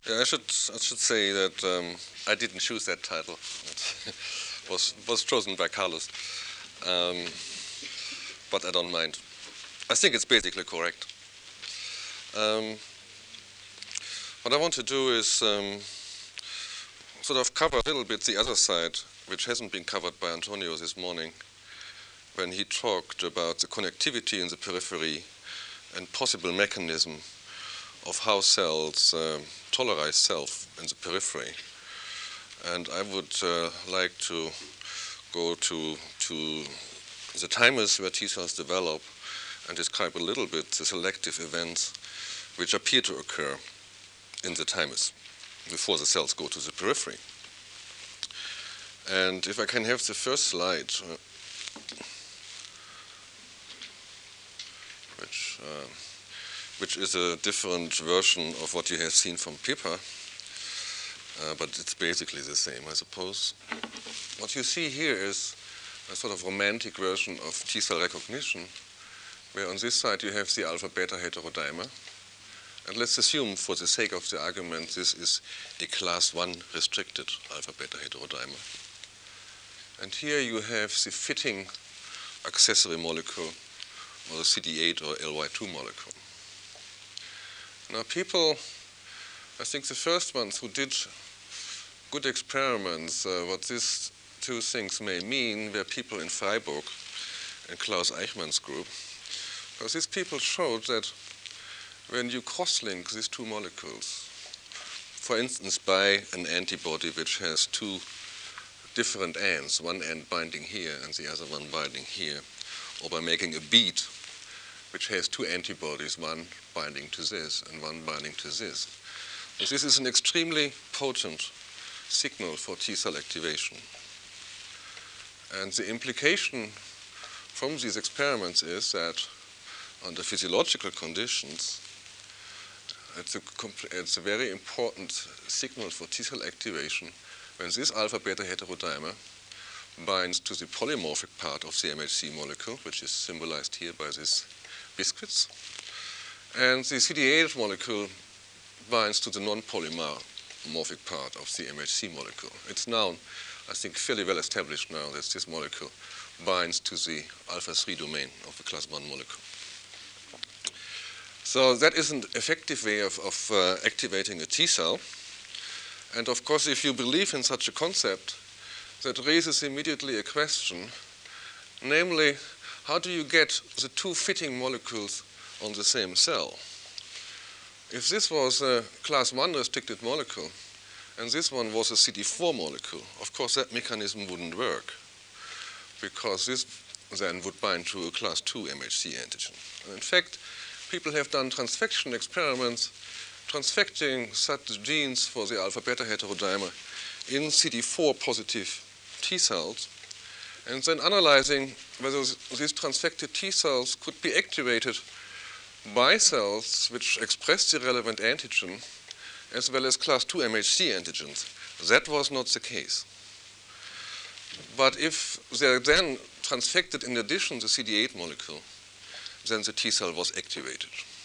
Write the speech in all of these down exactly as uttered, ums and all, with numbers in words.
Yeah, I should I should say that um, I didn't choose that title. It was was chosen by Carlos, um, but I don't mind. I think it's basically correct. Um, what I want to do is um, sort of cover a little bit the other side, which hasn't been covered by Antonio this morning, when he talked about the connectivity in the periphery and possible mechanism of how cells um, tolerize self in the periphery. And I would uh, like to go to, to the thymus where T cells develop and describe a little bit the selective events which appear to occur in the thymus before the cells go to the periphery. And if I can have the first slide, uh, which, uh, which is a different version of what you have seen from Pippa, uh, but it's basically the same, I suppose. What you see here is a sort of romantic version of T-cell recognition, where on this side you have the alpha-beta heterodimer. And let's assume, for the sake of the argument, this is a class one restricted alpha-beta heterodimer. And here you have the fitting accessory molecule, or the C D eight or L Y two molecule. Now people, I think the first ones who did good experiments, uh, what these two things may mean, were people in Freiburg and Klaus Eichmann's group. Because these people showed that when you cross-link these two molecules, for instance by an antibody which has two different ends, one end binding here and the other one binding here, or by making a bead which has two antibodies, one binding to this and one binding to this. So this is an extremely potent signal for T-cell activation. And the implication from these experiments is that under physiological conditions, it's a, it's a very important signal for T-cell activation when this alpha-beta heterodimer binds to the polymorphic part of the M H C molecule, which is symbolized here by these biscuits, and the C D eight molecule binds to the non-polymorphic part of the M H C molecule. It's now, I think, fairly well established now that this molecule binds to the alpha three domain of the class one molecule. So that is an effective way of, of uh, activating a T cell. And of course, if you believe in such a concept, that raises immediately a question, namely, how do you get the two fitting molecules on the same cell? If this was a class one restricted molecule, and this one was a C D four molecule, of course that mechanism wouldn't work, because this then would bind to a class two M H C antigen. And in fact, people have done transfection experiments transfecting such genes for the alpha-beta heterodimer in C D four positive T cells, and then analyzing whether these transfected T cells could be activated by cells which express the relevant antigen as well as class two M H C antigens. That was not the case. But if they then transfected in addition the C D eight molecule, then the T cell was activated.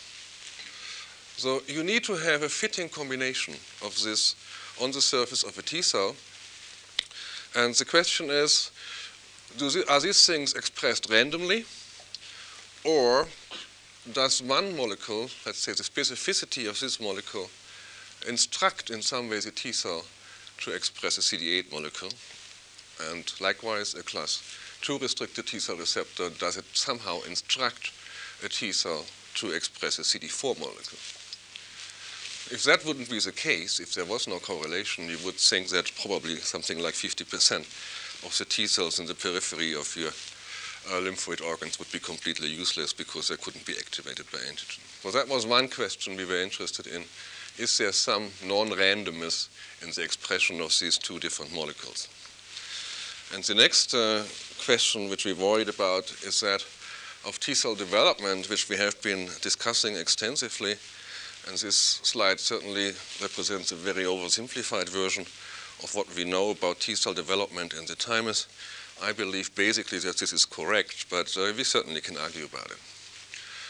So you need to have a fitting combination of this on the surface of a T cell. And the question is, do the, are these things expressed randomly, or does one molecule, let's say the specificity of this molecule, instruct in some way the T cell to express a C D eight molecule? And likewise, a class two restricted T cell receptor, does it somehow instruct a T cell to express a C D four molecule? If that wouldn't be the case, if there was no correlation, you would think that probably something like fifty percent of the T cells in the periphery of your uh, lymphoid organs would be completely useless because they couldn't be activated by antigen. Well, that was one question we were interested in. Is there some non-randomness in the expression of these two different molecules? And the next uh, question which we worried about is that of T cell development, which we have been discussing extensively. And this slide certainly represents a very oversimplified version of what we know about T cell development in the thymus. I believe basically that this is correct, but uh, we certainly can argue about it.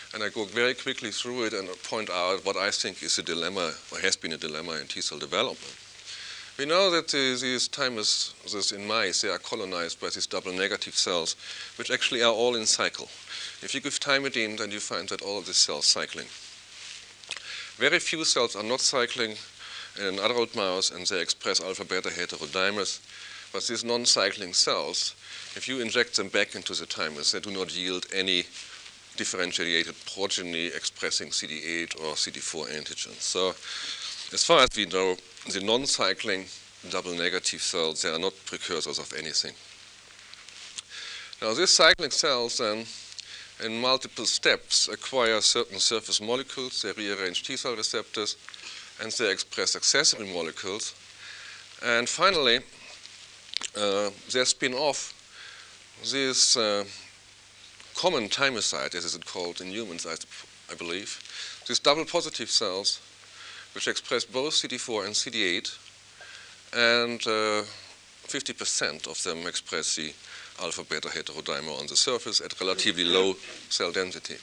and I go very quickly through it and point out what I think is a dilemma, or has been a dilemma in T-cell development. We know that uh, these thymuses in mice, they are colonized by these double negative cells, which actually are all in cycle. If you give thymidine, then you find that all of these cells cycling. Very few cells are not cycling in an adult mouse, and they express alpha-beta heterodimers. But these non-cycling cells, if you inject them back into the thymus, they do not yield any differentiated progeny expressing C D eight or C D four antigens. So as far as we know, the non-cycling double negative cells, they are not precursors of anything. Now these cycling cells then, in multiple steps, acquire certain surface molecules, they rearrange T-cell receptors, and they express accessory molecules. And finally, uh, they spin off this uh, common thymocyte, as is called in humans, I, I believe, these double positive cells, which express both C D four and C D eight, and fifty percent uh, of them express the alpha-beta heterodimer on the surface at relatively low cell density.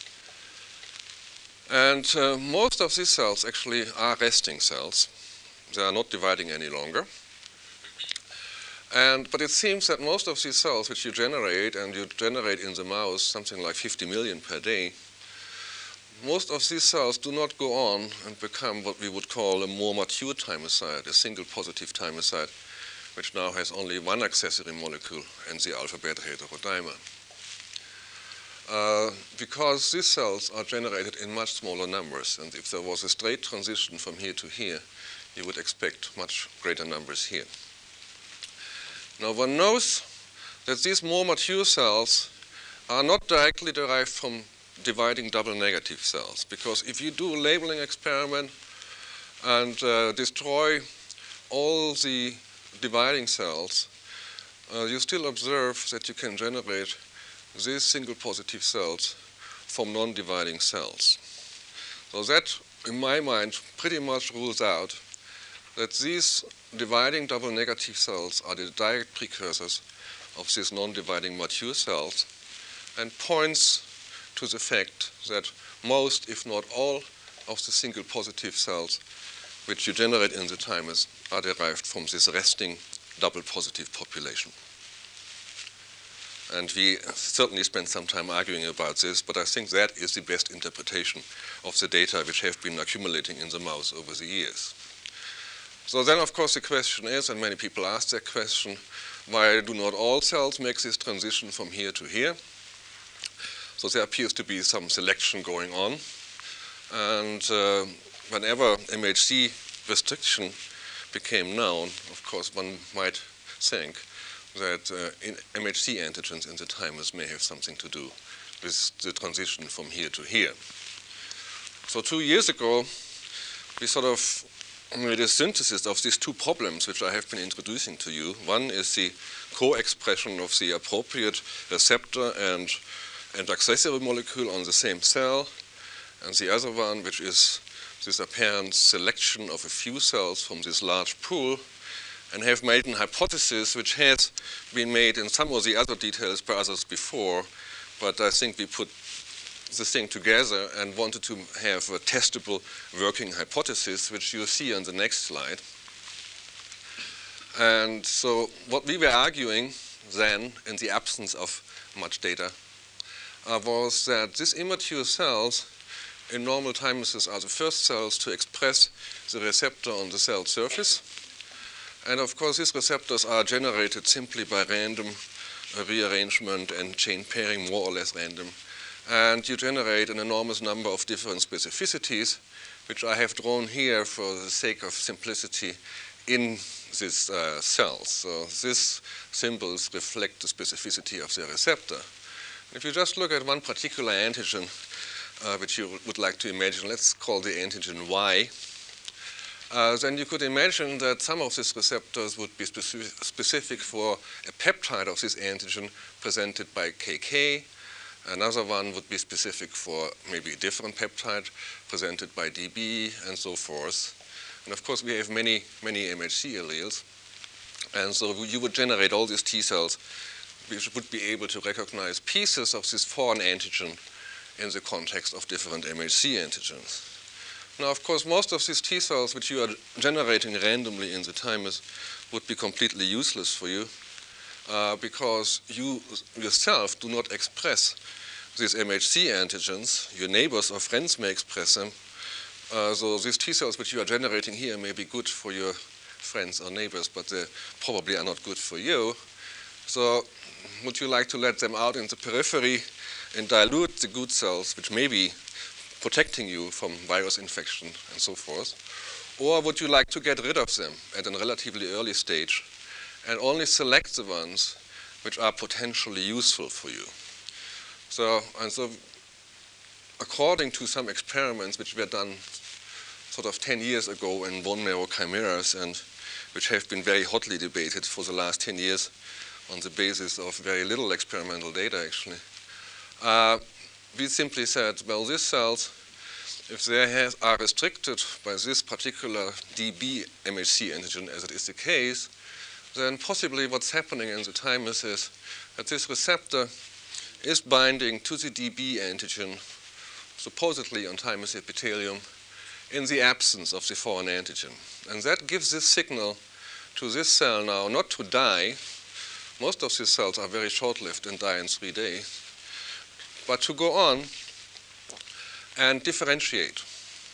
And uh, most of these cells actually are resting cells. They are not dividing any longer. And, but it seems that most of these cells which you generate, and you generate in the mouse something like fifty million per day, most of these cells do not go on and become what we would call a more mature thymocyte, a single positive thymocyte, which now has only one accessory molecule and the alpha-beta heterodimer. Uh, because these cells are generated in much smaller numbers, and if there was a straight transition from here to here, you would expect much greater numbers here. Now one knows that these more mature cells are not directly derived from dividing double negative cells, because if you do a labeling experiment and uh, destroy all the dividing cells, uh, you still observe that you can generate these single positive cells from non-dividing cells. So that, in my mind, pretty much rules out that these dividing double negative cells are the direct precursors of these non-dividing mature cells, and points to the fact that most, if not all, of the single positive cells which you generate in the thymus are derived from this resting double positive population. And we certainly spent some time arguing about this, but I think that is the best interpretation of the data which have been accumulating in the mouse over the years. So then, of course, the question is, and many people ask that question, why do not all cells make this transition from here to here? So there appears to be some selection going on. And uh, whenever M H C restriction became known, of course, one might think that uh, in M H C antigens in the thymus may have something to do with the transition from here to here. So two years ago, we sort of made a synthesis of these two problems which I have been introducing to you. One is the co-expression of the appropriate receptor and, and accessory molecule on the same cell, and the other one, which is this apparent selection of a few cells from this large pool, and have made an hypothesis which has been made in some of the other details by others before, but I think we put the thing together and wanted to have a testable working hypothesis, which you'll see on the next slide. And so what we were arguing then, in the absence of much data, uh, was that these immature cells in normal thymuses are the first cells to express the receptor on the cell surface. And of course, these receptors are generated simply by random uh, rearrangement and chain pairing, more or less random. And you generate an enormous number of different specificities, which I have drawn here for the sake of simplicity in these uh, cells. So these symbols reflect the specificity of the receptor. If you just look at one particular antigen, uh, which you would like to imagine, let's call the antigen Y, uh, then you could imagine that some of these receptors would be specific, specific for a peptide of this antigen presented by K K. Another one would be specific for maybe a different peptide presented by D B, and so forth. And of course, we have many, many M H C alleles. And so you would generate all these T cells which would be able to recognize pieces of this foreign antigen in the context of different M H C antigens. Now, of course, most of these T cells which you are generating randomly in the thymus would be completely useless for you uh, because you yourself do not express these M H C antigens. Your neighbors or friends may express them. Uh, so these T cells which you are generating here may be good for your friends or neighbors, but they probably are not good for you. So would you like to let them out in the periphery and dilute the good cells, which may be protecting you from virus infection and so forth? Or would you like to get rid of them at a relatively early stage and only select the ones which are potentially useful for you? So, and so according to some experiments which were done sort of ten years ago in bone marrow chimeras and which have been very hotly debated for the last ten years on the basis of very little experimental data, actually, uh, we simply said, well, these cells, if they have, are restricted by this particular D B M H C antigen, as it is the case, then possibly what's happening in the thymus is that this receptor is binding to the D B antigen, supposedly on thymus epithelium, in the absence of the foreign antigen. And that gives this signal to this cell now not to die. Most of these cells are very short-lived and die in three days, but to go on and differentiate.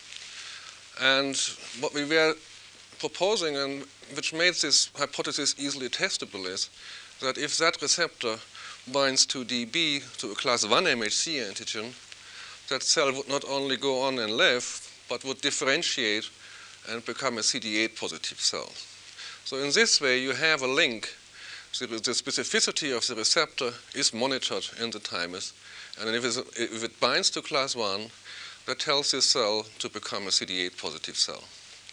And what we were proposing, and which made this hypothesis easily testable, is that if that receptor binds to D B, to a class one M H C antigen, that cell would not only go on and live, but would differentiate and become a C D eight positive cell. So in this way, you have a link. The, the specificity of the receptor is monitored in the thymus, and if, if it binds to class one, that tells this cell to become a C D eight positive cell.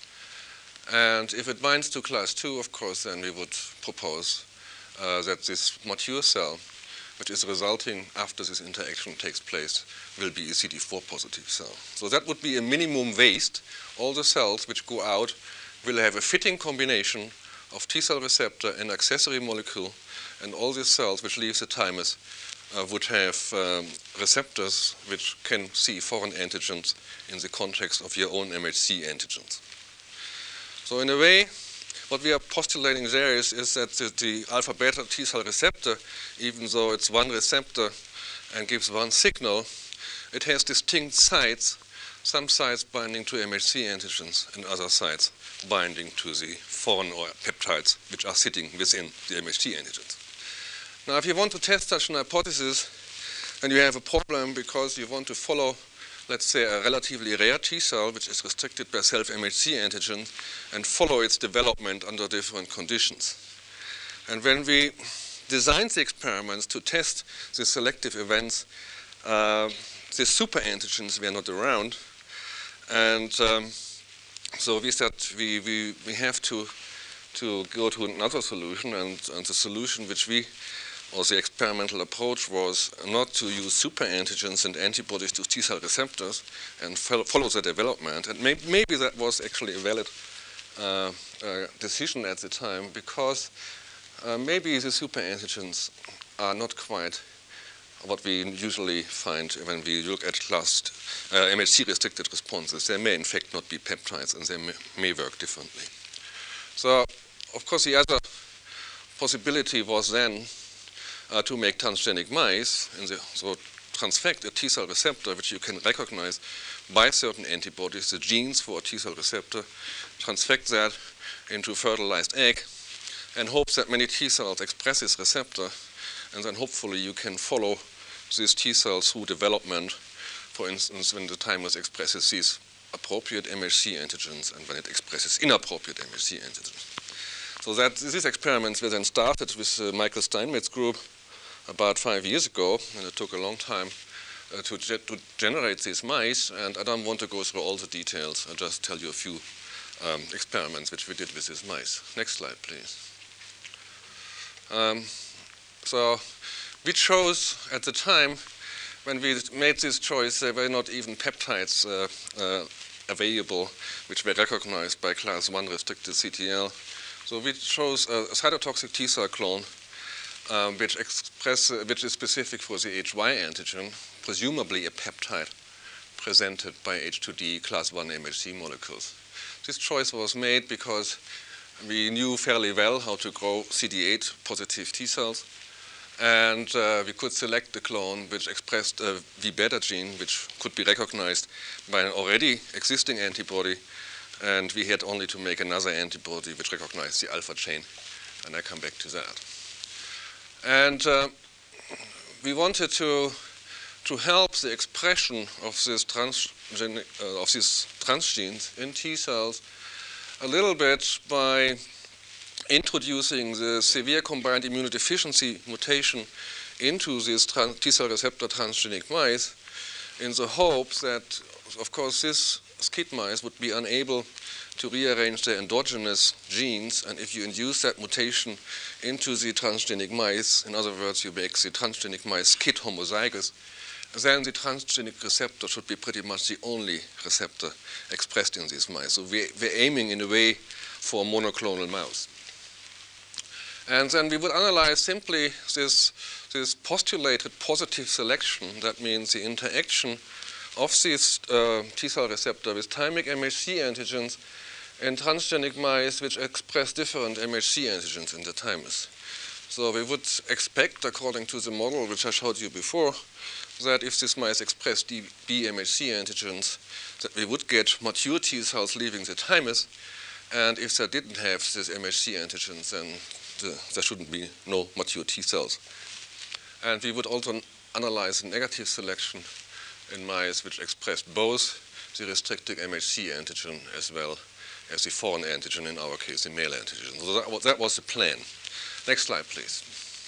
And if it binds to class two, of course, then we would propose uh, that this mature cell, which is resulting after this interaction takes place, will be a C D four positive cell. So that would be a minimum waste. All the cells which go out will have a fitting combination of T cell receptor and accessory molecule, and all these cells which leave the thymus uh, would have um, receptors which can see foreign antigens in the context of your own M H C antigens. So in a way, what we are postulating there is, is that the, the alpha-beta T cell receptor, even though it's one receptor and gives one signal, it has distinct sites, some sites binding to M H C antigens and other sites binding to the foreign or peptides which are sitting within the M H C antigens. Now, if you want to test such an hypothesis, then you have a problem because you want to follow, let's say, a relatively rare T cell which is restricted by self-M H C antigen and follow its development under different conditions. And when we designed the experiments to test the selective events, uh, the super antigens were not around. And um, so we said we, we, we have to, to go to another solution, and, and the solution which we, or the experimental approach, was not to use super antigens and antibodies to T cell receptors and follow, follow the development. And may, maybe that was actually a valid uh, uh, decision at the time, because uh, maybe the super antigens are not quite what we usually find when we look at class uh, M H C-restricted responses. They may in fact not be peptides, and they may, may work differently. So, of course, the other possibility was then uh, to make transgenic mice, and the, so transfect a T cell receptor which you can recognize by certain antibodies, the genes for a T cell receptor, transfect that into a fertilized egg, and hope that many T cells express this receptor, and then hopefully you can follow these T cells through development, for instance, when the thymus expresses these appropriate M H C antigens and when it expresses inappropriate M H C antigens. So that these experiments were then started with uh, Michael Steinmetz's group about five years ago, and it took a long time uh, to, ge to generate these mice, and I don't want to go through all the details. I'll just tell you a few um, experiments which we did with these mice. Next slide, please. Um, so we chose at the time when we made this choice, there were not even peptides uh, uh, available which were recognized by class one restricted C T L. So we chose a cytotoxic T cell clone um, which express, uh, which is specific for the H Y antigen, presumably a peptide presented by H two D class one M H C molecules. This choice was made because we knew fairly well how to grow C D eight positive T cells, and uh, we could select the clone which expressed a V beta gene, which could be recognized by an already existing antibody, and we had only to make another antibody which recognized the alpha chain, and I come back to that. And uh, we wanted to to help the expression of this transgenic, uh, of these transgenes in T cells a little bit by introducing the severe combined immunodeficiency mutation into these T cell receptor transgenic mice, in the hope that, of course, these SCID mice would be unable to rearrange their endogenous genes, and if you induce that mutation into the transgenic mice, in other words, you make the transgenic mice SCID homozygous, then the transgenic receptor should be pretty much the only receptor expressed in these mice. So we, we're aiming in a way for a monoclonal mouse. And then we would analyze simply this, this postulated positive selection. That means the interaction of this uh, T cell receptor with thymic M H C antigens in transgenic mice which express different M H C antigens in the thymus. So we would expect, according to the model which I showed you before, that if this mice express B M H C antigens, that we would get mature T cells leaving the thymus, and if they didn't have this M H C antigens, then the, there shouldn't be no mature T cells. And we would also analyze the negative selection in mice which expressed both the restricted M H C antigen as well as the foreign antigen, in our case, the male antigen. So that was, that was the plan. Next slide, please.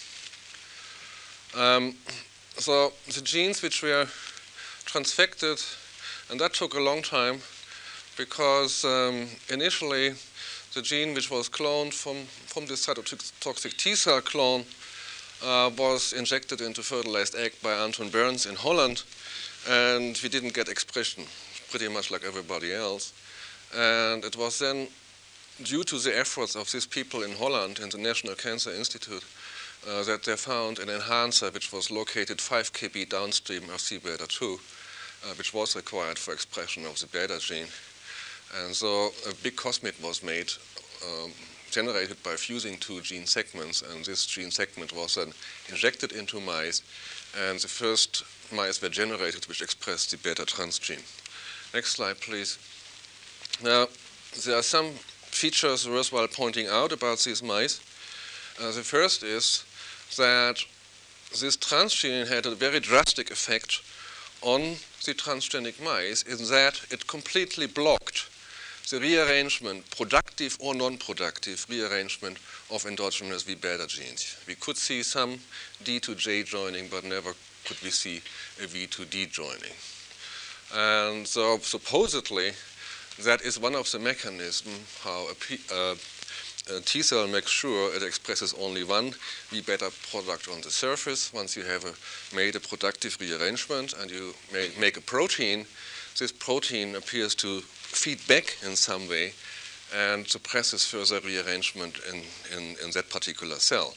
Um, so the genes which were transfected, and that took a long time because um, initially the gene which was cloned from, from this cytotoxic T cell clone uh, was injected into fertilized egg by Anton Burns in Holland, and we didn't get expression, pretty much like everybody else. And it was then due to the efforts of these people in Holland in the National Cancer Institute uh, that they found an enhancer which was located five K B downstream of C beta two, uh, which was required for expression of the beta gene. And so a big cosmid was made, um, generated by fusing two gene segments, and this gene segment was then injected into mice, and the first mice were generated which expressed the beta transgene. Next slide, please. Now, there are some features worthwhile pointing out about these mice. Uh, the first is that this transgene had a very drastic effect on the transgenic mice in that it completely blocked the rearrangement, productive or non-productive rearrangement of endogenous V beta genes. We could see some D to J joining, but never could we see a V to D joining. And so supposedly, that is one of the mechanisms how a, P, uh, a T cell makes sure it expresses only one V beta product on the surface. Once you have a, made a productive rearrangement and you may, make a protein, this protein appears to feed back in some way and suppresses further rearrangement in, in, in that particular cell.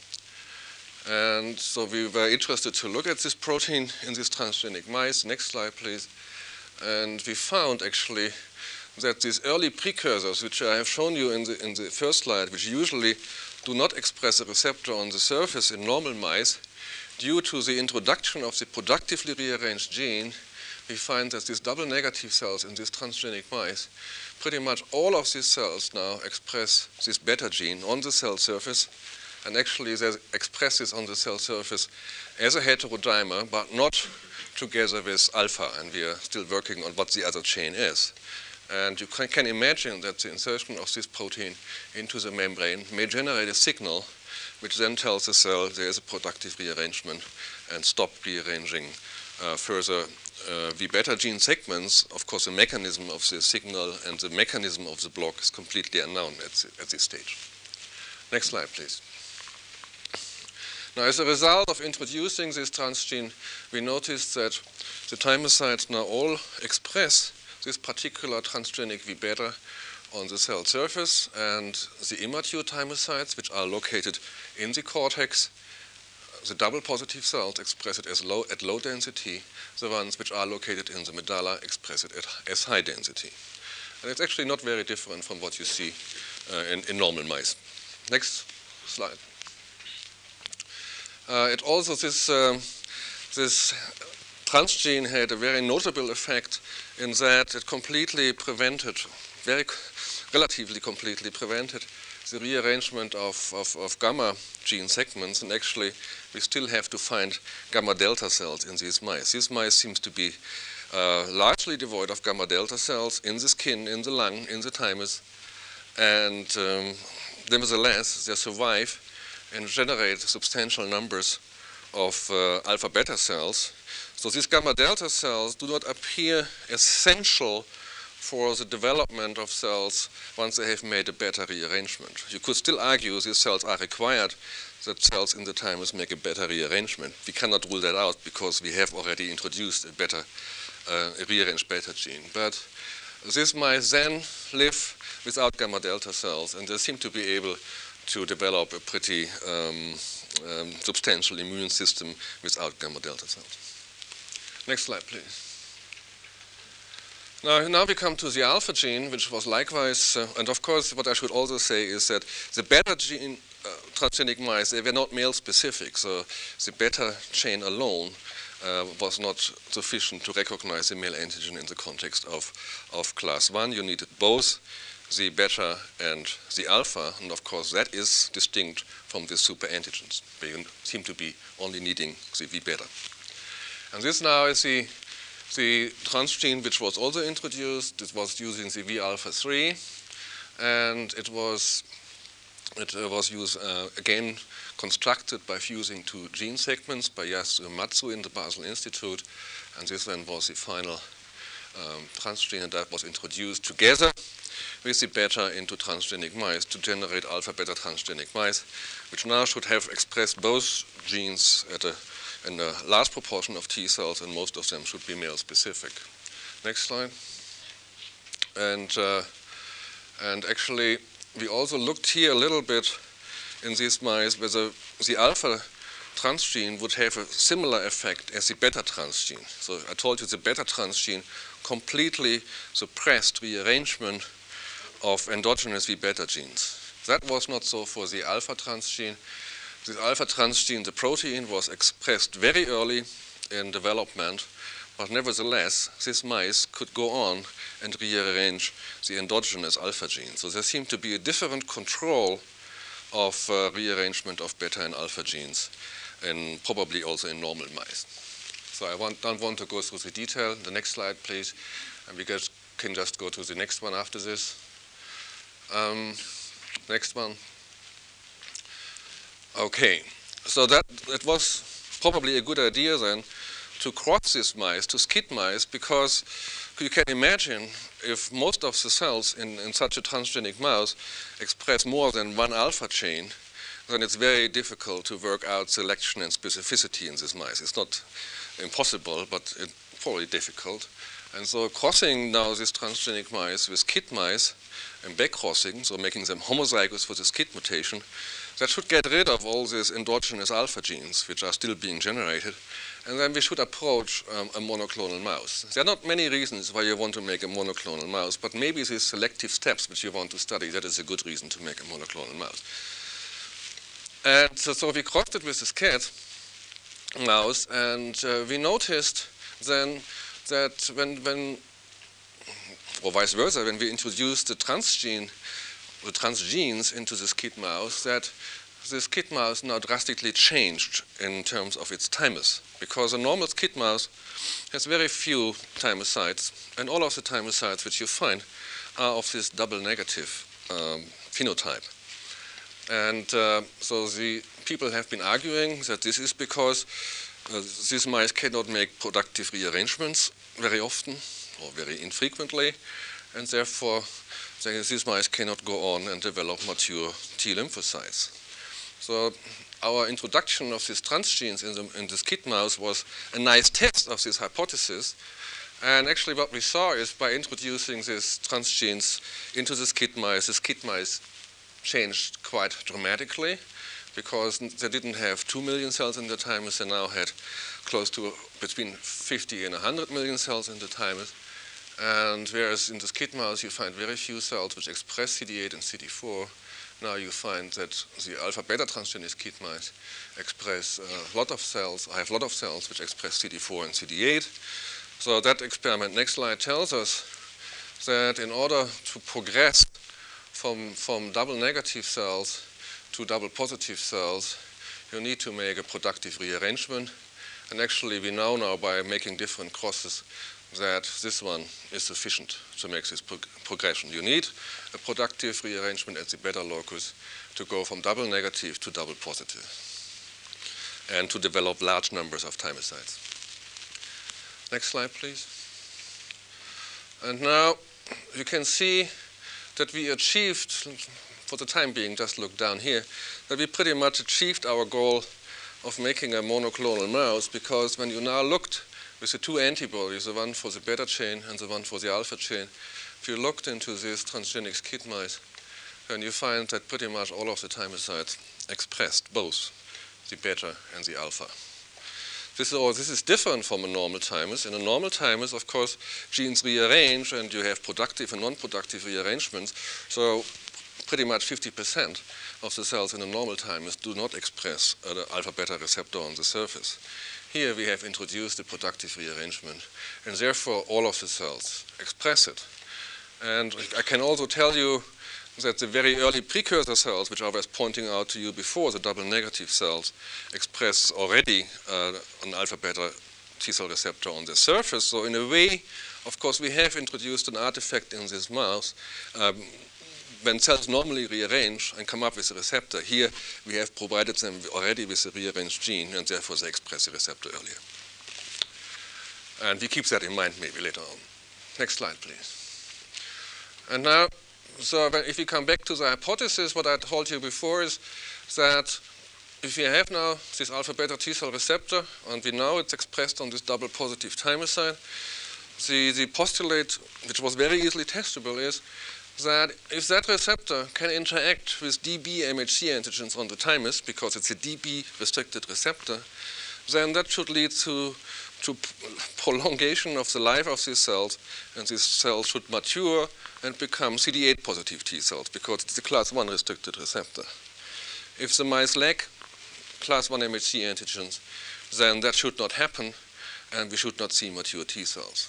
And so we were interested to look at this protein in these transgenic mice. Next slide, please. And we found actually that these early precursors, which I have shown you in the, in the first slide, which usually do not express a receptor on the surface in normal mice, due to the introduction of the productively rearranged gene, we find that these double negative cells in these transgenic mice, pretty much all of these cells now express this beta gene on the cell surface, and actually they express this on the cell surface as a heterodimer, but not together with alpha, and we are still working on what the other chain is. And you can, can imagine that the insertion of this protein into the membrane may generate a signal which then tells the cell there is a productive rearrangement and stop rearranging uh, further uh, V beta gene segments. Of course, the mechanism of the signal and the mechanism of the block is completely unknown at, the, at this stage. Next slide, please. Now, as a result of introducing this transgene, we noticed that the thymocytes now all express this particular transgenic V beta on the cell surface, and the immature thymocytes, which are located in the cortex, the double positive cells express it as low, at low density. The ones which are located in the medulla express it at, as high density. And it's actually not very different from what you see uh, in, in normal mice. Next slide. Uh, it also, this, uh, this transgene had a very notable effect in that it completely prevented, very relatively completely prevented the rearrangement of, of, of gamma gene segments, and actually we still have to find gamma delta cells in these mice. These mice seem to be uh, largely devoid of gamma delta cells in the skin, in the lung, in the thymus, and um, nevertheless they survive and generate substantial numbers of uh, alpha beta cells. So these gamma delta cells do not appear essential for the development of cells once they have made a beta rearrangement. You could still argue these cells are required, that cells in the thymus make a beta rearrangement. We cannot rule that out because we have already introduced a beta, uh, a rearranged beta gene. But these mice then live without gamma delta cells, and they seem to be able to develop a pretty um, um, substantial immune system without gamma delta cells. Next slide, please. Now, now we come to the alpha gene, which was likewise, uh, and of course what I should also say is that the beta gene uh, transgenic mice, they were not male specific, so the beta chain alone uh, was not sufficient to recognize the male antigen in the context of, of class one. You needed both the beta and the alpha, and of course that is distinct from the super antigens. They seem to be only needing the V beta. And this now is the The transgene which was also introduced. It was using the V alpha three, and it was it uh, was used uh, again constructed by fusing two gene segments by Yasuo Matsu in the Basel Institute, and this then was the final um, transgene that was introduced together with the beta into transgenic mice to generate alpha beta transgenic mice, which now should have expressed both genes at a in a large proportion of T cells, and most of them should be male specific. Next slide. And, uh, and actually, we also looked here a little bit in these mice whether the alpha transgene would have a similar effect as the beta transgene. So I told you the beta transgene completely suppressed rearrangement of endogenous V beta genes. That was not so for the alpha transgene. The alpha transgene, the protein, was expressed very early in development, but nevertheless, these mice could go on and rearrange the endogenous alpha gene. So there seemed to be a different control of uh, rearrangement of beta and alpha genes, and probably also in normal mice. So I want, don't want to go through the detail. The next slide, please. And we guys can just go to the next one after this. Um, next one. Okay, so that it was probably a good idea then to cross these mice to skid mice, because you can imagine if most of the cells in, in such a transgenic mouse express more than one alpha chain, then it's very difficult to work out selection and specificity in these mice. It's not impossible, but it's probably difficult. And so crossing now these transgenic mice with skid mice and back-crossing, so making them homozygous for the skid mutation, that should get rid of all these endogenous alpha genes, which are still being generated, and then we should approach um, a monoclonal mouse. There are not many reasons why you want to make a monoclonal mouse, but maybe these selective steps which you want to study, that is a good reason to make a monoclonal mouse. And so, so we crossed it with this cat mouse, and uh, we noticed then that when, when, or vice versa, when we introduced the transgene, the transgenes into the skid mouse, that the skid mouse now drastically changed in terms of its thymus, because a normal skid mouse has very few thymocytes, and all of the thymocytes which you find are of this double negative um, phenotype. And uh, so the people have been arguing that this is because uh, these mice cannot make productive rearrangements very often or very infrequently, and therefore these mice cannot go on and develop mature T lymphocytes. So our introduction of these transgenes in the, in the skid mouse was a nice test of this hypothesis. And actually what we saw is by introducing these transgenes into the skid mice, the skid mice changed quite dramatically. because they didn't have two million cells in the thymus, they now had close to between fifty and one hundred million cells in the thymus. And whereas in the SCID mouse you find very few cells which express C D eight and C D four, now you find that the alpha-beta transgenic SCID mice express a lot of cells, or have a lot of cells which express C D four and C D eight. So that experiment, next slide, tells us that in order to progress from, from double negative cells to double positive cells, you need to make a productive rearrangement. And actually we know now by making different crosses that this one is sufficient to make this pro progression. You need a productive rearrangement at the beta locus to go from double negative to double positive and to develop large numbers of thymocytes. Next slide, please. And now you can see that we achieved, for the time being, just look down here, that we pretty much achieved our goal of making a monoclonal mouse, because when you now looked with the two antibodies, the one for the beta chain and the one for the alpha chain, if you looked into these transgenic SCID mice, then you find that pretty much all of the thymocytes expressed both the beta and the alpha. This is, all, this is different from a normal thymus. In a normal thymus, of course, genes rearrange and you have productive and non-productive rearrangements. So pretty much fifty percent of the cells in a normal thymus do not express an alpha-beta receptor on the surface. Here we have introduced the productive rearrangement, and therefore all of the cells express it. And I can also tell you that the very early precursor cells, which I was pointing out to you before, the double negative cells, express already uh, an alpha-beta T-cell receptor on the surface. So in a way, of course, we have introduced an artifact in this mouse. Um, when cells normally rearrange and come up with a receptor, here we have provided them already with a rearranged gene, and therefore they express the receptor earlier. And we keep that in mind maybe later on. Next slide, please. And now, so if we come back to the hypothesis, what I told you before is that if we have now this alpha-beta T-cell receptor, and we know it's expressed on this double positive thymocyte, the, the postulate, which was very easily testable, is that if that receptor can interact with D B M H C antigens on the thymus, because it's a D B-restricted receptor, then that should lead to, to prolongation of the life of these cells, and these cells should mature and become C D eight positive T cells, because it's a class one restricted receptor. If the mice lack class one M H C antigens, then that should not happen, and we should not see mature T cells.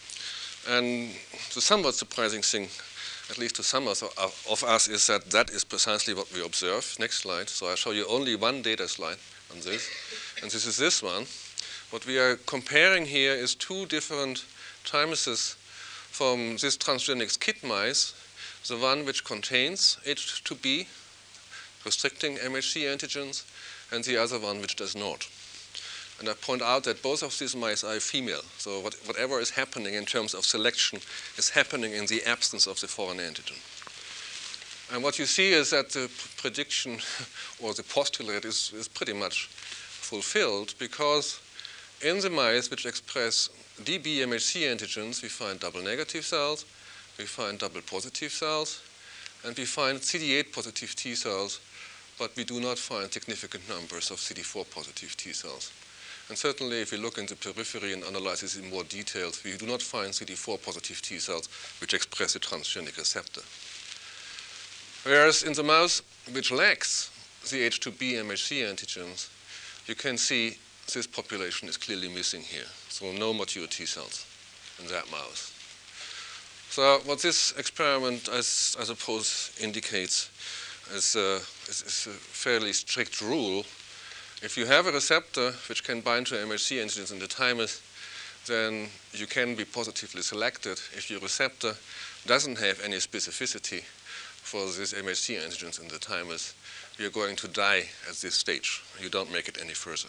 And the somewhat surprising thing, at least to some of us, is that that is precisely what we observe. Next slide. So I'll show you only one data slide on this, and this is this one. What we are comparing here is two different thymuses from this transgenic SCID mice, the one which contains H two B, restricting M H C antigens, and the other one which does not. And I point out that both of these mice are female, so what, whatever is happening in terms of selection is happening in the absence of the foreign antigen. And what you see is that the prediction or the postulate is, is pretty much fulfilled, because in the mice which express D B M H C antigens, we find double negative cells, we find double positive cells, and we find C D eight positive T cells, but we do not find significant numbers of C D four positive T cells. And certainly if we look in the periphery and analyze this in more detail, we do not find C D four positive T cells which express a transgenic receptor. Whereas in the mouse which lacks the H two B M H C antigens, you can see this population is clearly missing here. So no mature T cells in that mouse. So what this experiment, as I suppose, indicates is, uh, is, is a fairly strict rule. If you have a receptor which can bind to M H C antigens in the thymus, then you can be positively selected. If your receptor doesn't have any specificity for these M H C antigens in the thymus, you're going to die at this stage. You don't make it any further.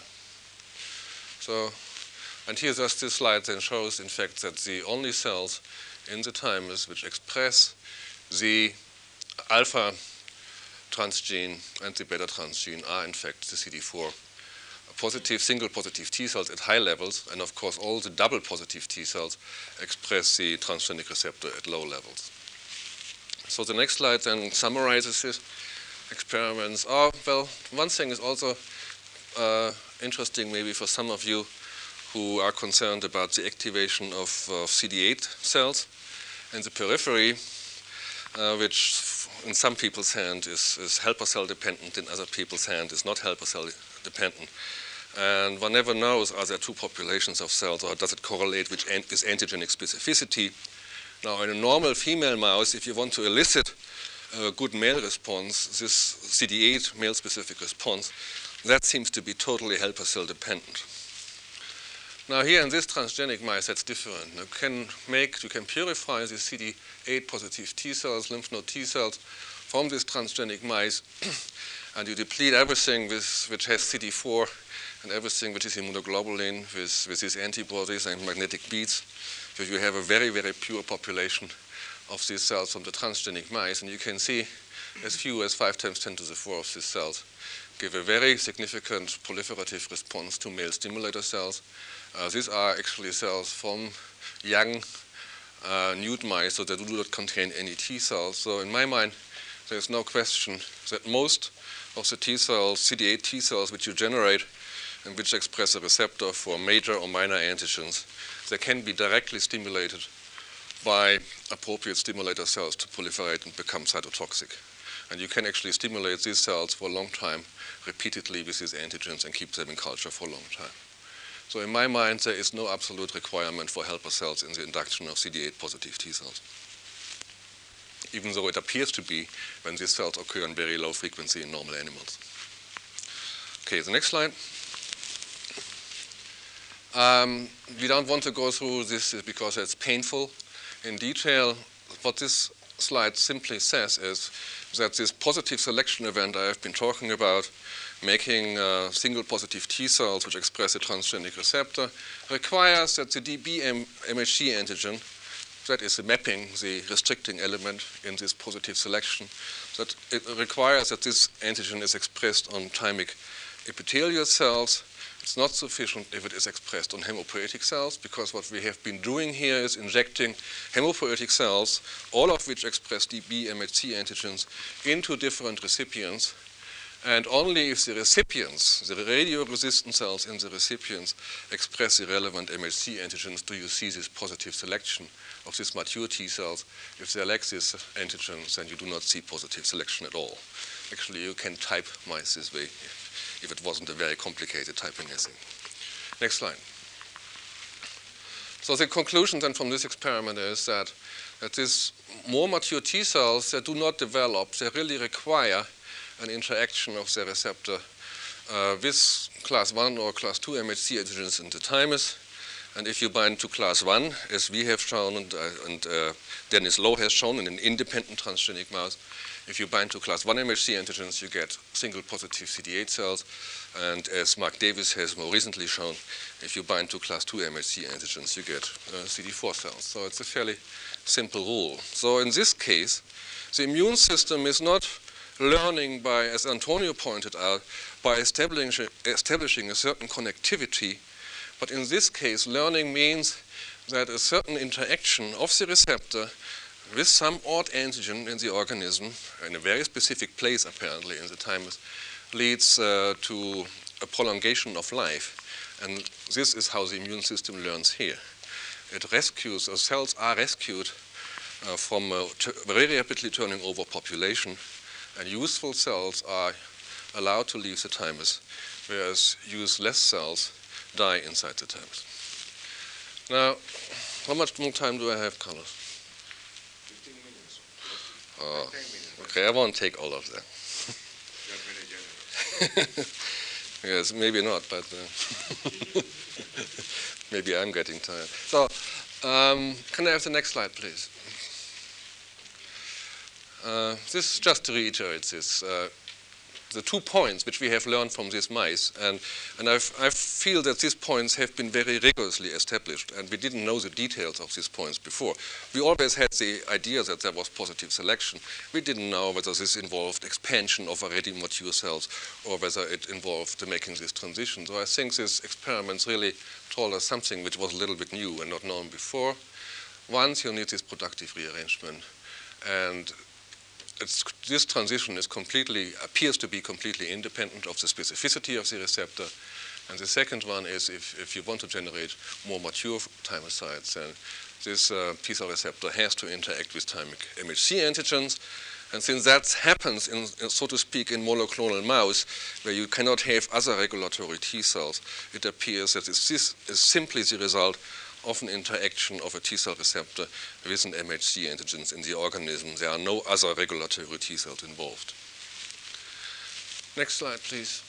So, and here just this slide then shows, in fact, that the only cells in the thymus which express the alpha transgene and the beta transgene are, in fact, the C D four positive, single positive T cells at high levels, and of course all the double positive T cells express the transgenic receptor at low levels. So the next slide then summarizes this. experiments are, well, one thing is also uh, interesting maybe for some of you who are concerned about the activation of uh, C D eight cells in the periphery, uh, which in some people's hand is, is helper cell dependent, in other people's hand is not helper cell dependent. And one never knows, are there two populations of cells, or does it correlate with, an with antigenic specificity? Now, in a normal female mouse, if you want to elicit a good male response, this C D eight male-specific response, that seems to be totally helper cell dependent. Now, here in this transgenic mice, that's different. You can make, you can purify the C D eight positive T cells, lymph node T cells, from this transgenic mice, and you deplete everything with, which has C D four and everything which is immunoglobulin with, with these antibodies and magnetic beads. So you have a very, very pure population of these cells from the transgenic mice, and you can see as few as five times ten to the four of these cells give a very significant proliferative response to male stimulator cells. Uh, these are actually cells from young uh, nude mice, so they do not contain any T cells. So in my mind, there's no question that most of the T cells, C D eight T cells, which you generate and which express a receptor for major or minor antigens, they can be directly stimulated by appropriate stimulator cells to proliferate and become cytotoxic. And you can actually stimulate these cells for a long time, repeatedly with these antigens, and keep them in culture for a long time. So in my mind, there is no absolute requirement for helper cells in the induction of C D eight positive T cells, even though it appears to be when these cells occur in very low frequency in normal animals. Okay, the next slide. Um, we don't want to go through this because it's painful in detail. What this slide simply says is that this positive selection event I have been talking about, making uh, single positive T cells which express a transgenic receptor, requires that the D B M H C antigen, that is the mapping, the restricting element in this positive selection, that it requires that this antigen is expressed on thymic epithelial cells. It's not sufficient if it is expressed on hematopoietic cells, because what we have been doing here is injecting hematopoietic cells, all of which express D B M H C antigens, into different recipients. And only if the recipients, the radio-resistant cells in the recipients, express the relevant M H C antigens do you see this positive selection of these mature T cells. If they lack these antigens, then you do not see positive selection at all. Actually, you can type mice this way if it wasn't a very complicated typing assay. Next slide. So the conclusion then from this experiment is that, that these more mature T cells, they do not develop, they really require an interaction of the receptor uh, with class one or class two M H C antigens in the thymus. And if you bind to class one, as we have shown and, uh, and uh, Dennis Lowe has shown in an independent transgenic mouse, if you bind to class one M H C antigens, you get single positive C D eight cells. And as Mark Davis has more recently shown, if you bind to class two M H C antigens, you get uh, C D four cells. So it's a fairly simple rule. So in this case, the immune system is not learning by, as Antonio pointed out, by establishing, establishing a certain connectivity. But in this case, learning means that a certain interaction of the receptor with some odd antigen in the organism, in a very specific place apparently in the thymus, leads uh, to a prolongation of life. And this is how the immune system learns here. It rescues, or cells are rescued uh, from a very rapidly turning over population, and useful cells are allowed to leave the thymus, whereas useless cells die inside the thymus. Now, how much more time do I have, Carlos? fifteen minutes. Oh, okay, I won't take all of them. You're very generous. Yes, maybe not, but uh, maybe I'm getting tired. So, um, can I have the next slide, please? Uh, this just to reiterate this. Uh, the two points which we have learned from these mice, and, and I've, I feel that these points have been very rigorously established, and we didn't know the details of these points before. We always had the idea that there was positive selection. We didn't know whether this involved expansion of already mature cells or whether it involved making this transition. So I think these experiments really told us something which was a little bit new and not known before. Once you need this productive rearrangement, and it's, this transition is completely, appears to be completely independent of the specificity of the receptor. And the second one is if, if you want to generate more mature thymocytes, then this uh, T cell receptor has to interact with thymic M H C antigens. And since that happens, in, so to speak, in monoclonal mouse, where you cannot have other regulatory T cells, it appears that this is simply the result of an interaction of a T cell receptor with an M H C antigens in the organism. There are no other regulatory T cells involved. Next slide, please.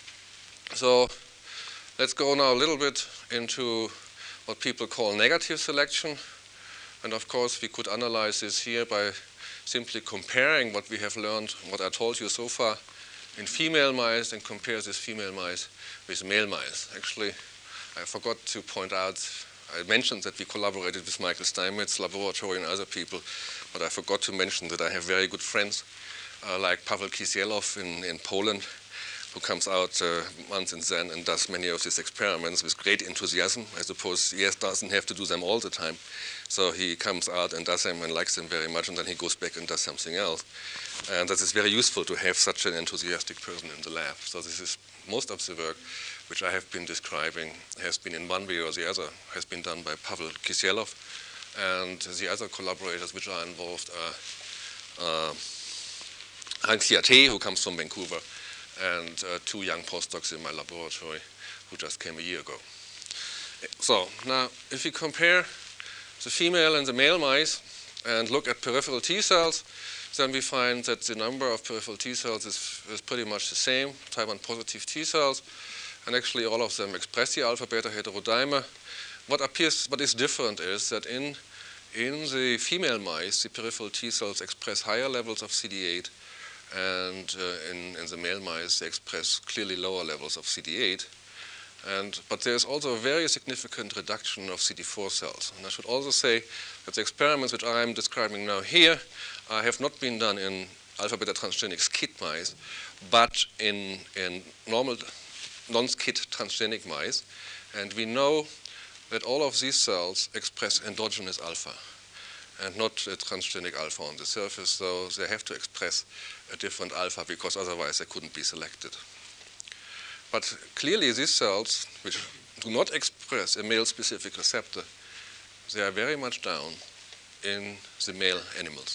So let's go now a little bit into what people call negative selection. And of course, we could analyze this here by simply comparing what we have learned, what I told you so far in female mice, and compare this female mice with male mice. Actually, I forgot to point out, I mentioned that we collaborated with Michael Steinmetz's laboratory and other people, but I forgot to mention that I have very good friends uh, like Paweł Kisielov in, in Poland, who comes out uh, once and then and does many of these experiments with great enthusiasm. I suppose he has, doesn't have to do them all the time. So he comes out and does them and likes them very much, and then he goes back and does something else. And that is very useful to have such an enthusiastic person in the lab. So this is most of the work which I have been describing has been in one way or the other, has been done by Paweł Kisielov. And the other collaborators which are involved are uh, Hank Siate, who comes from Vancouver, and uh, two young postdocs in my laboratory who just came a year ago. So now, if we compare the female and the male mice and look at peripheral T cells, then we find that the number of peripheral T cells is, is pretty much the same, type one positive T cells, and actually all of them express the alpha-beta heterodimer. What appears, what is different is that in, in the female mice, the peripheral T cells express higher levels of C D eight, and uh, in, in the male mice, they express clearly lower levels of C D eight. And, but there's also a very significant reduction of C D four cells. And I should also say that the experiments which I'm describing now here uh, have not been done in alpha-beta transgenic SCID mice, but in, in normal non-SCID transgenic mice. And we know that all of these cells express endogenous alpha and not a transgenic alpha on the surface, so they have to express a different alpha because otherwise they couldn't be selected. But clearly these cells, which do not express a male-specific receptor, they are very much down in the male animals.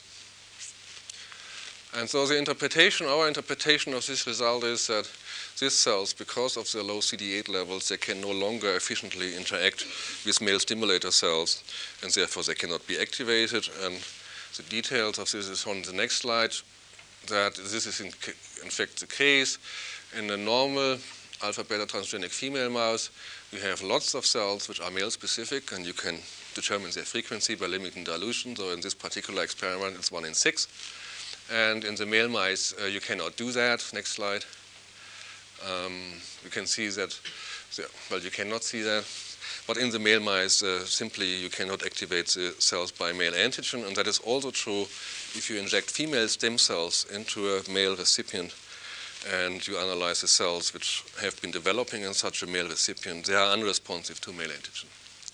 And so the interpretation, our interpretation of this result is that these cells, because of their low C D eight levels, they can no longer efficiently interact with male stimulator cells, and therefore they cannot be activated. And the details of this is on the next slide, that this is in, in fact the case. In a normal alpha-beta transgenic female mouse, you have lots of cells which are male-specific, and you can determine their frequency by limiting dilution. So in this particular experiment, it's one in six. And in the male mice, uh, you cannot do that. Next slide. Um, you can see that, the, well, you cannot see that. But in the male mice, uh, simply you cannot activate the cells by male antigen. And that is also true if you inject female stem cells into a male recipient and you analyze the cells which have been developing in such a male recipient. They are unresponsive to male antigen.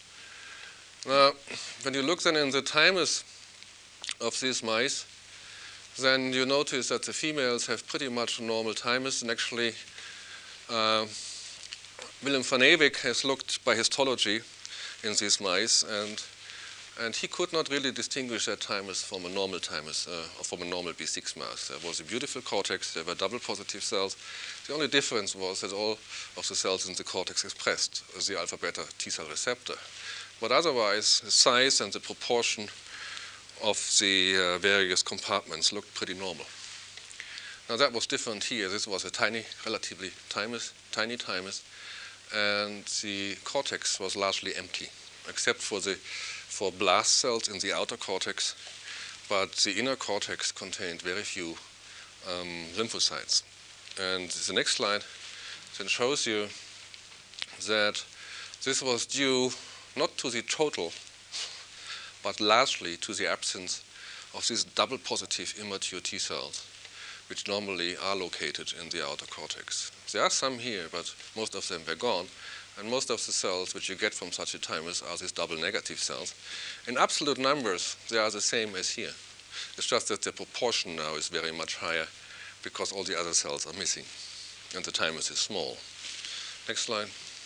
Now, when you look then in the thymus of these mice, then you notice that the females have pretty much normal thymus. And actually, uh, Willem van Ewijk has looked by histology in these mice, and, and he could not really distinguish that thymus from a normal thymus, uh, or from a normal B six mouse. There was a beautiful cortex, there were double positive cells. The only difference was that all of the cells in the cortex expressed the alpha-beta T cell receptor. But otherwise, the size and the proportion of the uh, various compartments looked pretty normal. Now that was different here. This was a tiny, relatively thymus, tiny thymus, and the cortex was largely empty, except for the for blast cells in the outer cortex, but the inner cortex contained very few um, lymphocytes. And the next slide then shows you that this was due not to the total, but largely to the absence of these double positive immature T cells, which normally are located in the outer cortex. There are some here, but most of them were gone, and most of the cells which you get from such a thymus are these double negative cells. In absolute numbers, they are the same as here. It's just that the proportion now is very much higher because all the other cells are missing and the thymus is small. Next slide.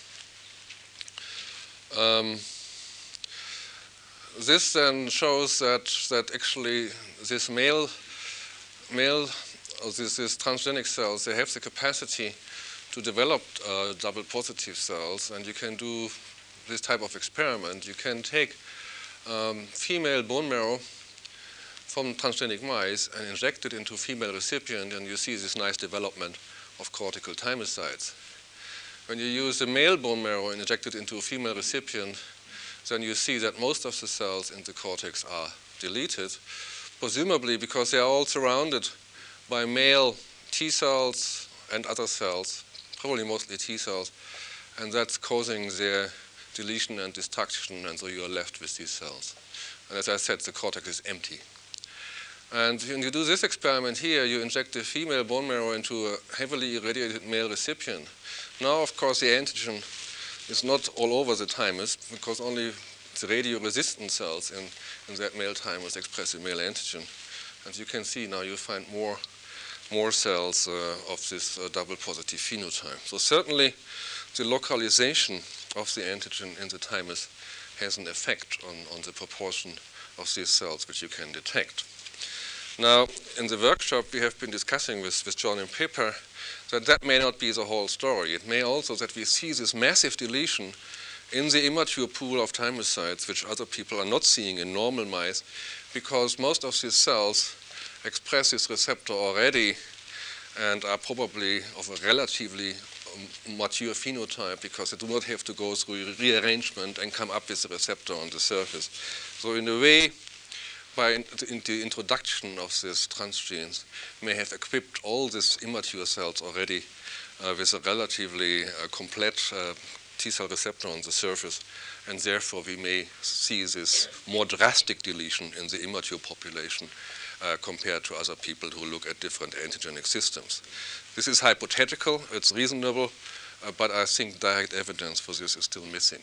Um, this then shows that, that actually this male, male or this, this transgenic cells, they have the capacity to develop uh, double positive cells, and you can do this type of experiment. You can take um, female bone marrow from transgenic mice and inject it into female recipient, and you see this nice development of cortical thymocytes. When you use the male bone marrow and inject it into a female recipient, then you see that most of the cells in the cortex are deleted, presumably because they are all surrounded by male T cells and other cells, probably mostly T cells, and that's causing their deletion and destruction, and so you are left with these cells. And as I said, the cortex is empty. And when you do this experiment here, you inject the female bone marrow into a heavily irradiated male recipient. Now, of course, the antigen is not all over the thymus because only the radio-resistant cells in, in that male thymus express the male antigen. And you can see now you find more, more cells uh, of this uh, double positive phenotype. So certainly the localization of the antigen in the thymus has an effect on, on the proportion of these cells which you can detect. Now, in the workshop, we have been discussing with, with John and Pippa that that may not be the whole story. It may also that we see this massive deletion in the immature pool of thymocytes, which other people are not seeing in normal mice, because most of these cells express this receptor already and are probably of a relatively mature phenotype because they do not have to go through rearrangement and come up with the receptor on the surface. So in a way, by the introduction of these transgenes, may have equipped all these immature cells already uh, with a relatively uh, complete uh, T-cell receptor on the surface, and therefore we may see this more drastic deletion in the immature population uh, compared to other people who look at different antigenic systems. This is hypothetical, it's reasonable, uh, but I think direct evidence for this is still missing.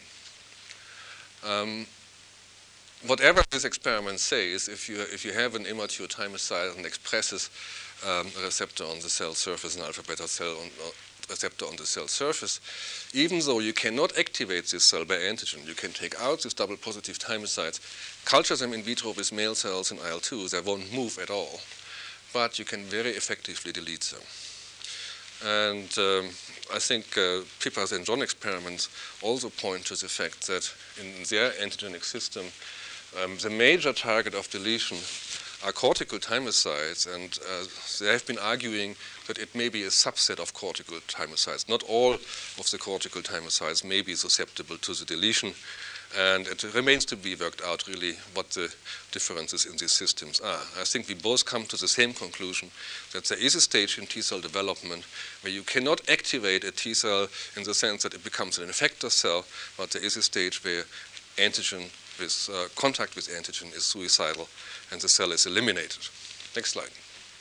Um, Whatever this experiment says, if you, if you have an immature thymocyte and expresses um, a receptor on the cell surface, an alpha beta cell on, uh, receptor on the cell surface, even though you cannot activate this cell by antigen, you can take out these double positive thymocytes, culture them in vitro with male cells in I L two, they won't move at all, but you can very effectively delete them. And um, I think uh, Pippa's and John experiments also point to the fact that in their antigenic system, Um, the major target of deletion are cortical thymocytes, and uh, they have been arguing that it may be a subset of cortical thymocytes. Not all of the cortical thymocytes may be susceptible to the deletion, and it remains to be worked out really what the differences in these systems are. I think we both come to the same conclusion, that there is a stage in T-cell development where you cannot activate a T-cell in the sense that it becomes an effector cell, but there is a stage where antigen with uh, contact with antigen is suicidal and the cell is eliminated. Next slide.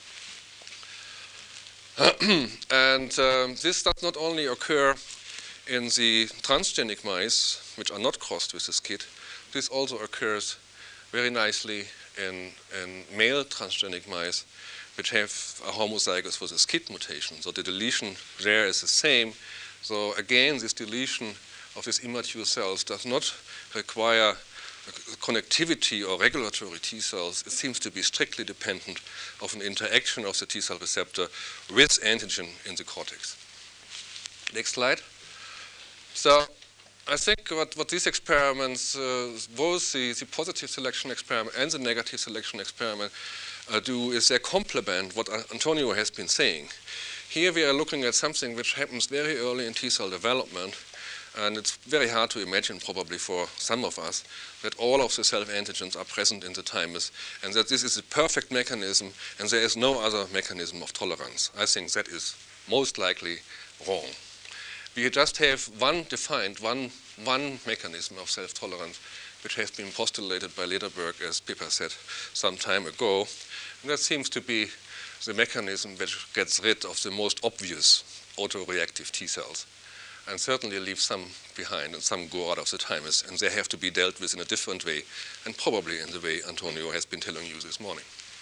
And um, this does not only occur in the transgenic mice, which are not crossed with the SCID, this also occurs very nicely in, in male transgenic mice, which have a homozygous for the SCID mutation. So the deletion there is the same. So again, this deletion of these immature cells does not require connectivity or regulatory T cells. It seems to be strictly dependent of an interaction of the T cell receptor with antigen in the cortex. Next slide. So I think what, what these experiments, uh, both the, the positive selection experiment and the negative selection experiment uh, do is they complement what Antonio has been saying. Here we are looking at something which happens very early in T cell development. And it's very hard to imagine, probably for some of us, that all of the self-antigens are present in the thymus and that this is a perfect mechanism and there is no other mechanism of tolerance. I think that is most likely wrong. We just have one defined, one, one mechanism of self-tolerance which has been postulated by Lederberg, as Pippa said some time ago. And that seems to be the mechanism which gets rid of the most obvious autoreactive T cells, and certainly leave some behind, and some go out of the thymus, and they have to be dealt with in a different way, and probably in the way Antonio has been telling you this morning.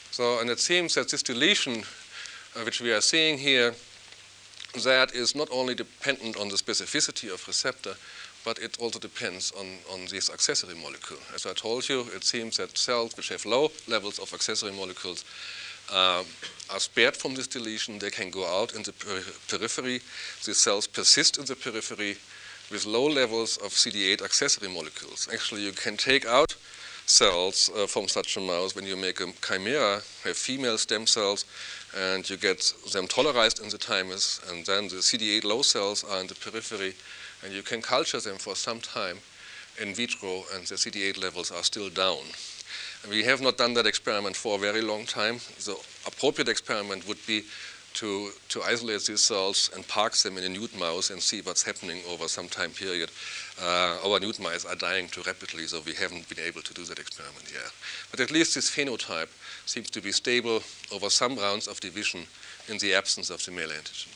So, and it seems that this deletion, uh, which we are seeing here, that is not only dependent on the specificity of receptor, but it also depends on, on this accessory molecule. As I told you, it seems that cells which have low levels of accessory molecules uh, are spared from this deletion. They can go out in the peri periphery. These cells persist in the periphery with low levels of C D eight accessory molecules. Actually, you can take out cells uh, from such a mouse when you make a chimera, have female stem cells, and you get them tolerized in the thymus, and then the C D eight low cells are in the periphery, and you can culture them for some time in vitro, and the C D eight levels are still down. And we have not done that experiment for a very long time. The appropriate experiment would be to, to isolate these cells and park them in a nude mouse and see what's happening over some time period. Uh, our nude mice are dying too rapidly, so we haven't been able to do that experiment yet. But at least this phenotype seems to be stable over some rounds of division in the absence of the male antigen.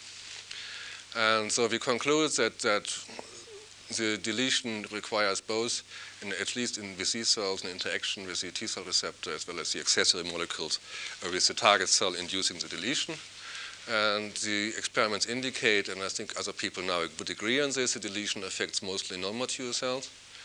And so we conclude that, that the deletion requires both, in, at least in with these cells, an interaction with the T cell receptor as well as the accessory molecules uh, with the target cell inducing the deletion. And the experiments indicate, and I think other people now would agree on this, the deletion affects mostly non-mature cells.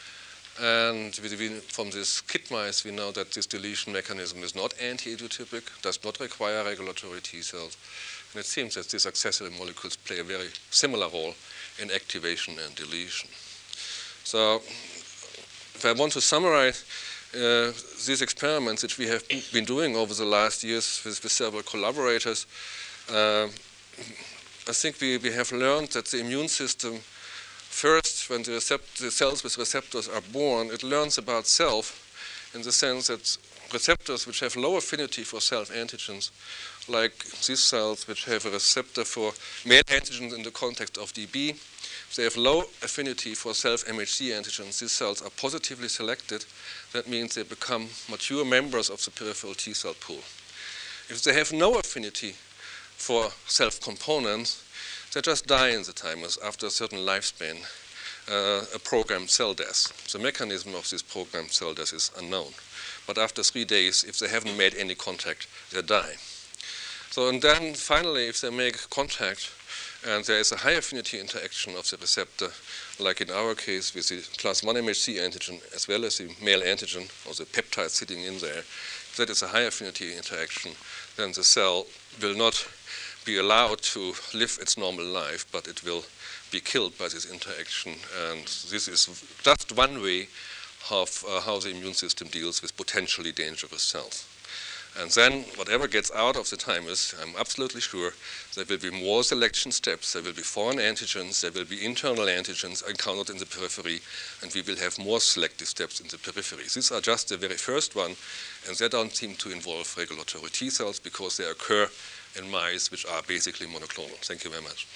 And we, we, from this kit mice, we know that this deletion mechanism is not anti-idiotypic, does not require regulatory T cells. And it seems that these accessory molecules play a very similar role in activation and deletion. So if I want to summarize uh, these experiments which we have been doing over the last years with, with several collaborators, uh, I think we, we have learned that the immune system, first, when the, recept the cells with receptors are born, it learns about self in the sense that receptors which have low affinity for self-antigens, like these cells which have a receptor for male antigens in the context of D B, if they have low affinity for self-M H C antigens, these cells are positively selected. That means they become mature members of the peripheral T cell pool. If they have no affinity for self-components, they just die in the thymus after a certain lifespan, uh, a programmed cell death. The mechanism of this programmed cell death is unknown. But after three days, if they haven't made any contact, they die. So, and then finally, if they make contact and there is a high affinity interaction of the receptor, like in our case with the class one M H C antigen as well as the male antigen or the peptide sitting in there, if that is a high affinity interaction, then the cell will not be allowed to live its normal life, but it will be killed by this interaction. And this is just one way of uh, how the immune system deals with potentially dangerous cells. And then whatever gets out of the thymus, I'm absolutely sure there will be more selection steps, there will be foreign antigens, there will be internal antigens encountered in the periphery, and we will have more selective steps in the periphery. These are just the very first one, and they don't seem to involve regulatory T cells because they occur in mice which are basically monoclonal. Thank you very much.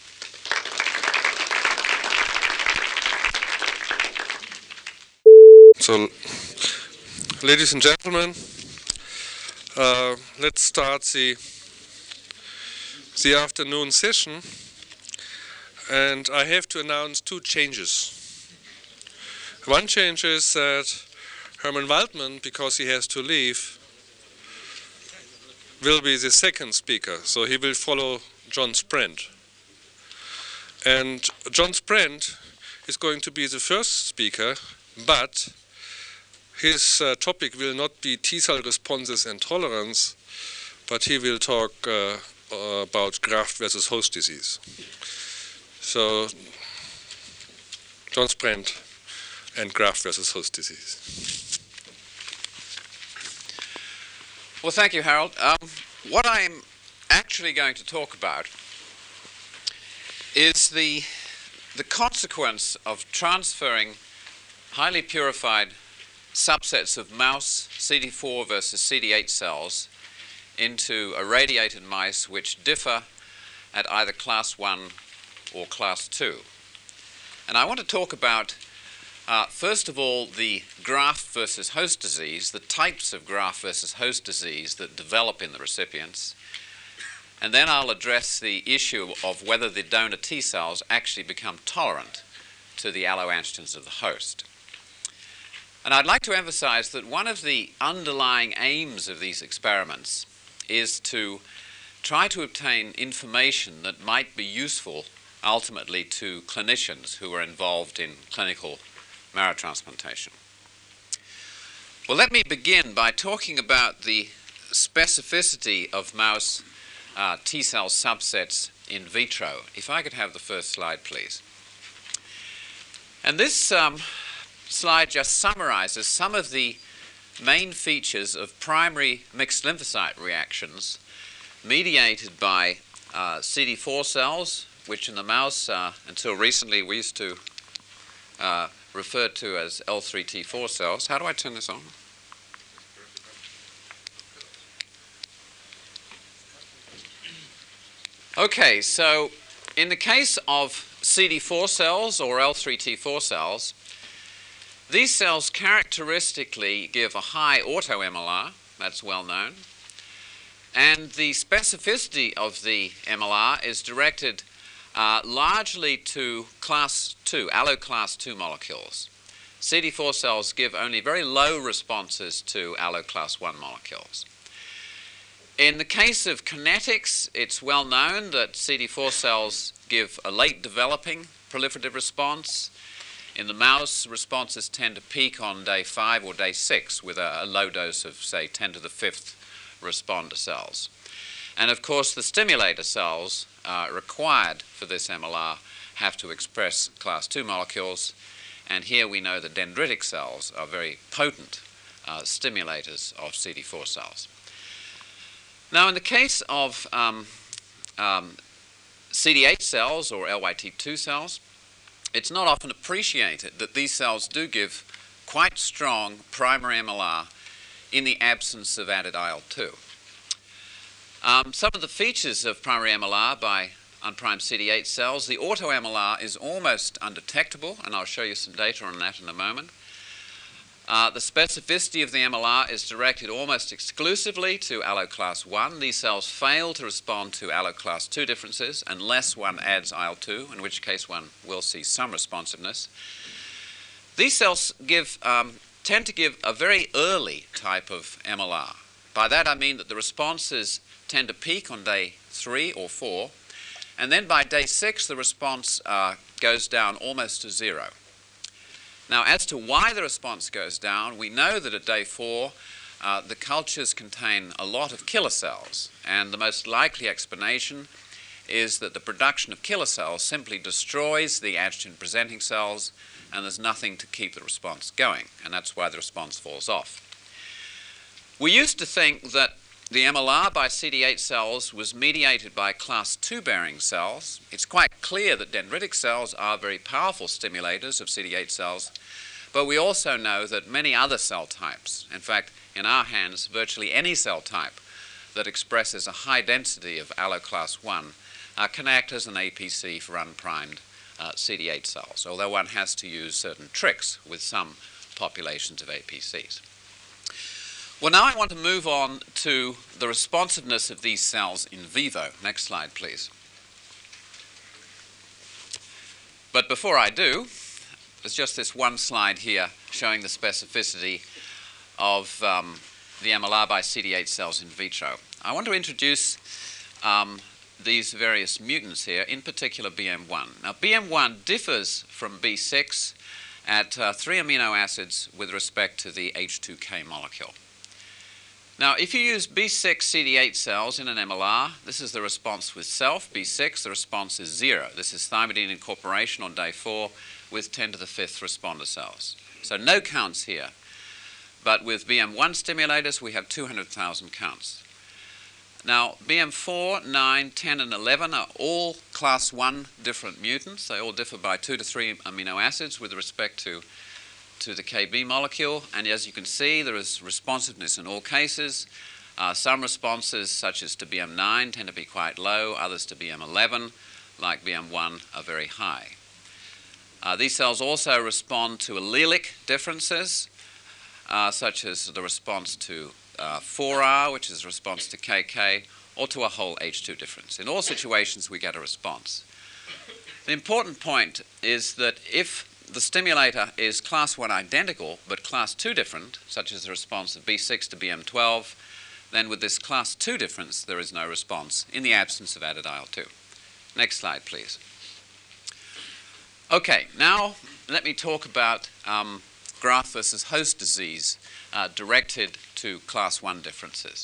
So, ladies and gentlemen, uh, let's start the, the afternoon session. And I have to announce two changes. One change is that Herman Waldman, because he has to leave, will be the second speaker. So he will follow John Sprent. And John Sprent is going to be the first speaker, but his uh, topic will not be T-cell responses and tolerance, but he will talk uh, uh, about graft versus host disease. So, John Sprent and graft versus host disease. Well, thank you, Harold. Um, what I'm actually going to talk about is the, the consequence of transferring highly purified subsets of mouse C D four versus C D eight cells into irradiated mice which differ at either class one or class two. And I want to talk about, uh, first of all, the graft versus host disease, the types of graft versus host disease that develop in the recipients. And then I'll address the issue of whether the donor T cells actually become tolerant to the alloantigens of the host. And I'd like to emphasize that one of the underlying aims of these experiments is to try to obtain information that might be useful ultimately to clinicians who are involved in clinical marrow transplantation. Well, let me begin by talking about the specificity of mouse uh, T-cell subsets in vitro. If I could have the first slide, please. And this um, slide just summarizes some of the main features of primary mixed lymphocyte reactions mediated by uh, C D four cells, which in the mouse, uh, until recently, we used to uh, refer to as L three T four cells. How do I turn this on? Okay, so in the case of C D four cells or L three T four cells, these cells characteristically give a high auto-M L R, that's well known, and the specificity of the M L R is directed uh, largely to class two, allo class two molecules. C D four cells give only very low responses to allo class one molecules. In the case of kinetics, it's well known that C D four cells give a late developing proliferative response. In the mouse, responses tend to peak on day five or day six with a, a low dose of, say, ten to the fifth responder cells. And of course, the stimulator cells uh, required for this M L R have to express class two molecules. And here we know that dendritic cells are very potent uh, stimulators of C D four cells. Now, in the case of um, um, C D eight cells or L Y T two cells, it's not often appreciated that these cells do give quite strong primary M L R in the absence of added I L two. Um, some of the features of primary M L R by unprimed C D eight cells, the auto-M L R is almost undetectable, and I'll show you some data on that in a moment. Uh, the specificity of the M L R is directed almost exclusively to allo class one. These cells fail to respond to allo class two differences unless one adds I L two, in which case one will see some responsiveness. These cells give, um, tend to give a very early type of M L R. By that I mean that the responses tend to peak on day three or four, and then by day six the response uh, goes down almost to zero. Now, as to why the response goes down, we know that at day four, uh, the cultures contain a lot of killer cells, and the most likely explanation is that the production of killer cells simply destroys the antigen-presenting cells, and there's nothing to keep the response going, and that's why the response falls off. We used to think that the M L R by C D eight cells was mediated by class two bearing cells. It's quite clear that dendritic cells are very powerful stimulators of C D eight cells, but we also know that many other cell types, in fact, in our hands, virtually any cell type that expresses a high density of allo class one, uh, can act as an A P C for unprimed uh, C D eight cells, although one has to use certain tricks with some populations of A P Cs. Well, now I want to move on to the responsiveness of these cells in vivo. Next slide, please. But before I do, there's just this one slide here showing the specificity of um, the M L R by C D eight cells in vitro. I want to introduce um, these various mutants here, in particular B M one. Now, B M one differs from B six at uh, three amino acids with respect to the H two K molecule. Now, if you use B six C D eight cells in an M L R, this is the response with self, B six, the response is zero. This is thymidine incorporation on day four with ten to the fifth responder cells. So no counts here. But with B M one stimulators, we have two hundred thousand counts. Now, B M four, nine, ten, and eleven are all class one different mutants. They all differ by two to three amino acids with respect to to the K B molecule, and as you can see, there is responsiveness in all cases. Uh, some responses, such as to B M nine, tend to be quite low. Others to B M eleven, like B M one, are very high. Uh, these cells also respond to allelic differences, uh, such as the response to uh, four R, which is a response to K K, or to a whole H two difference. In all situations, we get a response. The important point is that if the stimulator is class one identical, but class two different, such as the response of B six to B M twelve, then with this class two difference, there is no response in the absence of added I L two. Next slide, please. Okay, now let me talk about um, graft versus host disease uh, directed to class one differences.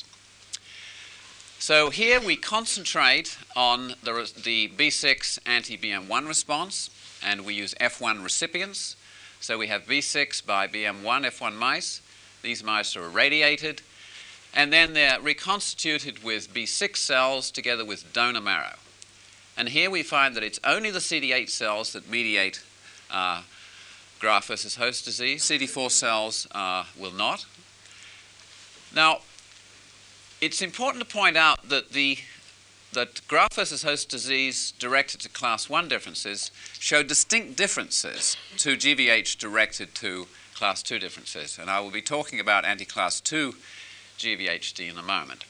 So here we concentrate on the, the B six anti-B M one response, and we use F one recipients. So we have B six by B M one F one mice. These mice are irradiated, and then they're reconstituted with B six cells together with donor marrow. And here we find that it's only the C D eight cells that mediate uh, graft versus host disease. C D four cells uh, will not. Now, it's important to point out that the that graft versus host disease directed to class one differences show distinct differences to G V H directed to class two differences. And I will be talking about anti-class two G V H D in a moment.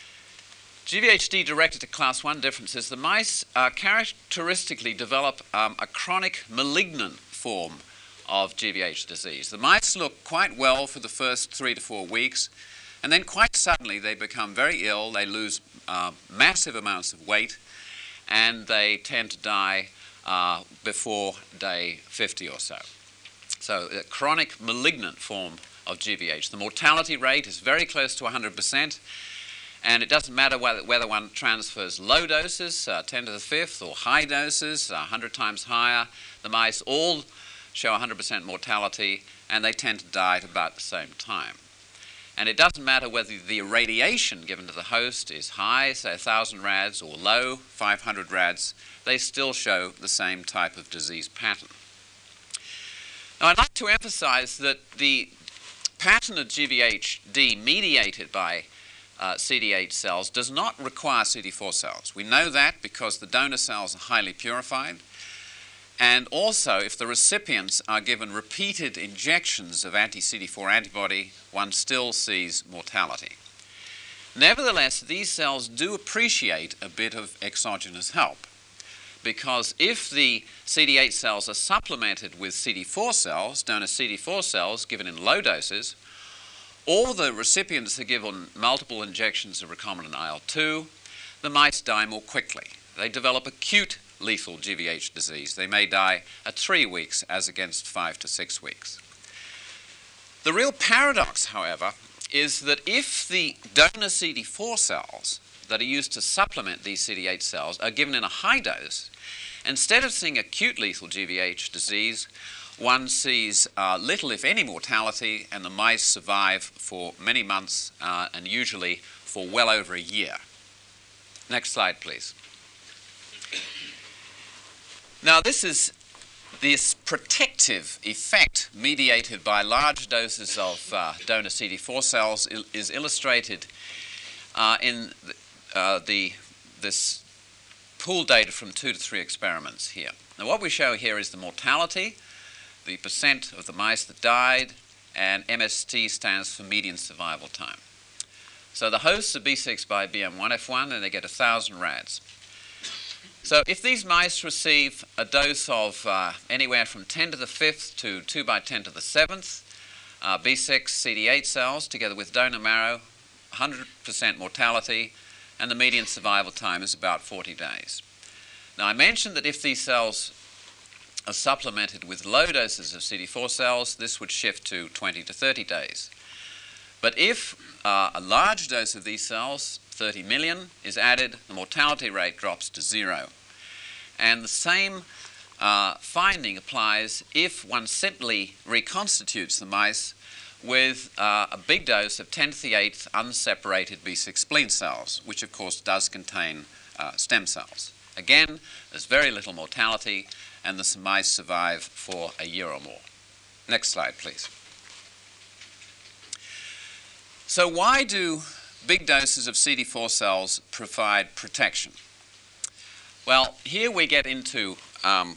G V H D directed to class one differences, the mice uh, characteristically develop um, a chronic malignant form of G V H disease. The mice look quite well for the first three to four weeks, and then quite suddenly they become very ill, they lose uh, massive amounts of weight, and they tend to die uh, before day fifty or so. So a chronic malignant form of G V H. The mortality rate is very close to one hundred percent, and it doesn't matter whether, whether one transfers low doses, uh, ten to the fifth, or high doses, uh, one hundred times higher. The mice all show one hundred percent mortality, and they tend to die at about the same time. And it doesn't matter whether the irradiation given to the host is high, say one thousand rads, or low, five hundred rads, they still show the same type of disease pattern. Now, I'd like to emphasize that the pattern of G V H D mediated by uh, C D eight cells does not require C D four cells. We know that because the donor cells are highly purified. And also, if the recipients are given repeated injections of anti-C D four antibody, one still sees mortality. Nevertheless, these cells do appreciate a bit of exogenous help, because if the C D eight cells are supplemented with C D four cells, donor C D four cells given in low doses, or the recipients are given multiple injections of recombinant I L two, the mice die more quickly. They develop acute lethal G V H disease. They may die at three weeks as against five to six weeks. The real paradox, however, is that if the donor C D four cells that are used to supplement these C D eight cells are given in a high dose, instead of seeing acute lethal G V H disease, one sees uh, little, if any, mortality, and the mice survive for many months uh, and usually for well over a year. Next slide, please. Now, this is this protective effect mediated by large doses of uh, donor C D four cells il is illustrated uh, in the, uh, the, this pooled data from two to three experiments here. Now, what we show here is the mortality, the percent of the mice that died, and M S T stands for median survival time. So the hosts are B six by B M one F one, and they get one thousand rads. So if these mice receive a dose of uh, anywhere from ten to the fifth to two by ten to the seventh, uh, B six C D eight cells together with donor marrow, one hundred percent mortality, and the median survival time is about forty days. Now, I mentioned that if these cells are supplemented with low doses of C D four cells, this would shift to twenty to thirty days. But if uh, a large dose of these cells, thirty million, is added, the mortality rate drops to zero. And the same uh, finding applies if one simply reconstitutes the mice with uh, a big dose of ten to the eighth unseparated B six spleen cells, which of course does contain uh, stem cells. Again, there's very little mortality, and the mice survive for a year or more. Next slide, please. So why do big doses of C D four cells provide protection? Well, here we get into um,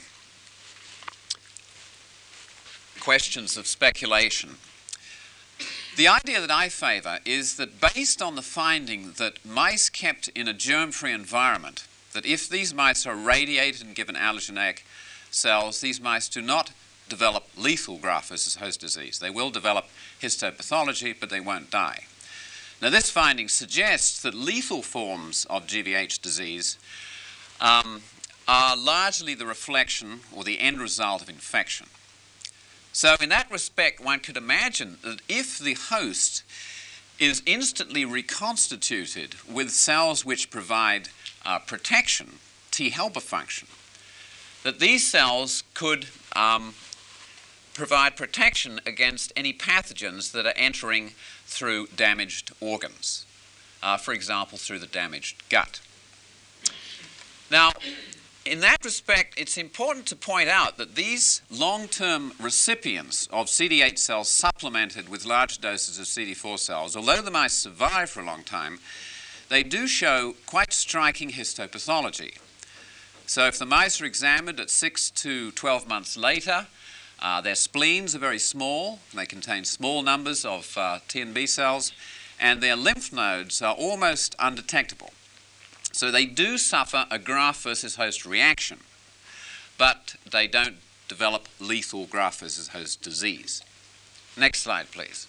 questions of speculation. The idea that I favor is that based on the finding that mice kept in a germ-free environment, that if these mice are radiated and given allogeneic cells, these mice do not develop lethal graft-versus-host disease. They will develop histopathology, but they won't die. Now, this finding suggests that lethal forms of G V H disease um, are largely the reflection or the end result of infection. So in that respect, one could imagine that if the host is instantly reconstituted with cells which provide uh, protection, T helper function, that these cells could um, provide protection against any pathogens that are entering through damaged organs, uh, for example, through the damaged gut. Now, in that respect, it's important to point out that these long-term recipients of C D eight cells supplemented with large doses of C D four cells, although the mice survive for a long time, they do show quite striking histopathology. So if the mice are examined at six to twelve months later, uh, their spleens are very small. They contain small numbers of uh, T and B cells, and their lymph nodes are almost undetectable. So they do suffer a graft-versus-host reaction, but they don't develop lethal graft-versus-host disease. Next slide, please.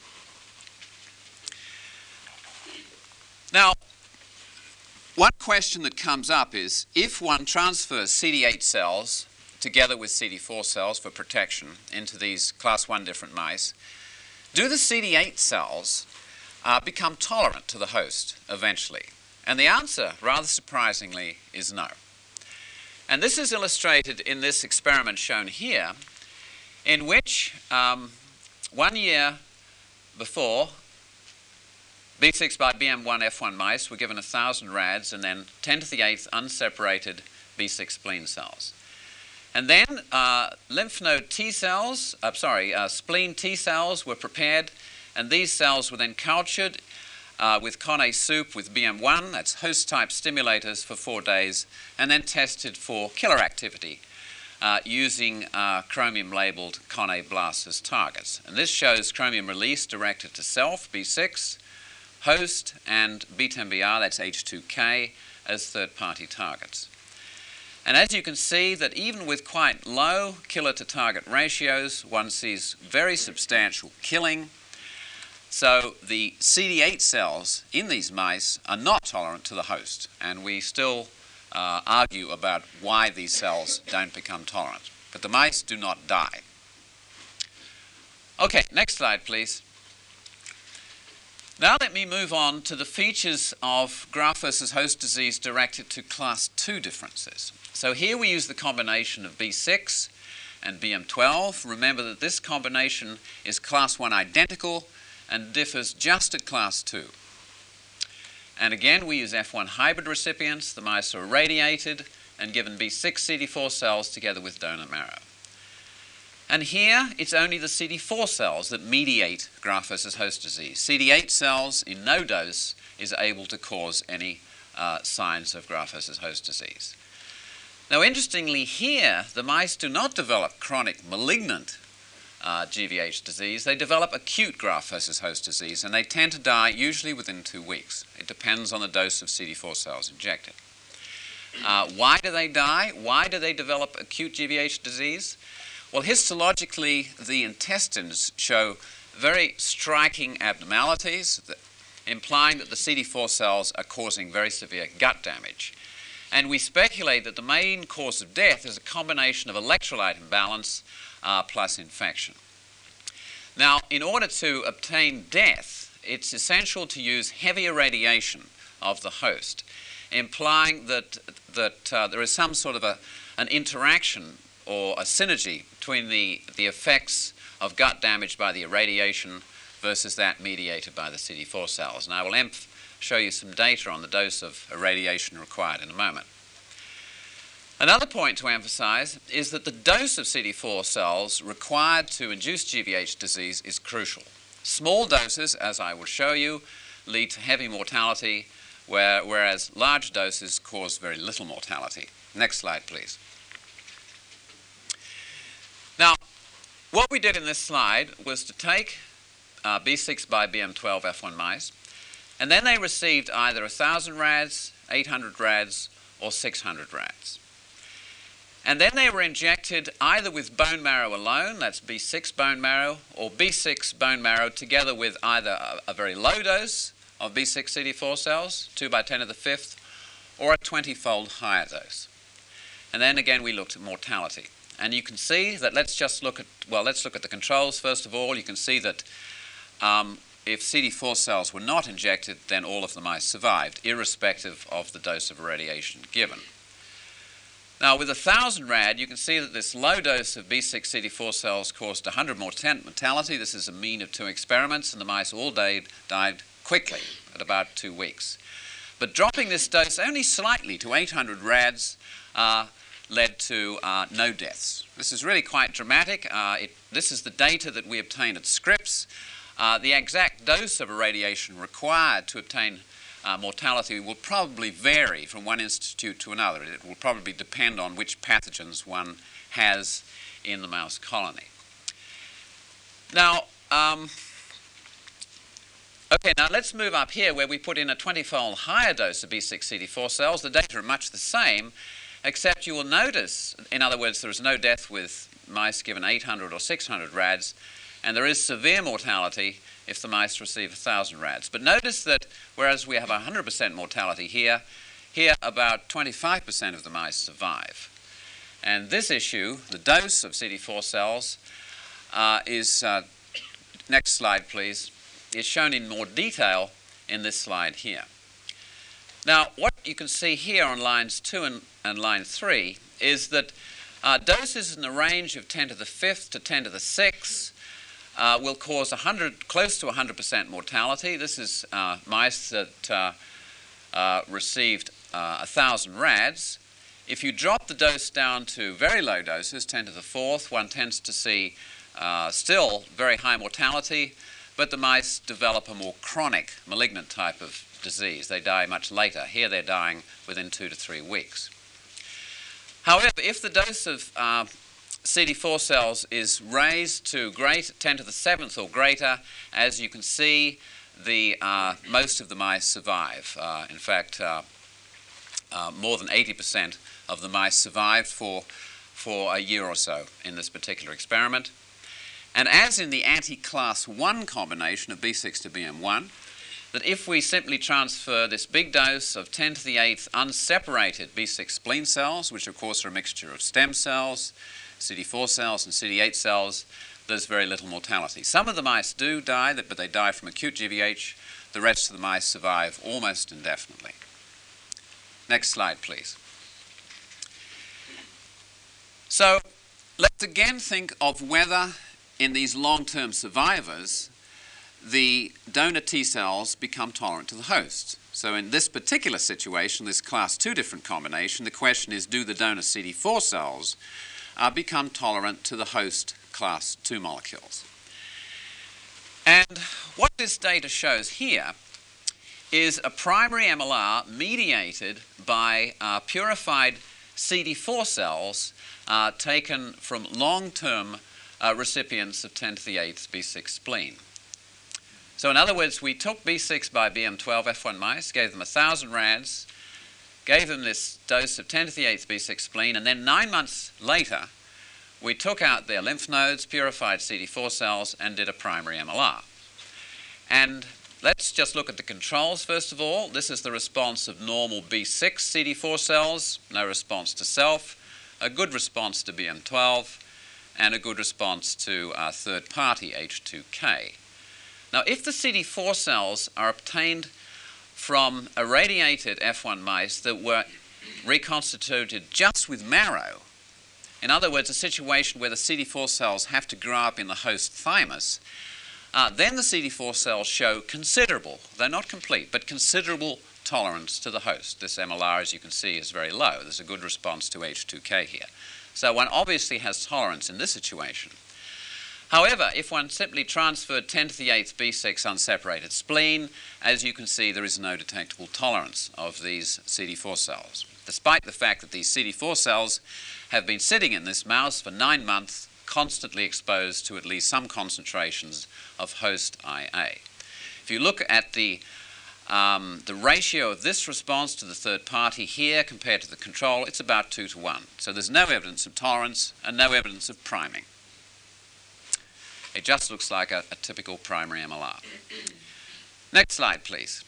Now, one question that comes up is, if one transfers C D eight cells together with C D four cells for protection into these class one different mice, do the C D eight cells uh, become tolerant to the host eventually? And the answer, rather surprisingly, is no. And this is illustrated in this experiment shown here, in which um, one year before, B six by B M one F one mice were given one thousand rads and then ten to the eighth unseparated B six spleen cells. And then uh, lymph node T cells, uh, sorry, uh, spleen T cells were prepared, and these cells were then cultured uh, with Conné soup with B M one, that's host-type stimulators, for four days, and then tested for killer activity uh, using uh, chromium-labeled Conné blasts as targets. And this shows chromium release directed to self, B six, host, and B ten B R, that's H two K, as third-party targets. And as you can see, that even with quite low killer-to-target ratios, one sees very substantial killing. So the C D eight cells in these mice are not tolerant to the host, and we still uh, argue about why these cells don't become tolerant. But the mice do not die. Okay, next slide, please. Now let me move on to the features of graft-versus-host disease directed to class two differences. So here we use the combination of B six and B M twelve. Remember that this combination is class one identical and differs just at class two. And again, we use F one hybrid recipients. The mice are irradiated and given B six C D four cells together with donor marrow. And here, it's only the C D four cells that mediate graft-versus-host disease. C D eight cells in no dose is able to cause any uh, signs of graft-versus-host disease. Now, interestingly here, the mice do not develop chronic malignant uh, G V H disease. They develop acute graft-versus-host disease, and they tend to die usually within two weeks. It depends on the dose of C D four cells injected. Uh, why do they die? Why do they develop acute G V H disease? Well, histologically, the intestines show very striking abnormalities, that, implying that the C D four cells are causing very severe gut damage. And we speculate that the main cause of death is a combination of electrolyte imbalance uh, plus infection. Now, in order to obtain death, it's essential to use heavy irradiation of the host, implying that, that uh, there is some sort of a, an interaction or a synergy between the, the effects of gut damage by the irradiation versus that mediated by the C D four cells. And I will emph show you some data on the dose of irradiation required in a moment. Another point to emphasize is that the dose of C D four cells required to induce G V H disease is crucial. Small doses, as I will show you, lead to heavy mortality, where, whereas large doses cause very little mortality. Next slide, please. Now, what we did in this slide was to take uh, B six by B M twelve F one mice, and then they received either one thousand rads, eight hundred rads, or six hundred rads. And then they were injected either with bone marrow alone, that's B six bone marrow, or B six bone marrow together with either a, a very low dose of B six C D four cells, two by ten to the fifth, or a twenty-fold higher dose. And then again we looked at mortality. And you can see that, let's just look at, well, let's look at the controls first of all. You can see that um, if C D four cells were not injected, then all of the mice survived, irrespective of the dose of radiation given. Now, with one thousand rad, you can see that this low dose of B six C D four cells caused one hundred mortality. This is a mean of two experiments, and the mice all died, died quickly at about two weeks. But dropping this dose only slightly to eight hundred rads uh, led to uh, no deaths. This is really quite dramatic. Uh, it, this is the data that we obtained at Scripps. Uh, the exact dose of irradiation required to obtain uh, mortality will probably vary from one institute to another. It will probably depend on which pathogens one has in the mouse colony. Now, um, okay, now let's move up here where we put in a twenty-fold higher dose of B six C D four cells. The data are much the same, except you will notice, in other words, there is no death with mice given eight hundred or six hundred rads, and there is severe mortality if the mice receive one thousand rads. But notice that whereas we have one hundred percent mortality here, here about twenty-five percent of the mice survive. And this issue, the dose of C D four cells, uh, is, uh, next slide please, is shown in more detail in this slide here. Now, what you can see here on lines two and, and line three is that uh, doses in the range of ten to the fifth to ten to the sixth uh, will cause one hundred, close to one hundred percent mortality. This is uh, mice that uh, uh, received uh, one thousand rads. If you drop the dose down to very low doses, ten to the fourth, one tends to see uh, still very high mortality, but the mice develop a more chronic, malignant type of disease. They die much later. Here they're dying within two to three weeks. However, if the dose of uh, C D four cells is raised to great, ten to the seventh or greater, as you can see, the, uh, most of the mice survive. Uh, in fact, uh, uh, more than eighty percent of the mice survived for, for a year or so in this particular experiment. And as in the anti-class one combination of B six to B M one, that if we simply transfer this big dose of ten to the eighth unseparated B six spleen cells, which of course are a mixture of stem cells, C D four cells and C D eight cells, there's very little mortality. Some of the mice do die, but they die from acute G V H. The rest of the mice survive almost indefinitely. Next slide, please. So let's again think of whether in these long-term survivors the donor T cells become tolerant to the host. So in this particular situation, this class two different combination, the question is, do the donor C D four cells uh, become tolerant to the host class two molecules? And what this data shows here is a primary M L R mediated by uh, purified C D four cells uh, taken from long-term uh, recipients of ten to the eighth B six spleen. So in other words, we took B six by B M twelve F one mice, gave them one thousand rads, gave them this dose of ten to the eighth B six spleen, and then nine months later, we took out their lymph nodes, purified C D four cells, and did a primary M L R. And let's just look at the controls first of all. This is the response of normal B six C D four cells, no response to self, a good response to B M twelve, and a good response to uh, third-party H two K. Now, if the C D four cells are obtained from irradiated F one mice that were reconstituted just with marrow, in other words, a situation where the C D four cells have to grow up in the host thymus, uh, then the C D four cells show considerable, they're not complete, but considerable tolerance to the host. This M L R, as you can see, is very low. There's a good response to H two K here. So one obviously has tolerance in this situation. However, if one simply transferred ten to the eighth B six unseparated spleen, as you can see, there is no detectable tolerance of these C D four cells, despite the fact that these C D four cells have been sitting in this mouse for nine months, constantly exposed to at least some concentrations of host I A. If you look at the um, the ratio of this response to the third party here compared to the control, it's about two to one. So there's no evidence of tolerance and no evidence of priming. It just looks like a, a typical primary M L R. Next slide, please.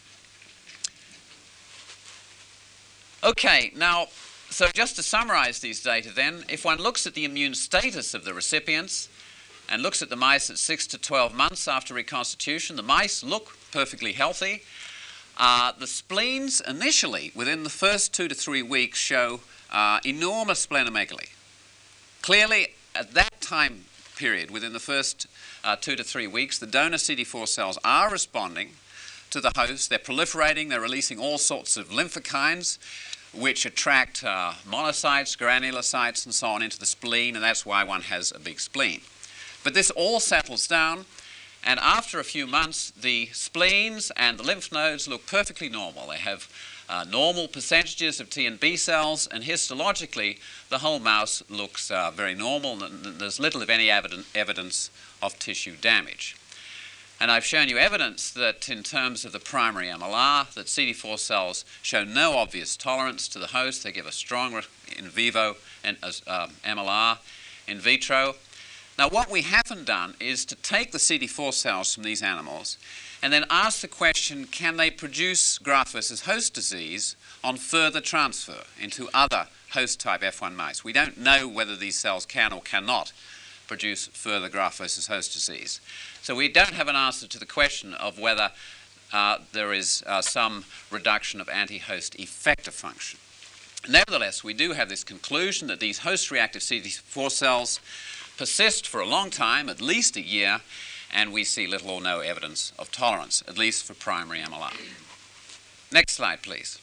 Okay, now, so just to summarize these data then, if one looks at the immune status of the recipients and looks at the mice at six to twelve months after reconstitution, the mice look perfectly healthy. Uh, the spleens initially, within the first two to three weeks, show uh, enormous splenomegaly. Clearly, at that time period, within the first uh, two to three weeks, the donor C D four cells are responding to the host. They're proliferating. They're releasing all sorts of lymphokines, which attract uh, monocytes, granulocytes, and so on into the spleen, and that's why one has a big spleen. But this all settles down, and after a few months, the spleens and the lymph nodes look perfectly normal. They have uh, normal percentages of T and B cells, and histologically, the whole mouse looks uh, very normal, and there's little, if any, eviden- evidence of tissue damage. And I've shown you evidence that in terms of the primary M L R, that C D four cells show no obvious tolerance to the host. They give a strong in vivo and, uh, M L R in vitro. Now, what we haven't done is to take the C D four cells from these animals and then ask the question, can they produce graft versus host disease on further transfer into other host-type F one mice? We don't know whether these cells can or cannot produce further graft versus host disease. So we don't have an answer to the question of whether uh, there is uh, some reduction of anti-host effector function. Nevertheless, we do have this conclusion that these host-reactive C D four cells persist for a long time, at least a year, and we see little or no evidence of tolerance, at least for primary M L R. Next slide, please.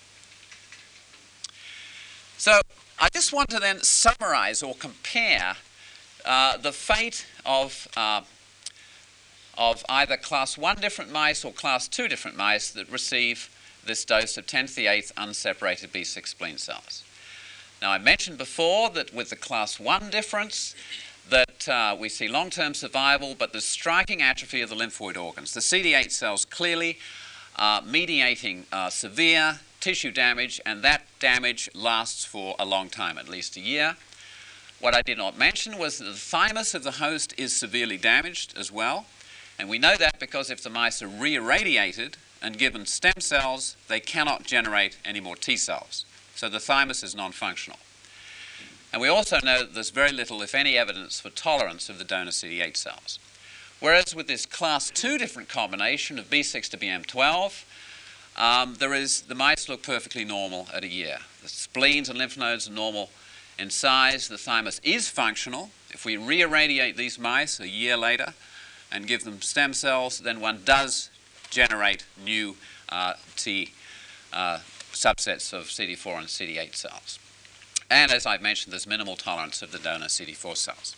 So I just want to then summarize or compare uh, the fate of, uh, of either class one different mice or class two different mice that receive this dose of ten to the eighth unseparated B six spleen cells. Now, I mentioned before that with the class one difference that uh, we see long-term survival, but the striking atrophy of the lymphoid organs. The C D eight cells clearly uh, mediating uh, severe tissue damage, and that damage lasts for a long time, at least a year. What I did not mention was that the thymus of the host is severely damaged as well, and we know that because if the mice are re-irradiated and given stem cells, they cannot generate any more T cells. So the thymus is non-functional. And we also know that there's very little, if any, evidence for tolerance of the donor C D eight cells. Whereas with this class two different combination of B six to B M twelve, um, there is, the mice look perfectly normal at a year. The spleens and lymph nodes are normal in size. The thymus is functional. If we re-irradiate these mice a year later and give them stem cells, then one does generate new uh, T uh, subsets of C D four and C D eight cells. And as I've mentioned, there's minimal tolerance of the donor C D four cells.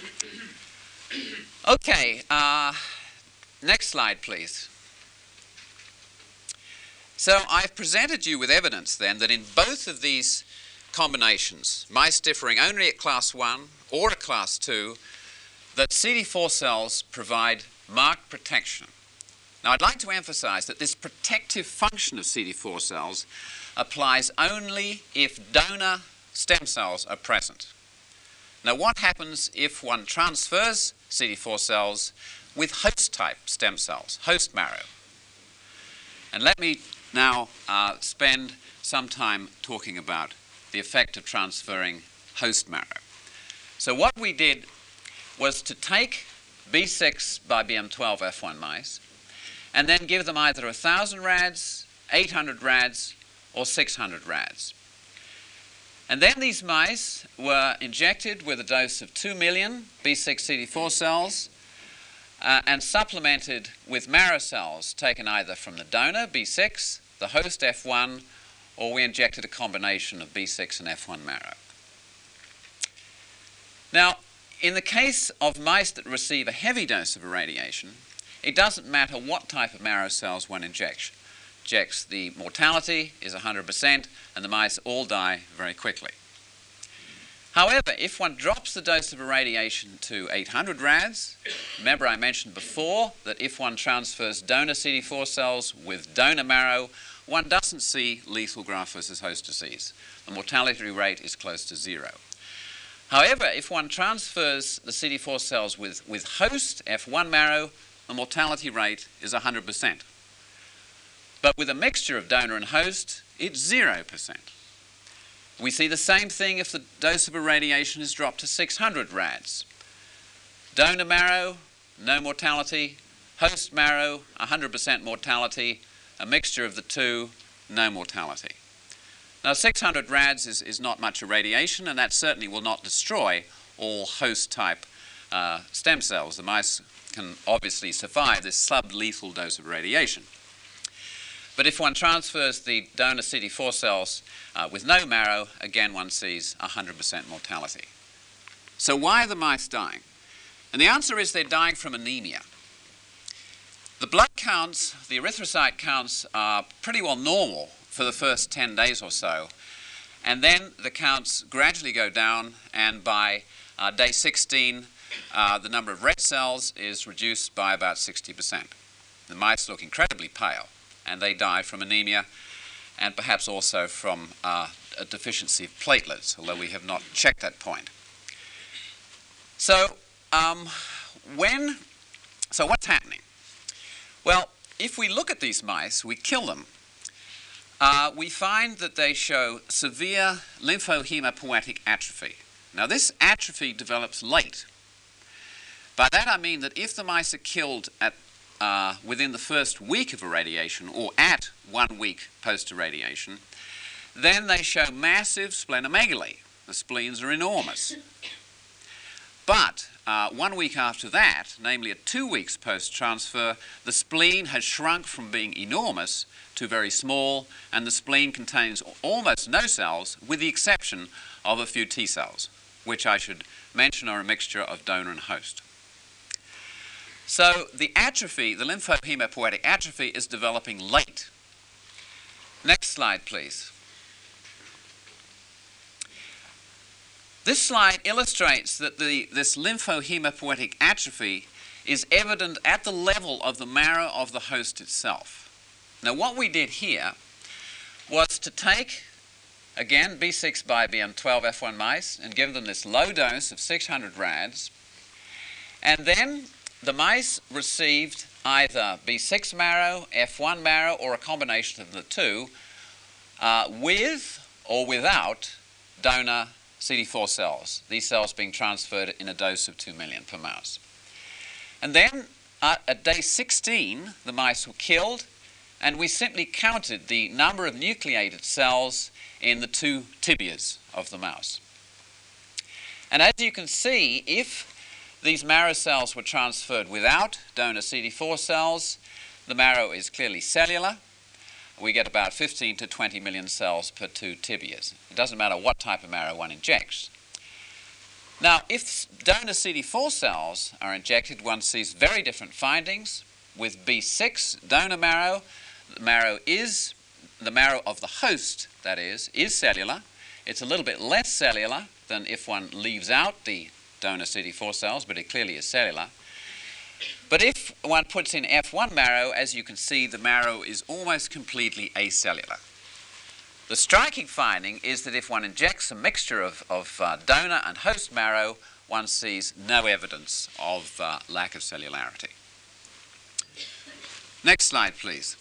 Okay, uh, next slide, please. So I've presented you with evidence then that in both of these combinations, mice differing only at class one or at class two, that C D four cells provide marked protection. Now, I'd like to emphasize that this protective function of C D four cells applies only if donor stem cells are present. Now, what happens if one transfers C D four cells with host-type stem cells, host marrow? And let me now uh, spend some time talking about the effect of transferring host marrow. So what we did was to take B six by B M twelve F one mice and then give them either one thousand rads, eight hundred rads, or six hundred rads. And then these mice were injected with a dose of two million B six C D four cells uh, and supplemented with marrow cells taken either from the donor, B six, the host, F one, or we injected a combination of B six and F one marrow. Now, in the case of mice that receive a heavy dose of irradiation, it doesn't matter what type of marrow cells one injects. Injects, the mortality is one hundred percent, and the mice all die very quickly. However, if one drops the dose of irradiation to eight hundred rads, remember I mentioned before that if one transfers donor C D four cells with donor marrow, one doesn't see lethal graft versus host disease. The mortality rate is close to zero. However, if one transfers the C D four cells with, with host F one marrow, the mortality rate is one hundred percent. But with a mixture of donor and host, it's zero percent. We see the same thing if the dose of irradiation is dropped to six hundred rads. Donor marrow, no mortality. Host marrow, one hundred percent mortality. A mixture of the two, no mortality. Now, six hundred rads is, is not much irradiation, and that certainly will not destroy all host-type uh, stem cells. The mice can obviously survive this sub-lethal dose of radiation. But if one transfers the donor C D four cells uh, with no marrow, again one sees one hundred percent mortality. So why are the mice dying? And the answer is they're dying from anemia. The blood counts, the erythrocyte counts are pretty well normal for the first ten days or so. And then the counts gradually go down, and by uh, day sixteen, uh, the number of red cells is reduced by about sixty percent. The mice look incredibly pale, and they die from anemia and perhaps also from uh, a deficiency of platelets, although we have not checked that point. So, um, when, so what's happening? Well, if we look at these mice, we kill them, uh, we find that they show severe lymphohematopoietic atrophy. Now, this atrophy develops late. By that I mean that if the mice are killed at Uh, within the first week of irradiation or at one week post-irradiation, then they show massive splenomegaly. The spleens are enormous. But uh, one week after that, namely at two weeks post-transfer, the spleen has shrunk from being enormous to very small, and the spleen contains almost no cells, with the exception of a few T cells, which I should mention are a mixture of donor and host. So the atrophy, the lymphohematopoietic atrophy, is developing late. Next slide, please. This slide illustrates that the, this lymphohematopoietic atrophy is evident at the level of the marrow of the host itself. Now, what we did here was to take, again, B six by B M twelve F one mice and give them this low dose of six hundred rads, and then the mice received either B six marrow, F one marrow, or a combination of the two, uh, with or without donor C D four cells, these cells being transferred in a dose of two million per mouse. And then uh, at day sixteen, the mice were killed, and we simply counted the number of nucleated cells in the two tibias of the mouse. And as you can see, if these marrow cells were transferred without donor C D four cells, the marrow is clearly cellular. We get about fifteen to twenty million cells per two tibias. It doesn't matter what type of marrow one injects. Now, if donor C D four cells are injected, one sees very different findings. With B six donor marrow, the marrow is, the marrow of the host, that is, is cellular. It's a little bit less cellular than if one leaves out the donor C D four cells, but it clearly is cellular. But if one puts in F one marrow, as you can see, the marrow is almost completely acellular. The striking finding is that if one injects a mixture of, of uh, donor and host marrow, one sees no evidence of uh, lack of cellularity. Next slide, please.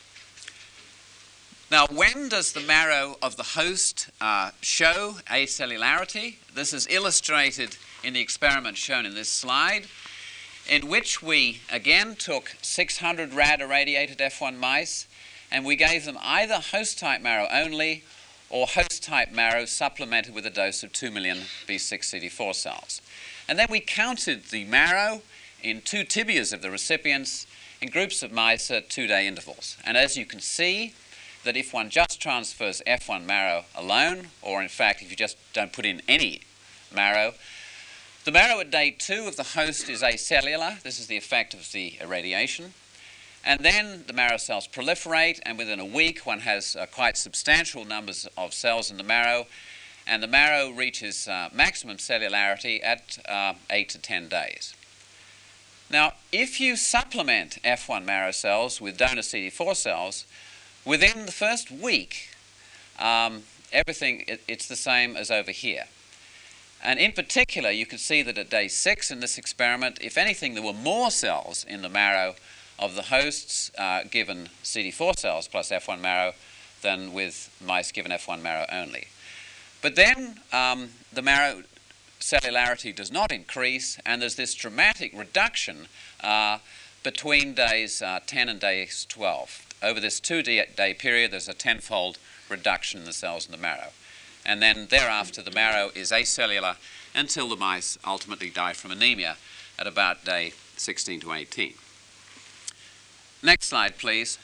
Now, when does the marrow of the host uh, show acellularity? This is illustrated in the experiment shown in this slide, in which we again took six hundred rad irradiated F one mice, and we gave them either host-type marrow only or host-type marrow supplemented with a dose of two million B six C D four cells. And then we counted the marrow in two tibias of the recipients in groups of mice at two-day intervals. And as you can see, that if one just transfers F one marrow alone, or in fact if you just don't put in any marrow, the marrow at day two of the host is acellular. This is the effect of the irradiation. And then the marrow cells proliferate, and within a week one has uh, quite substantial numbers of cells in the marrow. and the marrow reaches uh, maximum cellularity at uh, eight to ten days. Now, if you supplement F one marrow cells with donor C D four cells, within the first week, um, everything, it, it's the same as over here. And in particular, you can see that at day six in this experiment, if anything, there were more cells in the marrow of the hosts uh, given C D four cells plus F one marrow than with mice given F one marrow only. But then um, the marrow cellularity does not increase, and there's this dramatic reduction uh, between days uh, ten and days twelve. Over this two-day period, there's a tenfold reduction in the cells in the marrow. And then thereafter, the marrow is acellular until the mice ultimately die from anemia at about day sixteen to eighteen. Next slide, please.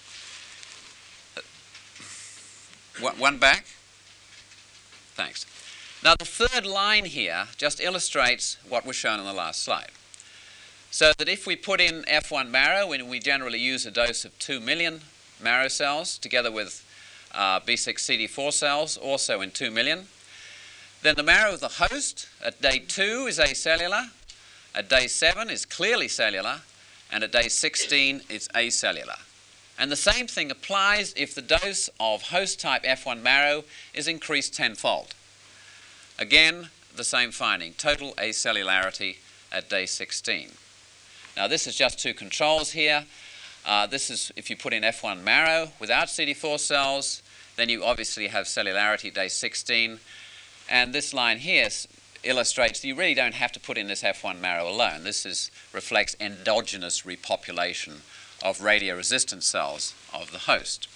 One back. Thanks. Now, the third line here just illustrates what was shown on the last slide. So that if we put in F one marrow, and we generally use a dose of two million marrow cells together with uh, B six C D four cells, also in two million, then the marrow of the host at day two is acellular, at day seven is clearly cellular, and at day sixteen it's acellular. And the same thing applies if the dose of host type F one marrow is increased tenfold. Again, the same finding, total acellularity at day sixteen. Now, this is just two controls here. Uh, this is if you put in F one marrow without C D four cells, then you obviously have cellularity day sixteen. And this line here illustrates that you really don't have to put in this F one marrow alone. This is, reflects endogenous repopulation of radioresistant cells of the host.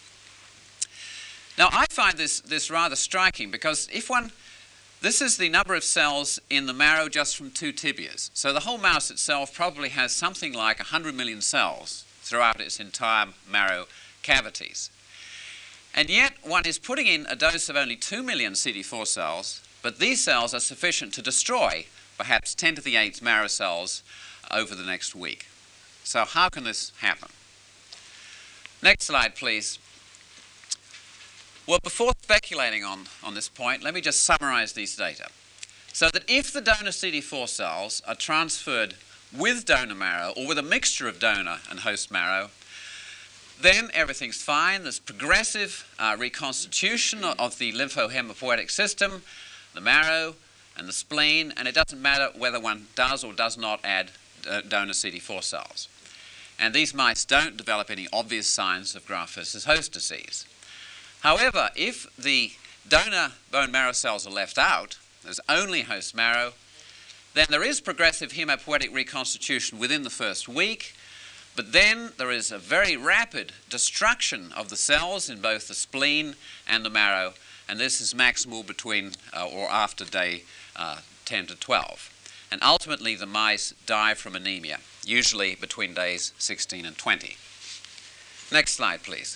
Now, I find this, this rather striking because if one, this is the number of cells in the marrow just from two tibias. So the whole mouse itself probably has something like one hundred million cells throughout its entire marrow cavities. And yet one is putting in a dose of only two million C D four cells, but these cells are sufficient to destroy perhaps ten to the eighth marrow cells over the next week. So how can this happen? Next slide, please. Well, before speculating on, on this point, let me just summarize these data. So that if the donor C D four cells are transferred with donor marrow or with a mixture of donor and host marrow, then everything's fine. There's progressive uh, reconstitution of the lymphohematopoietic system, the marrow and the spleen, and it doesn't matter whether one does or does not add uh, donor C D four cells. And these mice don't develop any obvious signs of graft versus host disease. However, if the donor bone marrow cells are left out, there's only host marrow, then there is progressive hematopoietic reconstitution within the first week, but then there is a very rapid destruction of the cells in both the spleen and the marrow, and this is maximal between uh, or after day uh, ten to twelve. And ultimately, the mice die from anemia, usually between days sixteen and twenty. Next slide, please.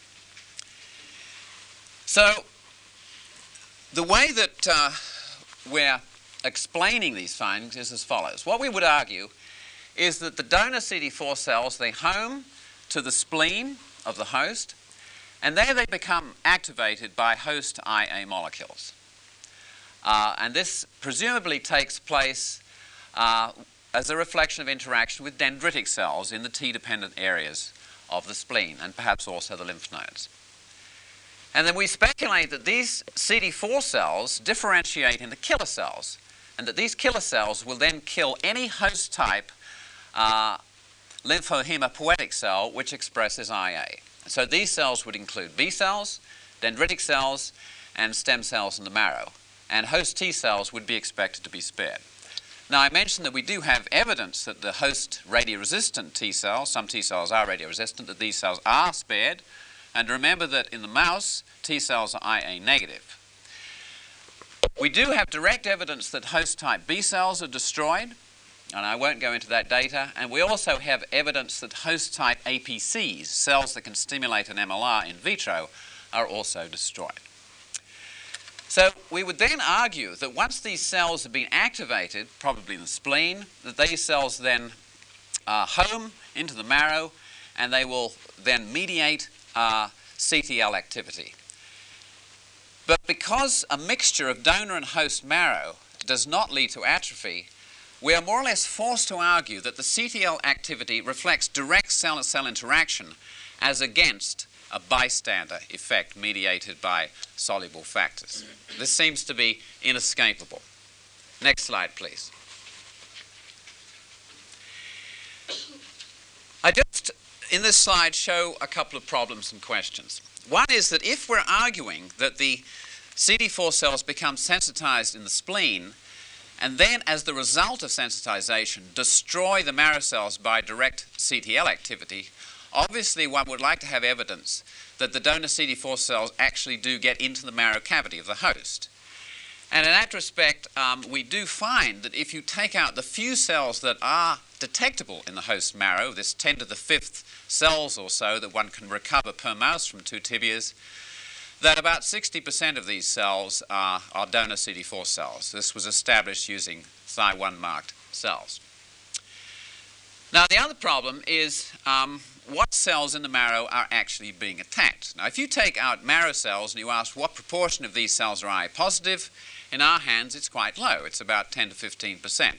So, the way that uh, we're explaining these findings is as follows. What we would argue is that the donor C D four cells, they home to the spleen of the host, and there they become activated by host I A molecules. Uh, and this presumably takes place uh, as a reflection of interaction with dendritic cells in the T-dependent areas of the spleen, and perhaps also the lymph nodes. And then we speculate that these C D four cells differentiate into killer cells, and that these killer cells will then kill any host type uh, lymphohematopoietic cell which expresses I A. So these cells would include B cells, dendritic cells, and stem cells in the marrow. And host T cells would be expected to be spared. Now, I mentioned that we do have evidence that the host radioresistant T cells, some T cells are radioresistant, that these cells are spared. And remember that in the mouse, T cells are I A negative. We do have direct evidence that host type B cells are destroyed, and I won't go into that data. And we also have evidence that host type A P Cs, cells that can stimulate an M L R in vitro, are also destroyed. So we would then argue that once these cells have been activated, probably in the spleen, that these cells then uh, home into the marrow, and they will then mediate uh, C T L activity. But because a mixture of donor and host marrow does not lead to atrophy, we are more or less forced to argue that the C T L activity reflects direct cell-to-cell interaction as against a bystander effect mediated by soluble factors. This seems to be inescapable. Next slide, please. I just, in this slide, show a couple of problems and questions. One is that if we're arguing that the C D four cells become sensitized in the spleen, and then as the result of sensitization destroy the marrow cells by direct C T L activity, obviously one would like to have evidence that the donor C D four cells actually do get into the marrow cavity of the host. And in that respect, um, we do find that if you take out the few cells that are detectable in the host marrow, this ten to the fifth cells or so that one can recover per mouse from two tibias, that about sixty percent of these cells are, are donor C D four cells. This was established using Th I one marked cells. Now, the other problem is um, what cells in the marrow are actually being attacked. Now, if you take out marrow cells and you ask what proportion of these cells are I positive, in our hands it's quite low. It's about ten to fifteen percent.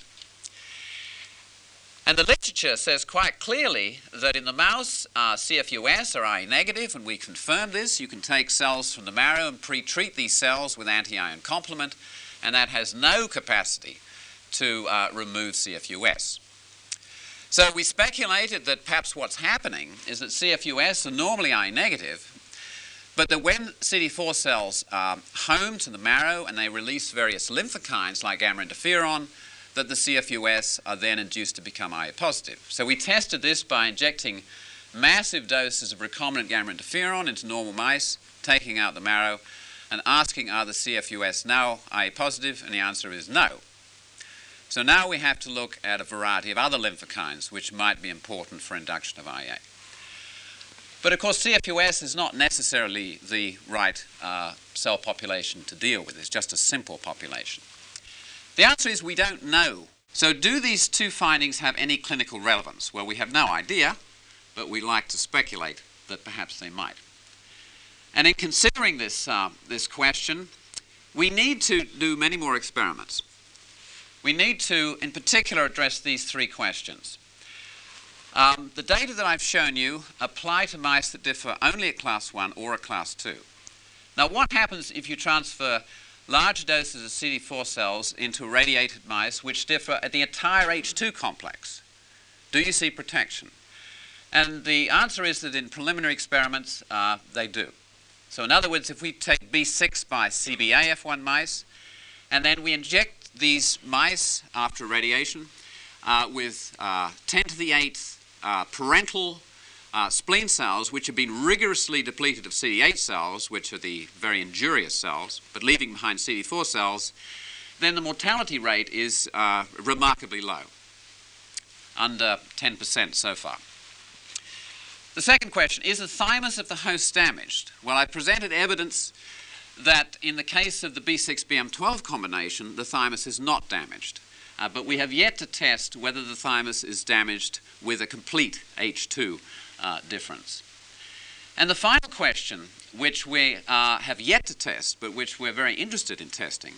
And the literature says quite clearly that in the mouse, uh, C F U S are I negative, and we confirm this. You can take cells from the marrow and pre-treat these cells with anti-iron complement, and that has no capacity to uh, remove C F U S. So we speculated that perhaps what's happening is that C F U S are normally I negative, but that when C D four cells are home to the marrow and they release various lymphokines like gamma interferon, that the C F U S are then induced to become I positive. So we tested this by injecting massive doses of recombinant gamma interferon into normal mice, taking out the marrow, and asking are the C F U S now I positive, and the answer is no. So now we have to look at a variety of other lymphokines which might be important for induction of I A. But of course C F U S is not necessarily the right uh, cell population to deal with. It's just a simple population. The answer is we don't know. So do these two findings have any clinical relevance? Well, we have no idea, but we like to speculate that perhaps they might. And in considering this, uh, this question, we need to do many more experiments. We need to, in particular, address these three questions. Um, the data that I've shown you apply to mice that differ only at class one or at class two. Now, what happens if you transfer large doses of C D four cells into irradiated mice which differ at the entire H two complex? Do you see protection? And the answer is that in preliminary experiments, uh, they do. So in other words, if we take B six by C B A F one mice, and then we inject these mice after irradiation uh, with uh, ten to the eighth uh, parental Uh, spleen cells which have been rigorously depleted of C D eight cells, which are the very injurious cells, but leaving behind C D four cells, then the mortality rate is uh, remarkably low, under ten percent so far. The second question, is the thymus of the host damaged? Well, I presented evidence that in the case of the B six B M twelve combination, the thymus is not damaged. Uh, but we have yet to test whether the thymus is damaged with a complete H two Uh, difference. And the final question, which we uh, have yet to test, but which we're very interested in testing,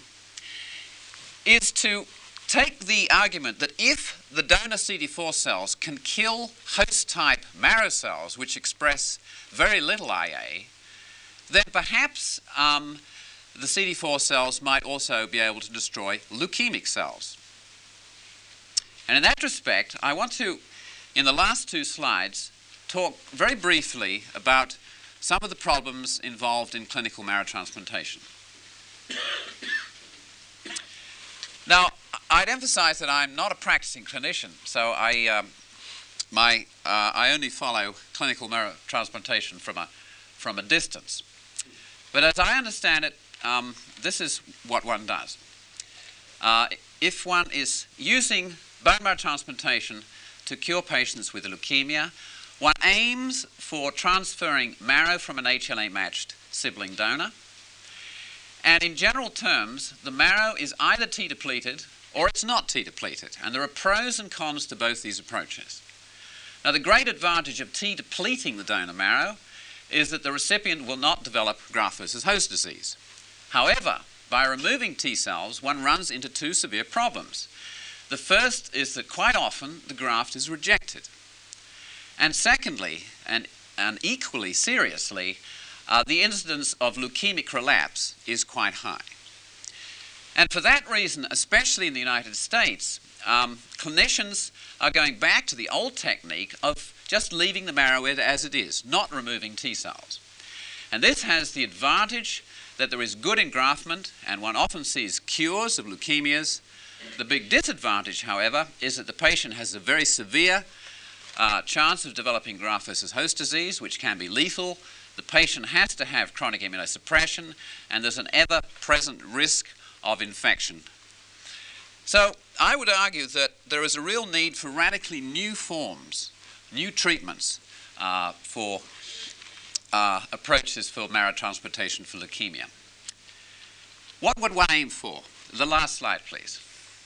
is to take the argument that if the donor C D four cells can kill host-type marrow cells, which express very little I A, then perhaps um, the C D four cells might also be able to destroy leukemic cells. And in that respect, I want to, in the last two slides, talk very briefly about some of the problems involved in clinical marrow transplantation. Now, I'd emphasize that I'm not a practicing clinician, so I, um, my, uh, I only follow clinical marrow transplantation from a, from a distance. But as I understand it, um, this is what one does. Uh, if one is using bone marrow transplantation to cure patients with leukemia, one aims for transferring marrow from an H L A-matched sibling donor. And in general terms, the marrow is either T-depleted or it's not T-depleted. And there are pros and cons to both these approaches. Now, the great advantage of T-depleting the donor marrow is that the recipient will not develop graft versus host disease. However, by removing T cells, one runs into two severe problems. The first is that quite often the graft is rejected. And secondly, and, and equally seriously, uh, the incidence of leukemic relapse is quite high. And for that reason, especially in the United States, um, clinicians are going back to the old technique of just leaving the marrow as it is, not removing T cells. And this has the advantage that there is good engraftment, and one often sees cures of leukemias. The big disadvantage, however, is that the patient has a very severe uh, chance of developing graft versus host disease, which can be lethal. The patient has to have chronic immunosuppression, and there's an ever-present risk of infection. So I would argue that there is a real need for radically new forms, new treatments uh, for uh, approaches for marrow transplantation for leukemia. What would one aim for? The last slide, please.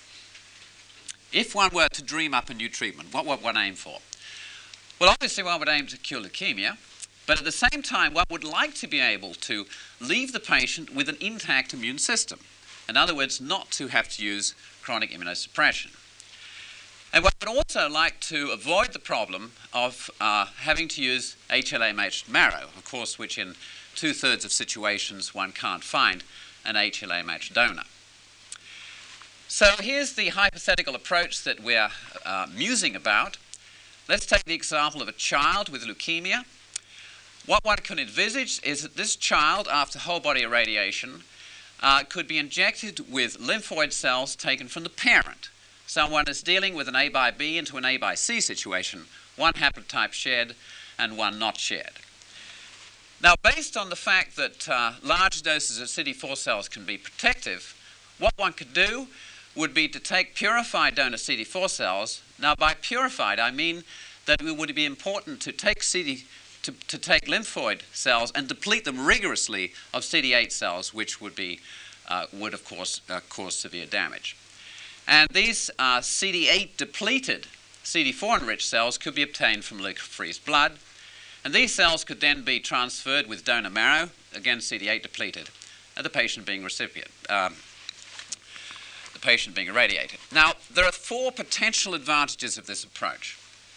If one were to dream up a new treatment, what would one aim for? Well, obviously one would aim to cure leukemia, but at the same time one would like to be able to leave the patient with an intact immune system. In other words, not to have to use chronic immunosuppression. And one would also like to avoid the problem of uh, having to use H L A-matched marrow, of course, which in two-thirds of situations one can't find an H L A-matched donor. So here's the hypothetical approach that we're uh, musing about. Let's take the example of a child with leukemia. What one can envisage is that this child, after whole body irradiation, uh, could be injected with lymphoid cells taken from the parent. Someone is dealing with an A by B into an A by C situation, one haplotype shared and one not shared. Now, based on the fact that uh, large doses of C D four cells can be protective, what one could do would be to take purified donor C D four cells. Now, by purified, I mean that it would be important to take C D, to, to take lymphoid cells and deplete them rigorously of C D eight cells, which would be, uh, would of course uh, cause severe damage. And these uh, C D eight depleted C D four enriched cells could be obtained from leukapheresis blood, and these cells could then be transferred with donor marrow, again C D eight depleted, and the patient being recipient. Um, the patient being irradiated. Now, there are four potential advantages of this approach.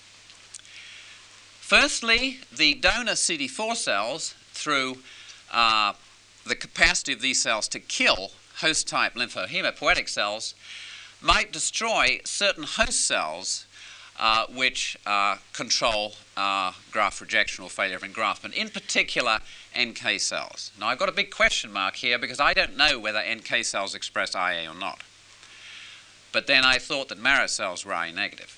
Firstly, the donor C D four cells, through uh, the capacity of these cells to kill host-type lymphohematopoietic cells, might destroy certain host cells uh, which uh, control uh, graft rejection or failure of engraftment, in particular N K cells. Now, I've got a big question mark here because I don't know whether N K cells express I A or not. But then I thought that marrow cells were I A negative.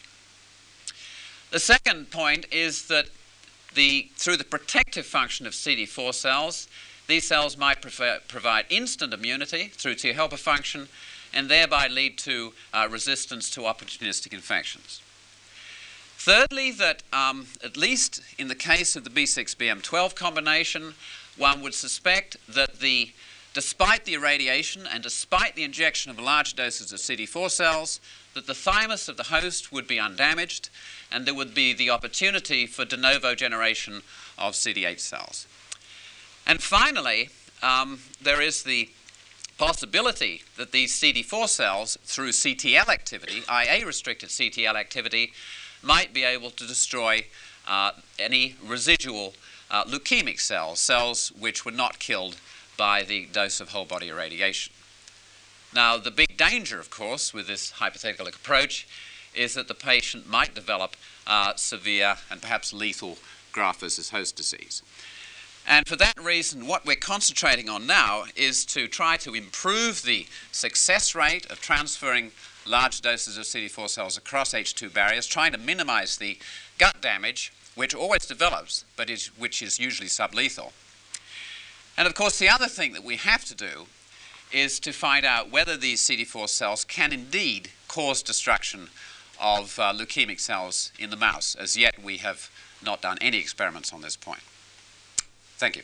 The second point is that the, through the protective function of C D four cells, these cells might prefer, provide instant immunity through T helper function and thereby lead to uh, resistance to opportunistic infections. Thirdly, that um, at least in the case of the B six B M twelve combination, one would suspect that the despite the irradiation and despite the injection of large doses of C D four cells, that the thymus of the host would be undamaged and there would be the opportunity for de novo generation of C D eight cells. And finally, um, there is the possibility that these C D four cells, through C T L activity, I A-restricted C T L activity, might be able to destroy uh, any residual uh, leukemic cells, cells which were not killed by the dose of whole body irradiation. Now, the big danger, of course, with this hypothetical approach is that the patient might develop uh, severe and perhaps lethal graft versus host disease. And for that reason, what we're concentrating on now is to try to improve the success rate of transferring large doses of C D four cells across H two barriers, trying to minimize the gut damage, which always develops, but is, which is usually sublethal. And of course, the other thing that we have to do is to find out whether these C D four cells can indeed cause destruction of uh, leukemic cells in the mouse. As yet, we have not done any experiments on this point. Thank you.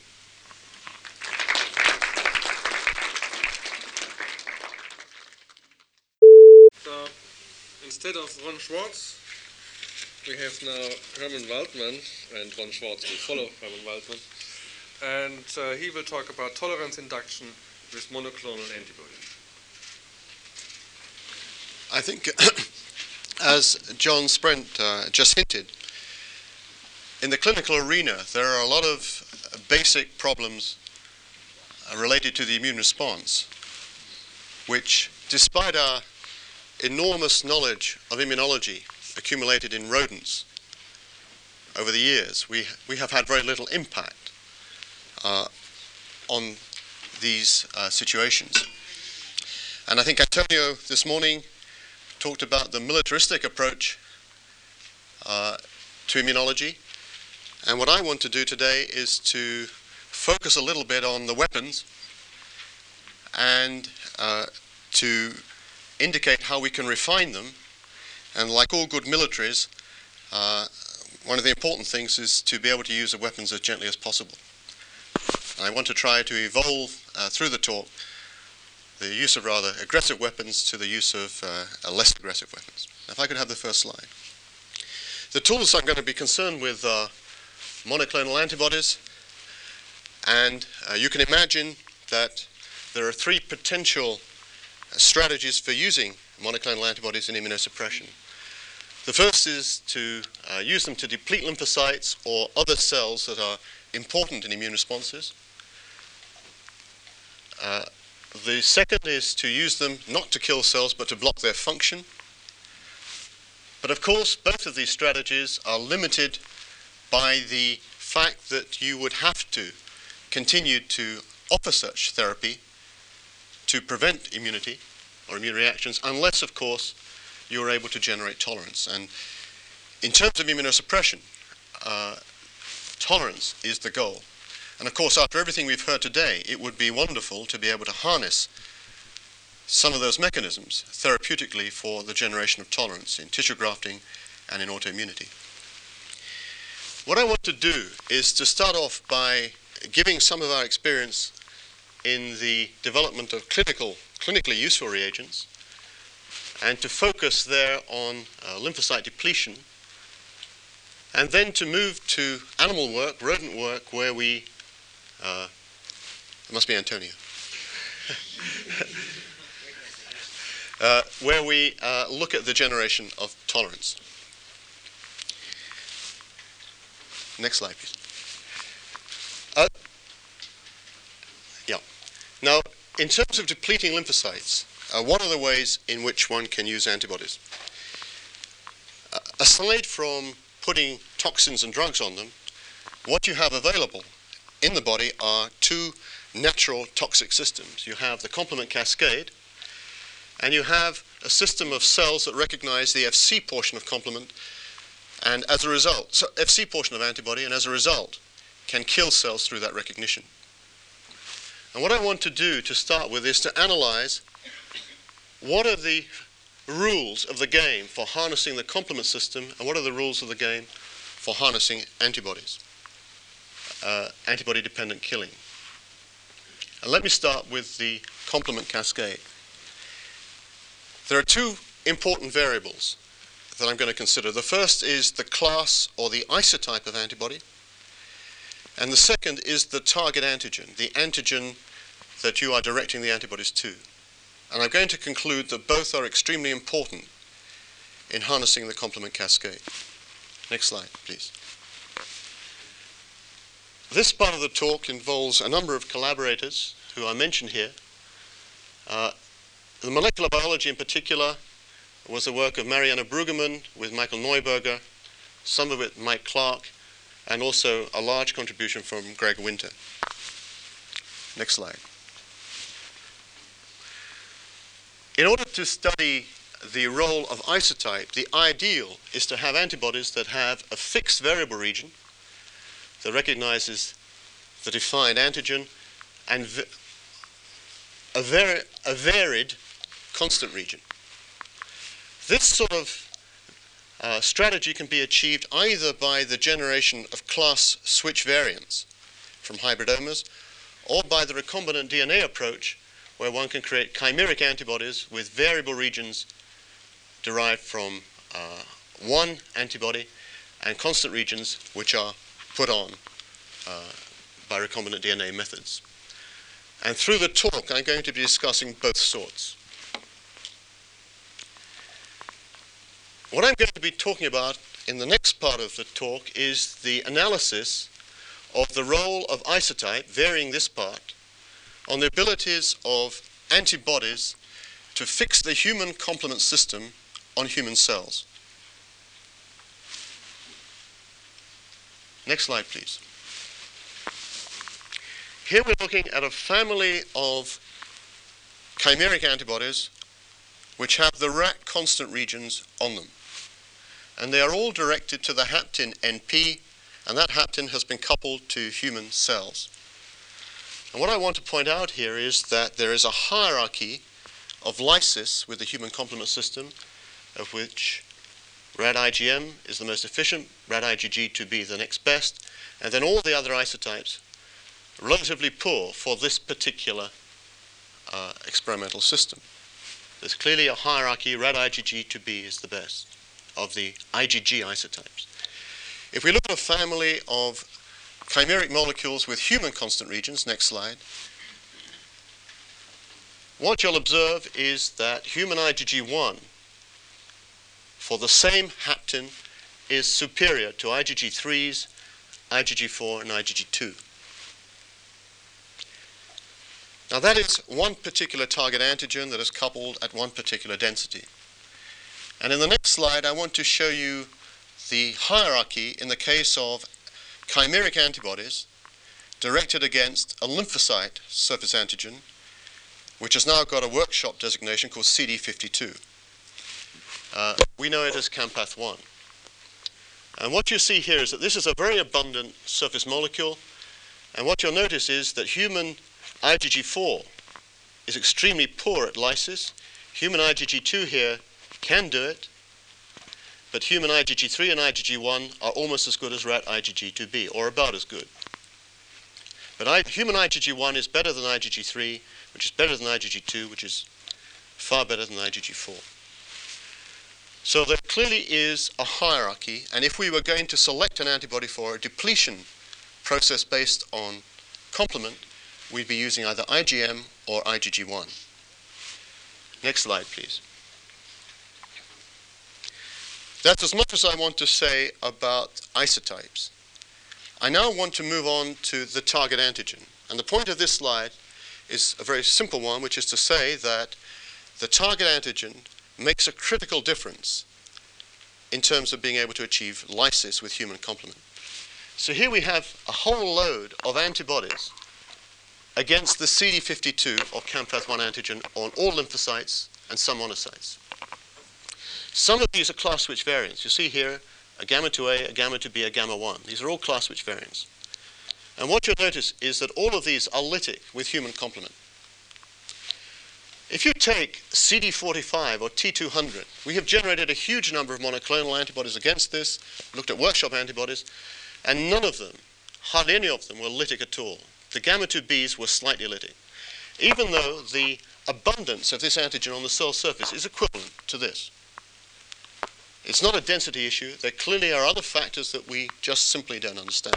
So, instead of Ron Schwartz, we have now Herman Waldman, and Ron Schwartz will follow Herman Waldman. And uh, he will talk about tolerance induction with monoclonal antibodies? I think, as John Sprent uh, just hinted, in the clinical arena, there are a lot of basic problems uh, related to the immune response, which, despite our enormous knowledge of immunology accumulated in rodents over the years, we, we have had very little impact uh, on these uh, situations. And I think Antonio this morning talked about the militaristic approach uh, to immunology. And what I want to do today is to focus a little bit on the weapons and uh, to indicate how we can refine them. And like all good militaries, uh, one of the important things is to be able to use the weapons as gently as possible. And I want to try to evolve uh, through the talk the use of rather aggressive weapons to the use of uh, less aggressive weapons. If I could have the first slide. The tools I'm going to be concerned with are monoclonal antibodies, and uh, you can imagine that there are three potential strategies for using monoclonal antibodies in immunosuppression. The first is to uh, use them to deplete lymphocytes or other cells that are important in immune responses. Uh, The second is to use them not to kill cells but to block their function. But of course, both of these strategies are limited by the fact that you would have to continue to offer such therapy to prevent immunity or immune reactions, unless, of course, you are able to generate tolerance. And in terms of immunosuppression, uh, tolerance is the goal. And of course, after everything we've heard today, it would be wonderful to be able to harness some of those mechanisms therapeutically for the generation of tolerance in tissue grafting and in autoimmunity. What I want to do is to start off by giving some of our experience in the development of clinical, clinically useful reagents, and to focus there on uh, lymphocyte depletion, and then to move to animal work, rodent work, where we Uh, it must be Antonio. uh, where we uh, look at the generation of tolerance. Next slide, please. Uh, yeah. Now, in terms of depleting lymphocytes, uh, what are the ways in which one can use antibodies? Uh, aside from putting toxins and drugs on them, what you have available in the body are two natural toxic systems. You have the complement cascade, and you have a system of cells that recognize the F C portion of complement, and as a result, so F C portion of antibody, and as a result, can kill cells through that recognition. And what I want to do to start with is to analyze what are the rules of the game for harnessing the complement system, and what are the rules of the game for harnessing antibodies. Uh, antibody-dependent killing. And let me start with the complement cascade. There are two important variables that I'm going to consider. The first is the class or the isotype of antibody, and the second is the target antigen, the antigen that you are directing the antibodies to. And I'm going to conclude that both are extremely important in harnessing the complement cascade. Next slide, please. This part of the talk involves a number of collaborators who are mentioned here. Uh, the molecular biology in particular was the work of Mariana Brueggemann with Michael Neuberger, some of it Mike Clark, and also a large contribution from Greg Winter. Next slide. In order to study the role of isotype, the ideal is to have antibodies that have a fixed variable region that recognizes the defined antigen and a, vari a varied constant region. This sort of uh, strategy can be achieved either by the generation of class switch variants from hybridomas, or by the recombinant D N A approach, where one can create chimeric antibodies with variable regions derived from uh, one antibody and constant regions which are put on uh, by recombinant D N A methods. And through the talk, I'm going to be discussing both sorts. What I'm going to be talking about in the next part of the talk is the analysis of the role of isotype, varying this part, on the abilities of antibodies to fix the human complement system on human cells. Next slide, please. Here we're looking at a family of chimeric antibodies which have the R A C constant regions on them. And they are all directed to the haptin N P, and that haptin has been coupled to human cells. And what I want to point out here is that there is a hierarchy of lysis with the human complement system, of which rad I G M is the most efficient, rad I G G to be the next best, and then all the other isotypes relatively poor for this particular uh, experimental system. There's clearly a hierarchy, rad I G G to B is the best of the I G G isotypes. If we look at a family of chimeric molecules with human constant regions, next slide, what you'll observe is that human I G G one for the same haptin is superior to I G G threes, I G G four, and I G G two. Now that is one particular target antigen that is coupled at one particular density. And in the next slide, I want to show you the hierarchy in the case of chimeric antibodies directed against a lymphocyte surface antigen, which has now got a workshop designation called C D fifty-two. Uh, we know it as Campath one. And what you see here is that this is a very abundant surface molecule, and what you'll notice is that human I G G four is extremely poor at lysis. Human I G G two here can do it, but human I G G three and I G G one are almost as good as rat I G G two B, or about as good. But I, human I G G one is better than I G G three, which is better than I G G two, which is far better than I G G four. So there clearly is a hierarchy, and if we were going to select an antibody for a depletion process based on complement, we'd be using either I G M or I G G one. Next slide, please. That's as much as I want to say about isotypes. I now want to move on to the target antigen. And the point of this slide is a very simple one, which is to say that the target antigen makes a critical difference in terms of being able to achieve lysis with human complement. So here we have a whole load of antibodies against the C D fifty-two or Campath one antigen on all lymphocytes and some monocytes. Some of these are class switch variants. You see here a gamma two A, a gamma two B, a gamma one. These are all class switch variants. And what you'll notice is that all of these are lytic with human complement. If you take C D forty-five or T two hundred, we have generated a huge number of monoclonal antibodies against this, looked at workshop antibodies, and none of them, hardly any of them, were lytic at all. The gamma two Bs were slightly lytic, even though the abundance of this antigen on the cell surface is equivalent to this. It's not a density issue. There clearly are other factors that we just simply don't understand.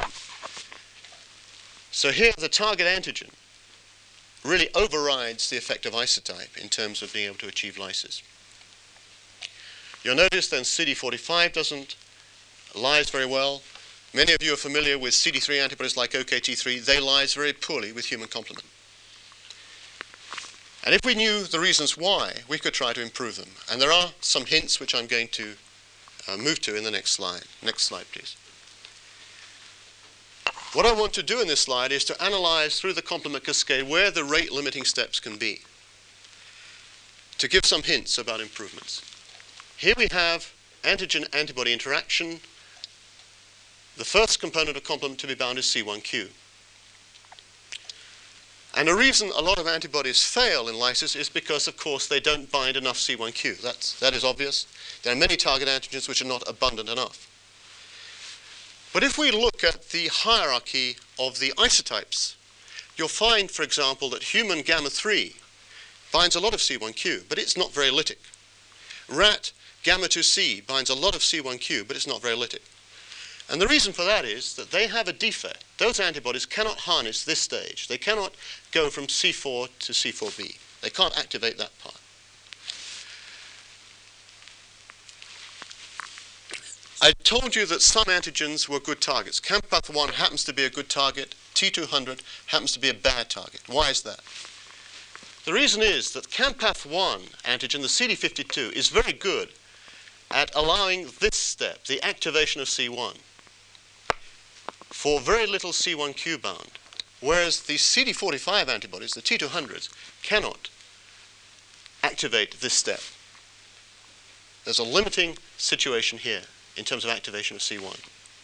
So here the target antigen really overrides the effect of isotype in terms of being able to achieve lysis. You'll notice then C D forty-five doesn't lyse very well. Many of you are familiar with C D three antibodies like O K T three. They lyse very poorly with human complement. And if we knew the reasons why, we could try to improve them. And there are some hints which I'm going to uh, move to in the next slide. Next slide, please. What I want to do in this slide is to analyze through the complement cascade where the rate limiting steps can be, to give some hints about improvements. Here we have antigen-antibody interaction. The first component of complement to be bound is C one Q. And the reason a lot of antibodies fail in lysis is because, of course, they don't bind enough C one Q. That's, that is obvious. There are many target antigens which are not abundant enough. But if we look at the hierarchy of the isotypes, you'll find, for example, that human gamma three binds a lot of C one Q, but it's not very lytic. Rat gamma two C binds a lot of C one Q, but it's not very lytic. And the reason for that is that they have a defect. Those antibodies cannot harness this stage. They cannot go from C four to C four b. They can't activate that part. I told you that some antigens were good targets. Campath one happens to be a good target. T two hundred happens to be a bad target. Why is that? The reason is that Campath one antigen, the C D fifty-two, is very good at allowing this step, the activation of C one, for very little C one q bound, whereas the C D forty-five antibodies, the T two hundreds, cannot activate this step. There's a limiting situation here in terms of activation of C one.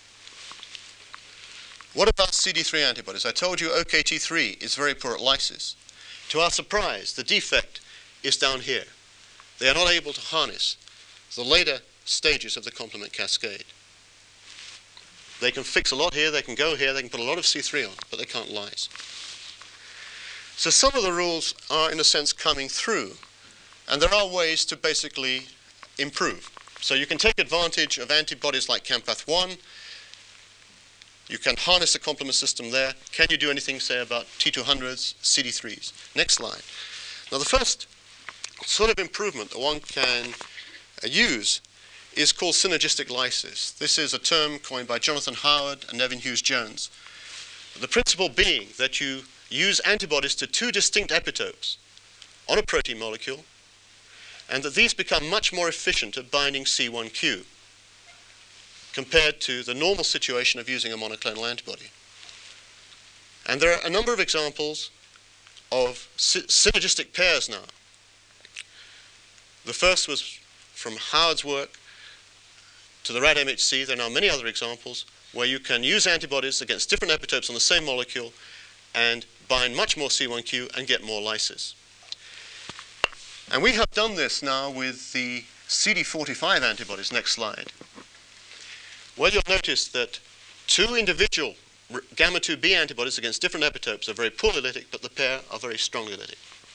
What about C D three antibodies? I told you O K T three is very poor at lysis. To our surprise, the defect is down here. They are not able to harness the later stages of the complement cascade. They can fix a lot here, they can go here, they can put a lot of C three on, but they can't lyse. So some of the rules are, in a sense, coming through, and there are ways to basically improve. So you can take advantage of antibodies like Campath one. You can harness the complement system there. Can you do anything, say, about T two hundreds, C D threes? Next slide. Now, the first sort of improvement that one can uh, use is called synergistic lysis. This is a term coined by Jonathan Howard and Nevin Hughes-Jones. The principle being that you use antibodies to two distinct epitopes on a protein molecule, and that these become much more efficient at binding C one q compared to the normal situation of using a monoclonal antibody. And there are a number of examples of sy synergistic pairs now. The first was from Howard's work to the R A D M H C. There are now many other examples where you can use antibodies against different epitopes on the same molecule and bind much more C one q and get more lysis. And we have done this now with the C D forty-five antibodies. Next slide. Well, you'll notice that two individual gamma two B antibodies against different epitopes are very poorly lytic, but the pair are very strongly lytic.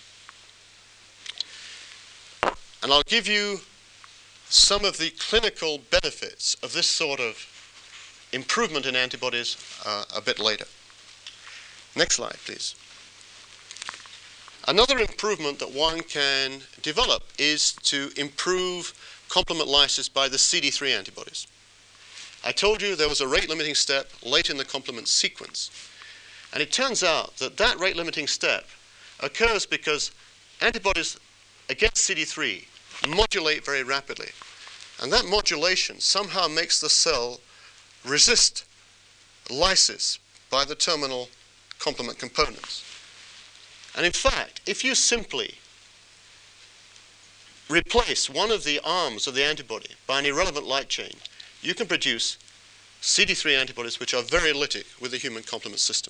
And I'll give you some of the clinical benefits of this sort of improvement in antibodies uh, a bit later. Next slide, please. Another improvement that one can develop is to improve complement lysis by the C D three antibodies. I told you there was a rate-limiting step late in the complement sequence. And it turns out that that rate-limiting step occurs because antibodies against C D three modulate very rapidly. And that modulation somehow makes the cell resist lysis by the terminal complement components. And in fact, if you simply replace one of the arms of the antibody by an irrelevant light chain, you can produce C D three antibodies which are very lytic with the human complement system.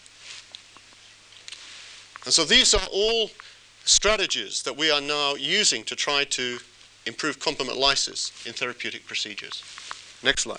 And so these are all strategies that we are now using to try to improve complement lysis in therapeutic procedures. Next slide.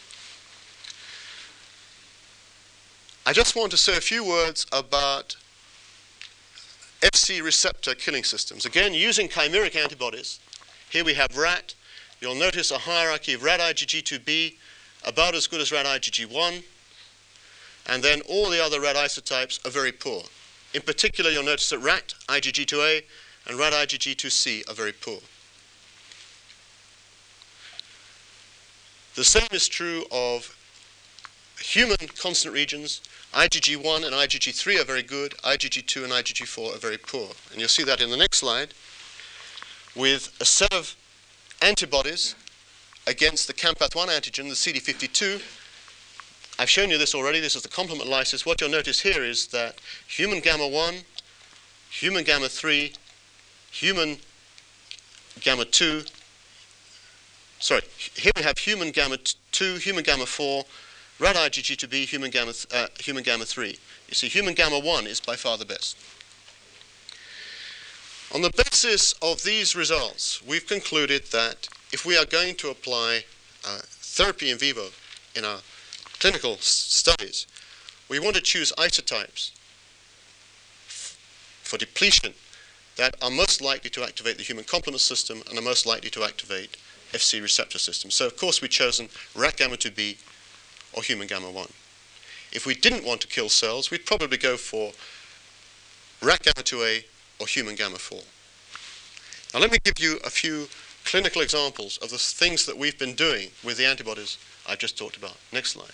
I just want to say a few words about F C receptor killing systems. Again, using chimeric antibodies. Here we have R A T. You'll notice a hierarchy of R A D I G G two B, about as good as R A D I G G one, and then all the other R A D isotypes are very poor. In particular, you'll notice that R A T I G G two A and R A D I G G two C are very poor. The same is true of human constant regions. I G G one and I G G three are very good. I G G two and I G G four are very poor. And you'll see that in the next slide with a set of antibodies against the Campath one antigen, the C D fifty-two. I've shown you this already. This is the complement lysis. What you'll notice here is that human gamma one, human gamma three, human gamma two, sorry, here we have human gamma two, human gamma four, R A D I G G two B, human gamma, uh, human gamma three. You see, human gamma one is by far the best. On the basis of these results, we've concluded that if we are going to apply uh, therapy in vivo in our clinical s studies, we want to choose isotypes for depletion that are most likely to activate the human complement system and are most likely to activate F C receptor systems. So, of course, we've chosen R A T gamma two B, or human gamma one. If we didn't want to kill cells, we'd probably go for rat gamma two A or human gamma four. Now let me give you a few clinical examples of the things that we've been doing with the antibodies I've just talked about. Next slide.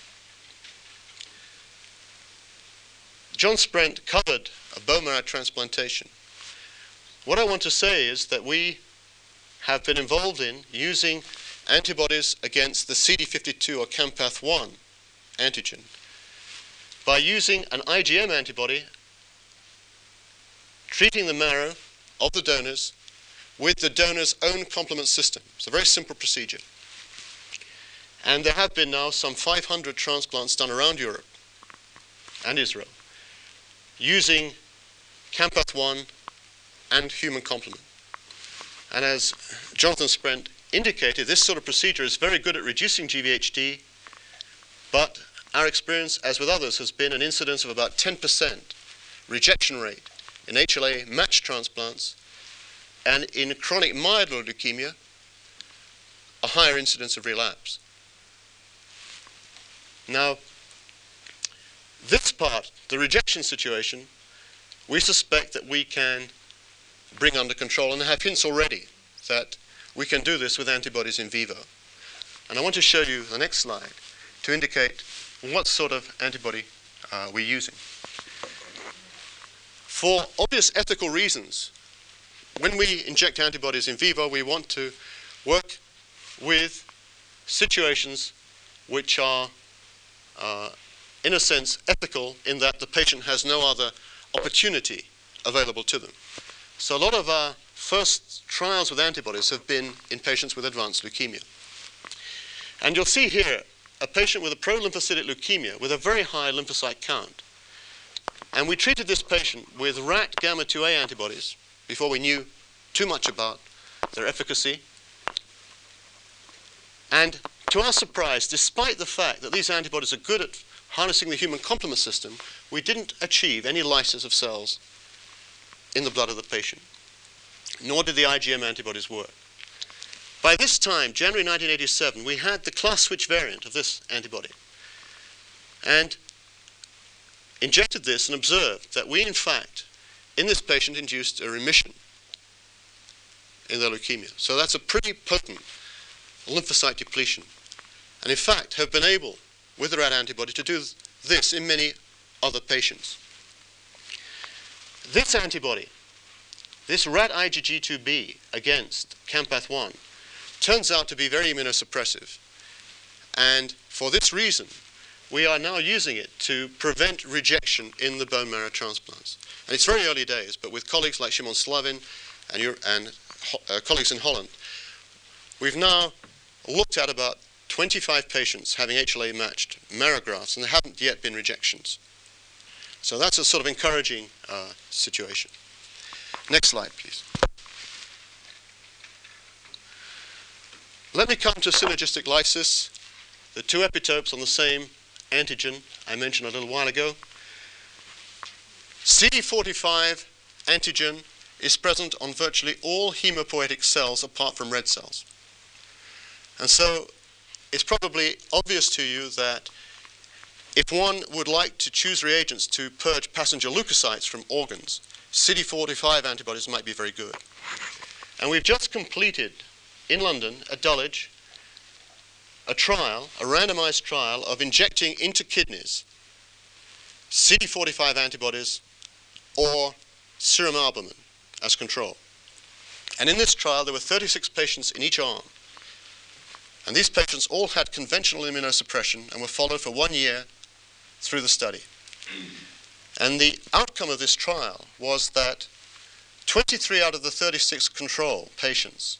John Sprent covered a bone marrow transplantation. What I want to say is that we have been involved in using antibodies against the C D fifty-two or Campath one antigen by using an I G M antibody, treating the marrow of the donors with the donor's own complement system. It's a very simple procedure. And there have been now some five hundred transplants done around Europe and Israel using Campath one and human complement. And as Jonathan Sprent indicated, this sort of procedure is very good at reducing G V H D, but our experience, as with others, has been an incidence of about ten percent rejection rate in H L A matched transplants, and in chronic myeloid leukemia, a higher incidence of relapse. Now, this part, the rejection situation, we suspect that we can bring under control, and have hints already that we can do this with antibodies in vivo. And I want to show you the next slide to indicate what sort of antibody uh, we're using. For obvious ethical reasons, when we inject antibodies in vivo, we want to work with situations which are, uh, in a sense, ethical in that the patient has no other opportunity available to them. So a lot of our first trials with antibodies have been in patients with advanced leukemia. And you'll see here a patient with a prolymphocytic leukemia with a very high lymphocyte count. And we treated this patient with rat gamma two A antibodies before we knew too much about their efficacy. And to our surprise, despite the fact that these antibodies are good at harnessing the human complement system, we didn't achieve any lysis of cells in the blood of the patient, nor did the I G M antibodies work. By this time, January nineteen eighty-seven, we had the class switch variant of this antibody, and injected this and observed that we, in fact, in this patient induced a remission in their leukemia. So that's a pretty potent lymphocyte depletion, and in fact have been able, with the rat antibody, to do this in many other patients. This antibody, this rat I G G two B against Campath one, turns out to be very immunosuppressive. And for this reason, we are now using it to prevent rejection in the bone marrow transplants. And it's very early days, but with colleagues like Shimon Slavin and, your, and uh, colleagues in Holland, we've now looked at about twenty-five patients having H L A matched marrow grafts, and there haven't yet been rejections. So that's a sort of encouraging uh, situation. Next slide, please. Let me come to synergistic lysis, the two epitopes on the same antigen I mentioned a little while ago. C D forty-five antigen is present on virtually all hemopoietic cells apart from red cells. And so it's probably obvious to you that if one would like to choose reagents to purge passenger leukocytes from organs, C D forty-five antibodies might be very good. And we've just completed in London at Dulwich a trial, a randomized trial of injecting into kidneys C D forty-five antibodies or serum albumin as control. And in this trial, there were thirty-six patients in each arm. And these patients all had conventional immunosuppression and were followed for one year through the study. And the outcome of this trial was that twenty-three out of the thirty-six control patients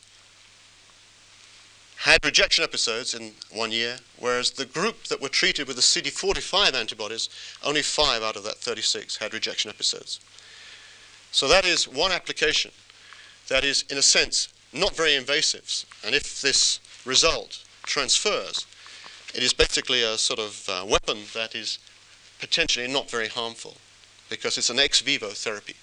had rejection episodes in one year, whereas the group that were treated with the C D forty-five antibodies, only five out of that thirty-six had rejection episodes. So that is one application that is, in a sense, not very invasive. And if this result transfers, it is basically a sort of uh, weapon that is potentially not very harmful because it's an ex vivo therapy.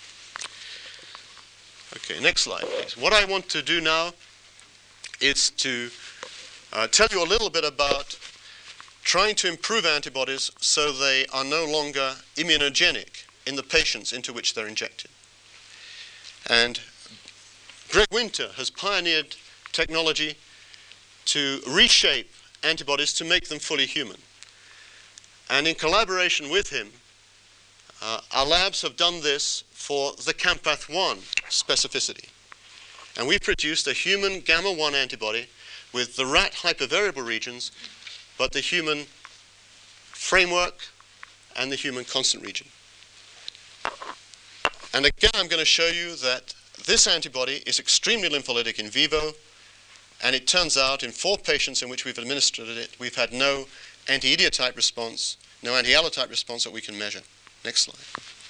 Okay, next slide, please. What I want to do now is to uh, tell you a little bit about trying to improve antibodies so they are no longer immunogenic in the patients into which they're injected. And Greg Winter has pioneered technology to reshape antibodies to make them fully human. And in collaboration with him, uh, our labs have done this for the Campath one specificity. And we produced a human gamma one antibody with the rat hypervariable regions, but the human framework and the human constant region. And again, I'm going to show you that this antibody is extremely lympholytic in vivo, and it turns out in four patients in which we've administered it, we've had no anti-idiotype response, no anti-allotype response that we can measure. Next slide.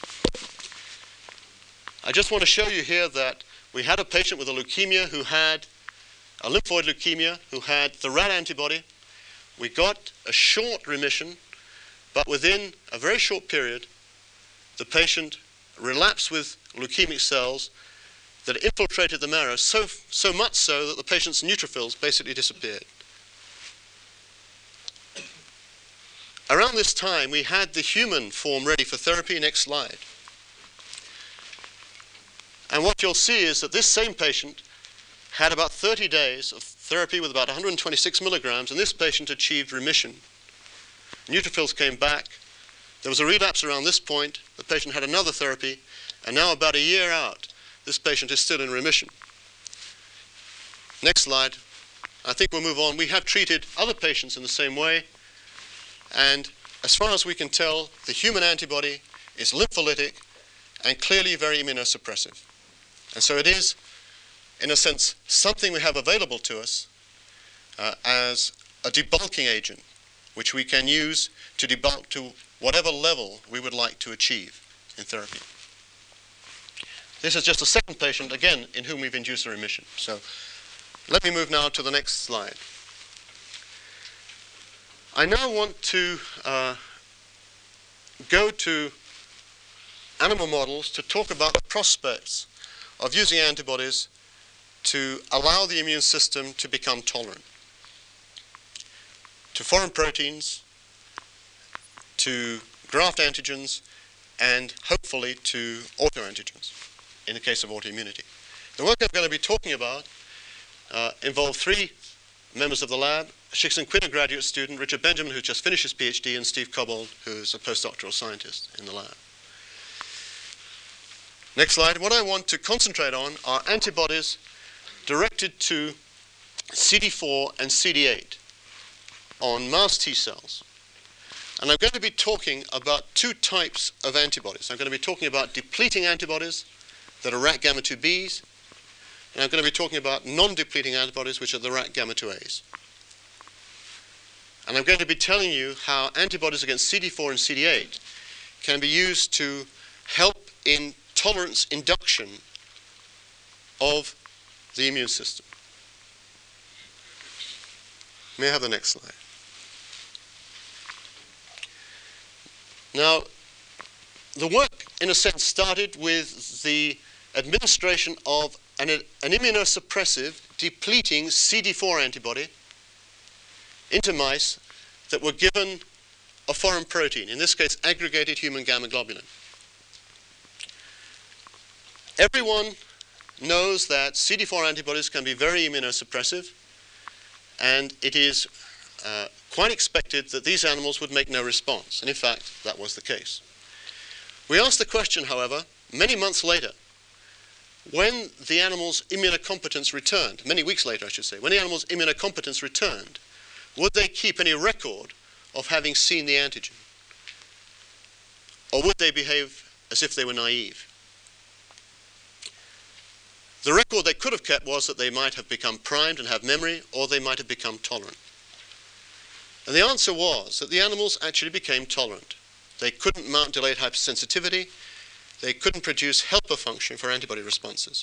I just want to show you here that we had a patient with a leukemia who had a lymphoid leukemia, who had the rat antibody. We got a short remission, but within a very short period, the patient relapsed with leukemic cells that infiltrated the marrow, so, so much so that the patient's neutrophils basically disappeared. Around this time, we had the human form ready for therapy. Next slide. And what you'll see is that this same patient had about thirty days of therapy with about one hundred twenty-six milligrams, and this patient achieved remission. Neutrophils came back. There was a relapse around this point. The patient had another therapy, and now about a year out, this patient is still in remission. Next slide. I think we'll move on. We have treated other patients in the same way, and as far as we can tell, the human antibody is lympholytic and clearly very immunosuppressive. And so it is, in a sense, something we have available to us uh, as a debulking agent, which we can use to debulk to whatever level we would like to achieve in therapy. This is just a second patient, again, in whom we've induced a remission. So let me move now to the next slide. I now want to uh, go to animal models to talk about the prospects of using antibodies to allow the immune system to become tolerant to foreign proteins, to graft antigens, and hopefully to autoantigens in the case of autoimmunity. The work I'm going to be talking about uh, involved three members of the lab: Shixin Quinn, a graduate student, Richard Benjamin, who just finished his PhD, and Steve Cobbold, who's a postdoctoral scientist in the lab. Next slide. What I want to concentrate on are antibodies directed to C D four and C D eight on mouse T cells. And I'm going to be talking about two types of antibodies. I'm going to be talking about depleting antibodies that are rat gamma two B's, and I'm going to be talking about non-depleting antibodies, which are the rat gamma two A's. And I'm going to be telling you how antibodies against C D four and C D eight can be used to help in tolerance induction of the immune system. May I have the next slide? Now, the work, in a sense, started with the administration of an, an immunosuppressive, depleting C D four antibody into mice that were given a foreign protein, in this case, aggregated human gamma globulin. Everyone knows that C D four antibodies can be very immunosuppressive, and it is uh, quite expected that these animals would make no response. And in fact, that was the case. We asked the question, however, many months later, when the animal's immunocompetence returned, many weeks later, I should say, when the animal's immunocompetence returned, would they keep any record of having seen the antigen? Or would they behave as if they were naive? The record they could have kept was that they might have become primed and have memory, or they might have become tolerant. And the answer was that the animals actually became tolerant. They couldn't mount delayed hypersensitivity. They couldn't produce helper function for antibody responses.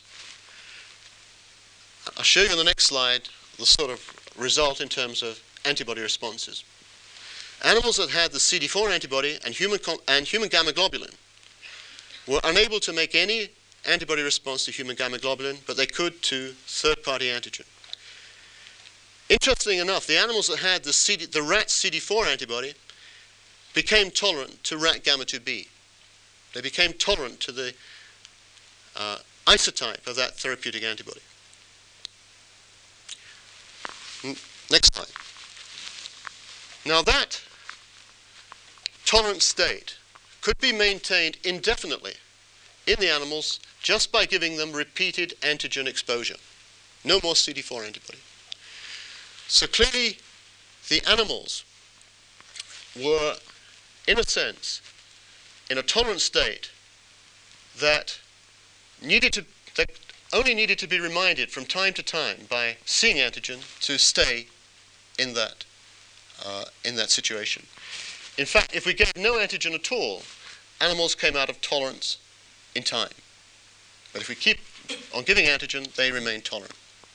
I'll show you on the next slide the sort of result in terms of antibody responses. Animals that had the C D four antibody and human, and human gamma globulin were unable to make any antibody response to human gamma globulin, but they could to third-party antigen. Interestingly enough, the animals that had the, C D, the rat C D four antibody became tolerant to rat gamma two B. They became tolerant to the uh, isotype of that therapeutic antibody. Next slide. Now that tolerant state could be maintained indefinitely in the animals just by giving them repeated antigen exposure. No more C D four antibody. So clearly the animals were, in a sense, in a tolerant state that needed to, that only needed to be reminded from time to time by seeing antigen to stay in that, uh, in that situation. In fact, if we gave no antigen at all, animals came out of tolerance in time. But if we keep on giving antigen, they remain tolerant.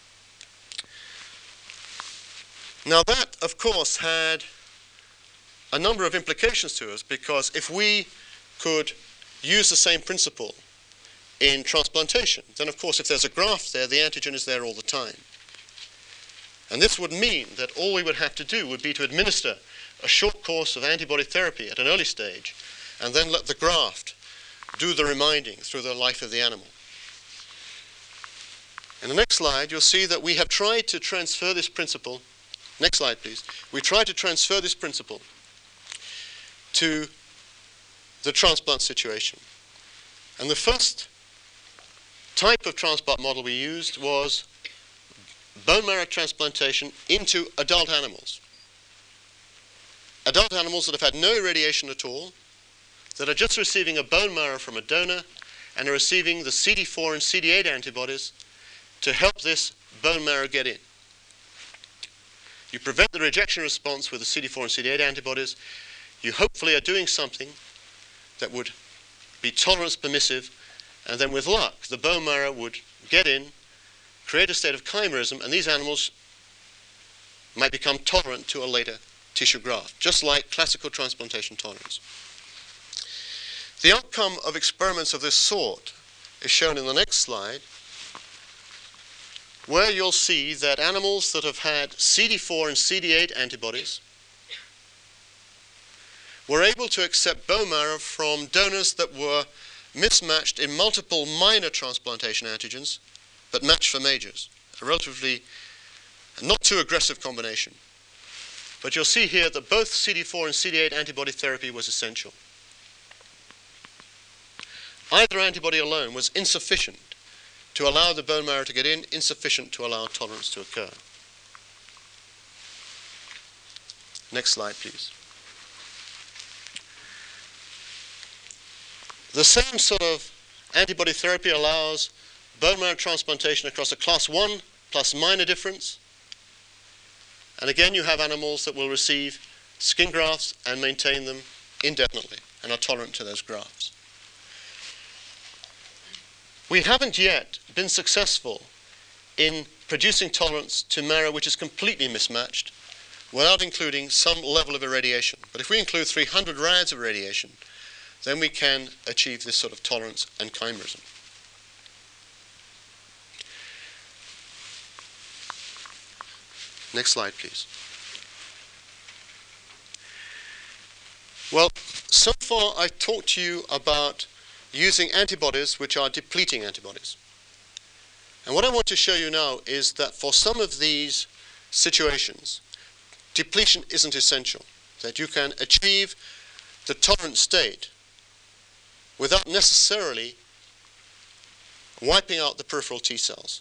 Now that, of course, had a number of implications to us, because if we could use the same principle in transplantation, then of course if there's a graft there, the antigen is there all the time. And this would mean that all we would have to do would be to administer a short course of antibody therapy at an early stage, and then let the graft do the reminding through the life of the animal. In the next slide, you'll see that we have tried to transfer this principle. Next slide, please. We tried to transfer this principle to the transplant situation. And the first type of transplant model we used was bone marrow transplantation into adult animals. Adult animals that have had no irradiation at all, that are just receiving a bone marrow from a donor and are receiving the C D four and C D eight antibodies to help this bone marrow get in. You prevent the rejection response with the C D four and C D eight antibodies. You hopefully are doing something that would be tolerance permissive, and then with luck, the bone marrow would get in, create a state of chimerism, and these animals might become tolerant to a later tissue graft, just like classical transplantation tolerance. The outcome of experiments of this sort is shown in the next slide, where you'll see that animals that have had C D four and C D eight antibodies were able to accept bone marrow from donors that were mismatched in multiple minor transplantation antigens, but matched for majors. A relatively not too aggressive combination. But you'll see here that both C D four and C D eight antibody therapy was essential. Either antibody alone was insufficient to allow the bone marrow to get in, insufficient to allow tolerance to occur. Next slide, please. The same sort of antibody therapy allows bone marrow transplantation across a class one plus minor difference. And again, you have animals that will receive skin grafts and maintain them indefinitely and are tolerant to those grafts. We haven't yet been successful in producing tolerance to marrow which is completely mismatched without including some level of irradiation. But if we include three hundred rads of irradiation, then we can achieve this sort of tolerance and chimerism. Next slide, please. Well, so far I've talked to you about using antibodies which are depleting antibodies. And what I want to show you now is that for some of these situations, depletion isn't essential, that you can achieve the tolerant state without necessarily wiping out the peripheral T cells.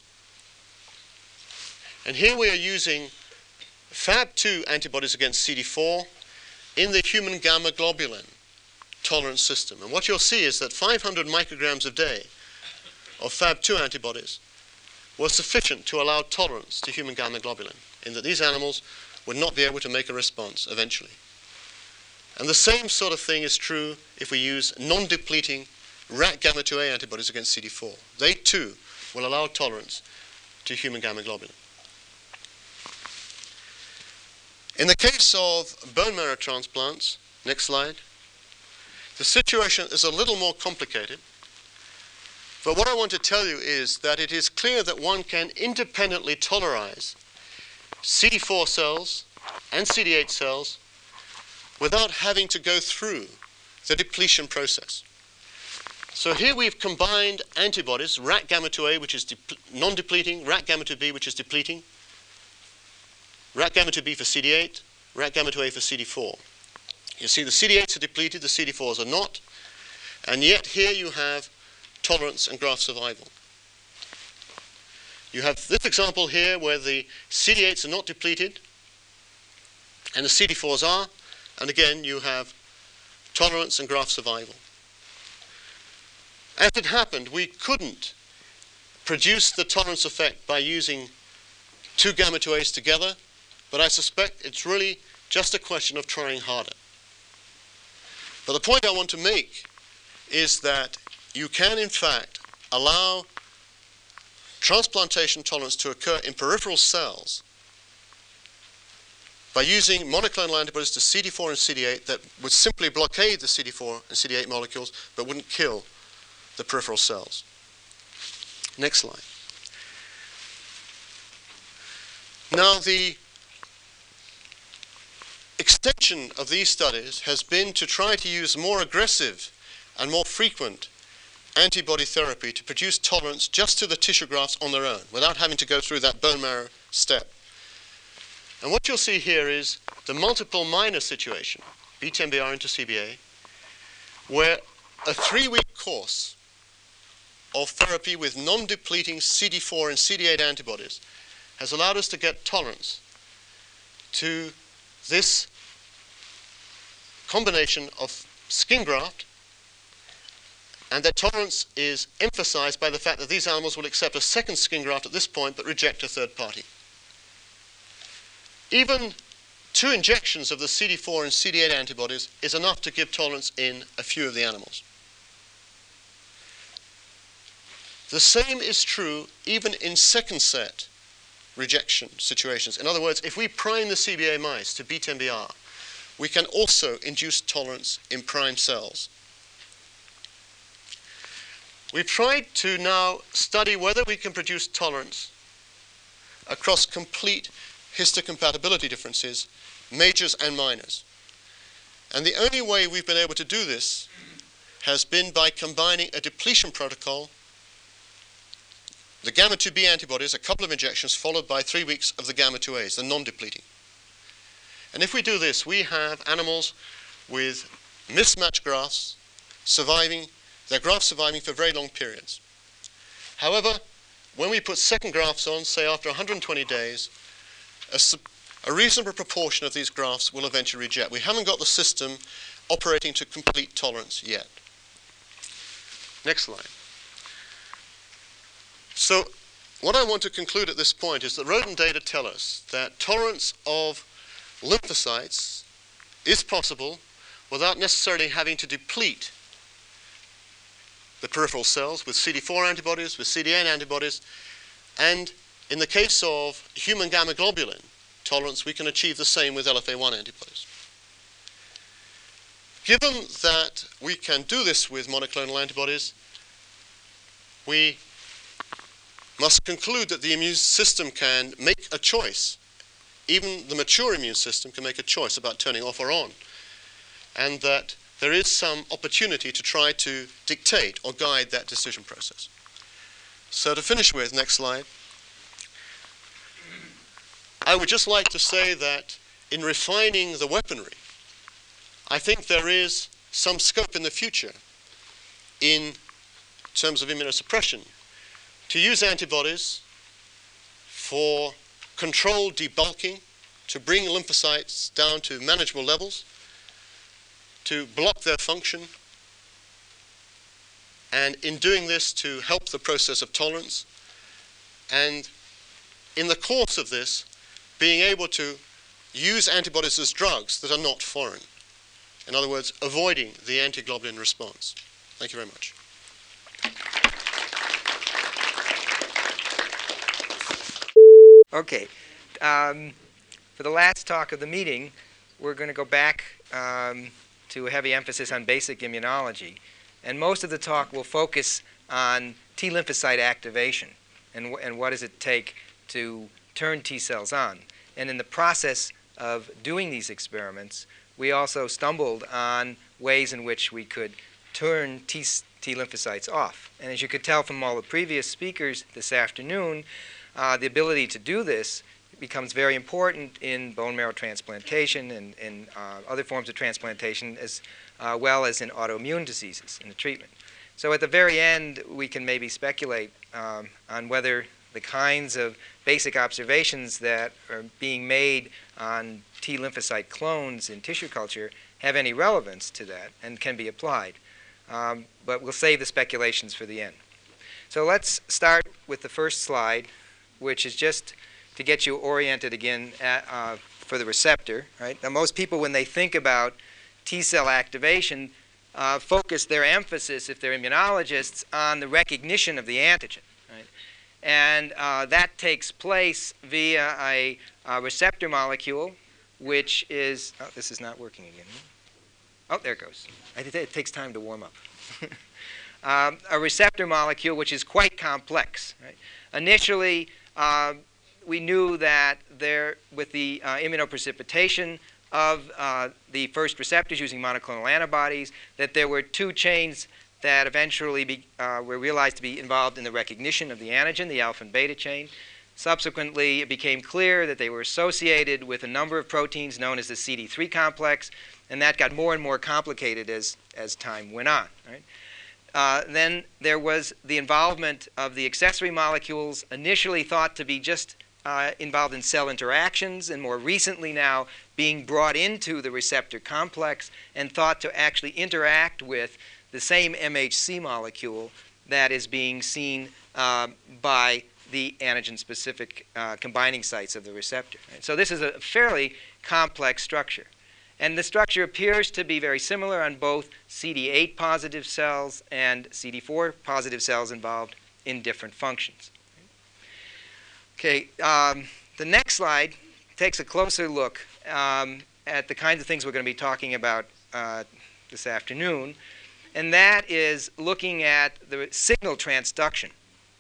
And here we are using F A B two antibodies against C D four in the human gamma globulin tolerance system. And what you'll see is that five hundred micrograms a day of F A B two antibodies was sufficient to allow tolerance to human gamma globulin, in that these animals would not be able to make a response eventually. And the same sort of thing is true if we use non-depleting rat gamma two A antibodies against C D four. They too will allow tolerance to human gamma globulin. In the case of bone marrow transplants, next slide, the situation is a little more complicated. But what I want to tell you is that it is clear that one can independently tolerize C D four cells and C D eight cells without having to go through the depletion process. So here we've combined antibodies, rat gamma two A, which is non-depleting, rat gamma two B, which is depleting, rat gamma two B for C D eight, rat gamma two A for C D four. You see the C D eights are depleted, the C D fours are not, and yet here you have tolerance and graft survival. You have this example here where the C D eights are not depleted and the C D fours are, and again you have tolerance and graft survival. As it happened, we couldn't produce the tolerance effect by using two gamma two A's together, but I suspect it's really just a question of trying harder. But the point I want to make is that you can in fact allow transplantation tolerance to occur in peripheral cells by using monoclonal antibodies to C D four and C D eight that would simply blockade the C D four and C D eight molecules but wouldn't kill the peripheral cells. Next slide. Now the extension of these studies has been to try to use more aggressive and more frequent antibody therapy to produce tolerance just to the tissue grafts on their own without having to go through that bone marrow step. And what you'll see here is the multiple minor situation, B ten B R into C B A, where a three-week course of therapy with non-depleting C D four and C D eight antibodies has allowed us to get tolerance to this combination of skin graft, and that tolerance is emphasized by the fact that these animals will accept a second skin graft at this point but reject a third party. Even two injections of the C D four and C D eight antibodies is enough to give tolerance in a few of the animals. The same is true even in second set rejection situations. In other words, if we prime the C B A mice to B ten B R, we can also induce tolerance in prime cells. We've tried to now study whether we can produce tolerance across complete histocompatibility differences, majors and minors. And the only way we've been able to do this has been by combining a depletion protocol, the gamma two B antibodies, a couple of injections, followed by three weeks of the gamma two A's, the non-depleting. And if we do this, we have animals with mismatched grafts surviving, their grafts surviving for very long periods. However, when we put second grafts on, say after one hundred twenty days, a, a reasonable proportion of these grafts will eventually reject. We haven't got the system operating to complete tolerance yet. Next slide. So what I want to conclude at this point is that rodent data tell us that tolerance of lymphocytes is possible without necessarily having to deplete the peripheral cells with C D four antibodies, with C D eight antibodies, and in the case of human gamma globulin tolerance, we can achieve the same with L F A one antibodies. Given that we can do this with monoclonal antibodies, we must conclude that the immune system can make a choice. Even the mature immune system can make a choice about turning off or on, and that there is some opportunity to try to dictate or guide that decision process. So to finish with, next slide, I would just like to say that in refining the weaponry, I think there is some scope in the future in terms of immunosuppression to use antibodies for controlled debulking, to bring lymphocytes down to manageable levels, to block their function, and in doing this to help the process of tolerance, and in the course of this, being able to use antibodies as drugs that are not foreign. In other words, avoiding the antiglobulin response. Thank you very much. Okay. Um, for the last talk of the meeting, we're going to go back um, to a heavy emphasis on basic immunology. And most of the talk will focus on T lymphocyte activation and, and what does it take to turn T cells on. And in the process of doing these experiments, we also stumbled on ways in which we could turn T, T lymphocytes off. And as you could tell from all the previous speakers this afternoon, uh, the ability to do this becomes very important in bone marrow transplantation and in uh, other forms of transplantation, as uh, well as in autoimmune diseases in the treatment. So at the very end, we can maybe speculate um, on whether the kinds of basic observations that are being made on T lymphocyte clones in tissue culture have any relevance to that and can be applied. Um, but we'll save the speculations for the end. So let's start with the first slide, which is just to get you oriented again at, uh, for the receptor. Right? Now, most people, when they think about T cell activation, uh, focus their emphasis, if they're immunologists, on the recognition of the antigen. Right? And uh, that takes place via a, a receptor molecule, which is, oh, this is not working again. Oh, there it goes. It takes time to warm up. um, a receptor molecule which is quite complex. Right? Initially, uh, we knew that there, with the uh, immunoprecipitation of uh, the first receptors using monoclonal antibodies, that there were two chains that eventually be, uh, were realized to be involved in the recognition of the antigen, the alpha and beta chain. Subsequently, it became clear that they were associated with a number of proteins known as the C D three complex, and that got more and more complicated as, as time went on. Right? Uh, then there was the involvement of the accessory molecules, initially thought to be just uh, involved in cell interactions, and more recently now being brought into the receptor complex and thought to actually interact with the same M H C molecule that is being seen uh, by the antigen-specific uh, combining sites of the receptor. Right? So this is a fairly complex structure. And the structure appears to be very similar on both C D eight positive cells and C D four positive cells involved in different functions. Okay, um, the next slide takes a closer look um, at the kinds of things we're going to be talking about uh, this afternoon. And that is looking at the signal transduction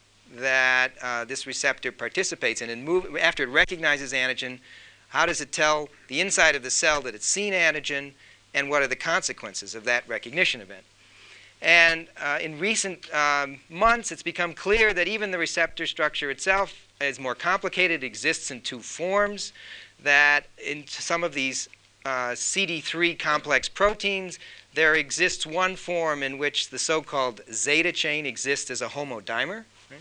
that uh, this receptor participates in. And move, after it recognizes antigen, how does it tell the inside of the cell that it's seen antigen, and what are the consequences of that recognition event? And uh, in recent um, months, it's become clear that even the receptor structure itself is more complicated. It exists in two forms, that in some of these uh, C D three complex proteins, there exists one form in which the so-called zeta chain exists as a homodimer. Right?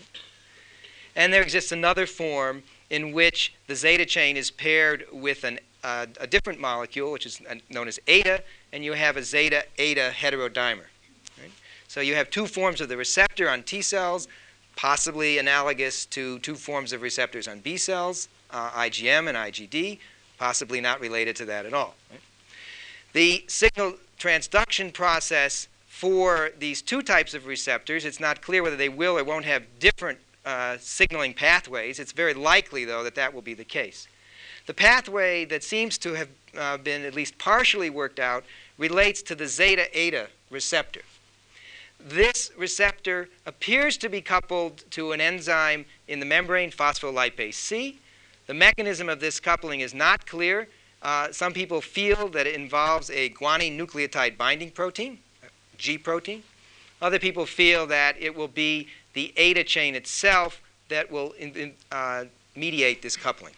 And there exists another form in which the zeta chain is paired with an, uh, a different molecule, which is known as eta, and you have a zeta-eta heterodimer. Right? So you have two forms of the receptor on T cells, possibly analogous to two forms of receptors on B cells, uh, I G M and I G D, possibly not related to that at all. Right? The signal transduction process for these two types of receptors, it's not clear whether they will or won't have different uh, signaling pathways. It's very likely, though, that that will be the case. The pathway that seems to have uh, been at least partially worked out relates to the zeta-eta receptor. This receptor appears to be coupled to an enzyme in the membrane, phospholipase C. The mechanism of this coupling is not clear. Uh, some people feel that it involves a guanine nucleotide binding protein, G protein. Other people feel that it will be the eta chain itself that will in, in, uh, mediate this coupling.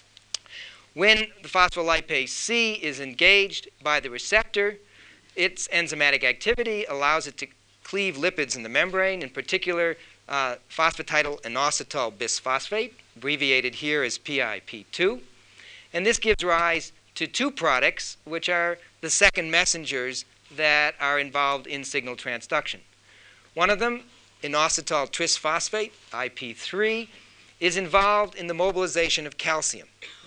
When the phospholipase C is engaged by the receptor, its enzymatic activity allows it to cleave lipids in the membrane, in particular uh, phosphatidylinositol bisphosphate, abbreviated here as P I P two. And this gives rise to two products, which are the second messengers that are involved in signal transduction. One of them, inositol trisphosphate, I P three, is involved in the mobilization of calcium.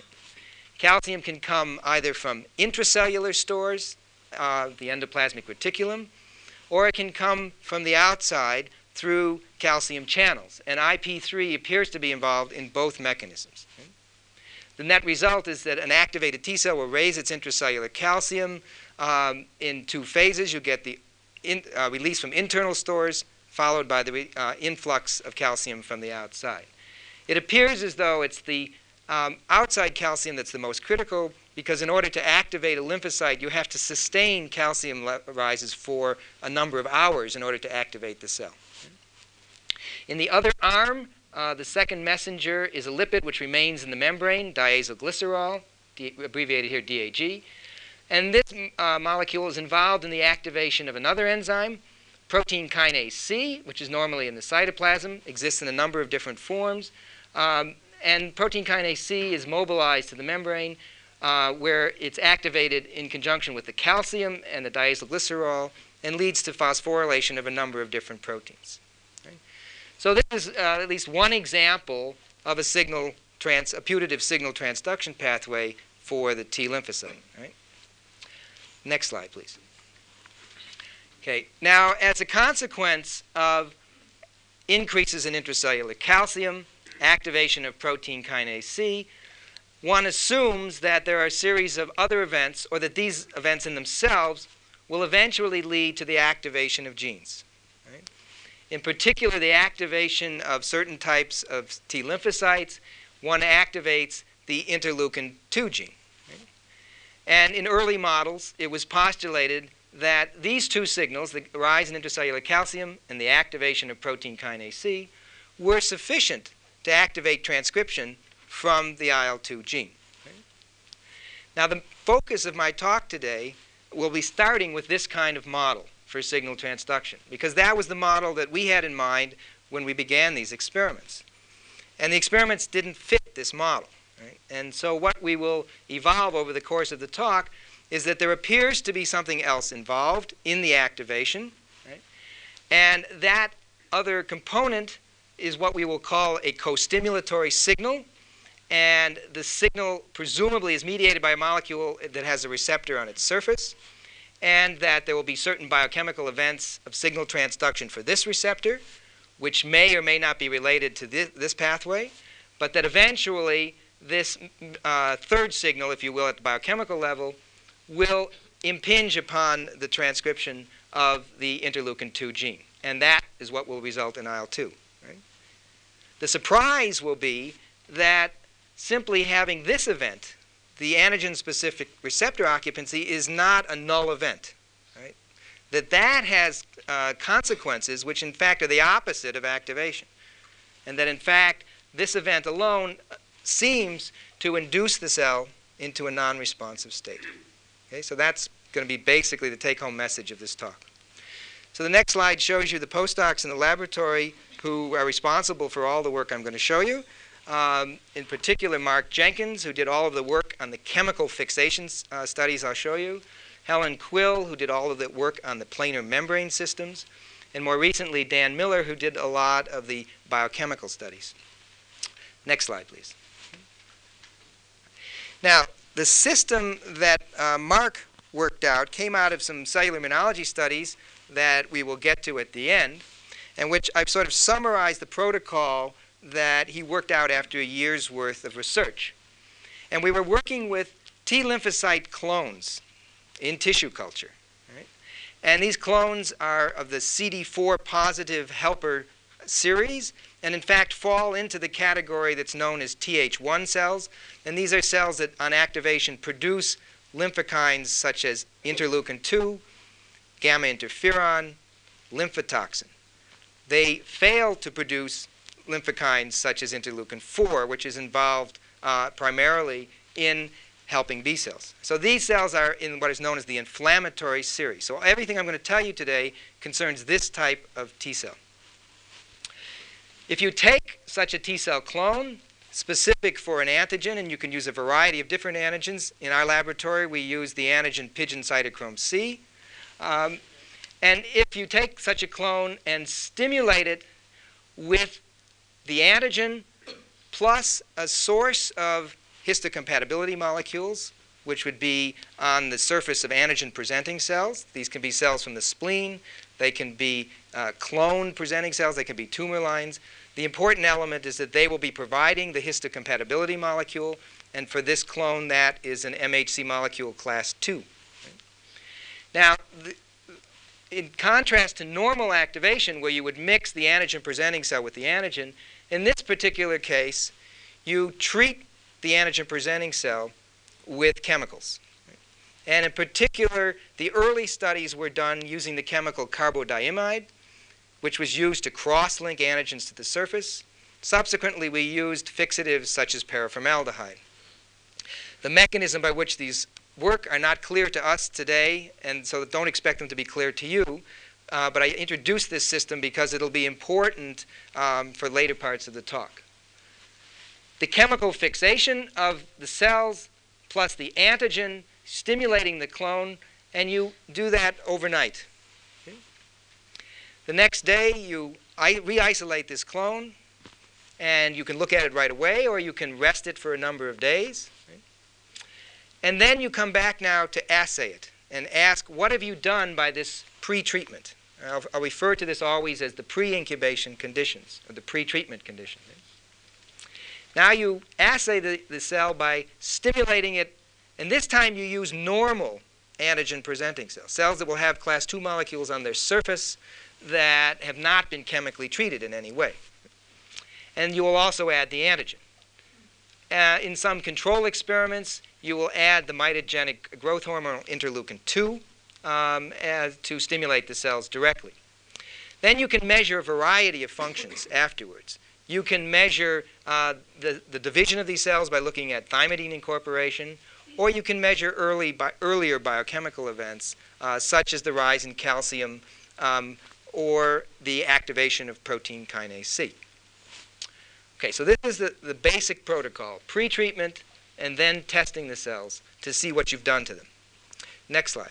Calcium can come either from intracellular stores, uh, the endoplasmic reticulum, or it can come from the outside through calcium channels. And I P three appears to be involved in both mechanisms. The net result is that an activated T cell will raise its intracellular calcium um, in two phases. You get the in, uh, release from internal stores, followed by the uh, influx of calcium from the outside. It appears as though it's the um, outside calcium that's the most critical, because in order to activate a lymphocyte, you have to sustain calcium rises for a number of hours in order to activate the cell. In the other arm, uh, the second messenger is a lipid which remains in the membrane, diacylglycerol, D- abbreviated here D A G. And this uh, molecule is involved in the activation of another enzyme, protein kinase C, which is normally in the cytoplasm, exists in a number of different forms. Um, and protein kinase C is mobilized to the membrane, uh, where it's activated in conjunction with the calcium and the diacylglycerol and leads to phosphorylation of a number of different proteins. Right? So this is uh, at least one example of a signal trans, a putative signal transduction pathway for the T lymphocyte. Right? Next slide, please. Okay. Now, as a consequence of increases in intracellular calcium, activation of protein kinase C, one assumes that there are a series of other events, or that these events in themselves will eventually lead to the activation of genes. Right? In particular, the activation of certain types of T lymphocytes. One activates the interleukin two gene. Right? And in early models, it was postulated that these two signals, the rise in intracellular calcium and the activation of protein kinase C, were sufficient to activate transcription from the I L two gene. Right? Now, the focus of my talk today will be starting with this kind of model for signal transduction, because that was the model that we had in mind when we began these experiments. And the experiments didn't fit this model. Right? And so what we will evolve over the course of the talk is that there appears to be something else involved in the activation. Right? And that other component is what we will call a co-stimulatory signal. And the signal presumably is mediated by a molecule that has a receptor on its surface, and that there will be certain biochemical events of signal transduction for this receptor, which may or may not be related to this, this pathway, but that eventually this uh, third signal, if you will, at the biochemical level, will impinge upon the transcription of the interleukin two gene. And that is what will result in I L two. Right? The surprise will be that simply having this event, the antigen-specific receptor occupancy, is not a null event. Right? That that has uh, consequences which, in fact, are the opposite of activation. And that, in fact, this event alone seems to induce the cell into a non-responsive state. Okay, so that's going to be basically the take-home message of this talk. So the next slide shows you the postdocs in the laboratory who are responsible for all the work I'm going to show you. Um, in particular, Mark Jenkins, who did all of the work on the chemical fixation uh, studies I'll show you. Helen Quill, who did all of the work on the planar membrane systems. And more recently, Dan Miller, who did a lot of the biochemical studies. Next slide, please. Now, the system that uh, Mark worked out came out of some cellular immunology studies that we will get to at the end, and which I've sort of summarized the protocol that he worked out after a year's worth of research. And we were working with T lymphocyte clones in tissue culture. Right? And these clones are of the C D four positive helper series, and in fact fall into the category that's known as T H one cells. And these are cells that on activation produce lymphokines such as interleukin two, gamma interferon, lymphotoxin. They fail to produce lymphokines such as interleukin four, which is involved uh, primarily in helping B cells. So these cells are in what is known as the inflammatory series. So everything I'm going to tell you today concerns this type of T cell. If you take such a T cell clone specific for an antigen, and you can use a variety of different antigens. In our laboratory, we use the antigen pigeon cytochrome C. Um, and if you take such a clone and stimulate it with the antigen plus a source of histocompatibility molecules, which would be on the surface of antigen-presenting cells. These can be cells from the spleen. They can be uh, clone-presenting cells. They can be tumor lines. The important element is that they will be providing the histocompatibility molecule, and for this clone, that is an M H C molecule class two. Now, the, in contrast to normal activation, where you would mix the antigen-presenting cell with the antigen, in this particular case, you treat the antigen-presenting cell with chemicals. And in particular, the early studies were done using the chemical carbodiamide, which was used to cross-link antigens to the surface. Subsequently, we used fixatives such as paraformaldehyde. The mechanism by which these work are not clear to us today, and so don't expect them to be clear to you. Uh, but I introduced this system because it'll be important um, for later parts of the talk. The chemical fixation of the cells plus the antigen stimulating the clone, and you do that overnight. Okay. The next day, you re-isolate this clone, and you can look at it right away, or you can rest it for a number of days. Right? And then you come back now to assay it and ask, what have you done by this pre-treatment? I'll, I'll refer to this always as the pre-incubation conditions, or the pre-treatment condition. Now you assay the, the cell by stimulating it, and this time you use normal antigen-presenting cells, cells that will have class two molecules on their surface that have not been chemically treated in any way. And you will also add the antigen. Uh, in some control experiments, you will add the mitogenic growth hormone interleukin two um, as, to stimulate the cells directly. Then you can measure a variety of functions afterwards. You can measure uh, the, the division of these cells by looking at thymidine incorporation, or you can measure early bi earlier biochemical events, uh, such as the rise in calcium um, or the activation of protein kinase C. Okay, so this is the, the basic protocol, pre-treatment and then testing the cells to see what you've done to them. Next slide.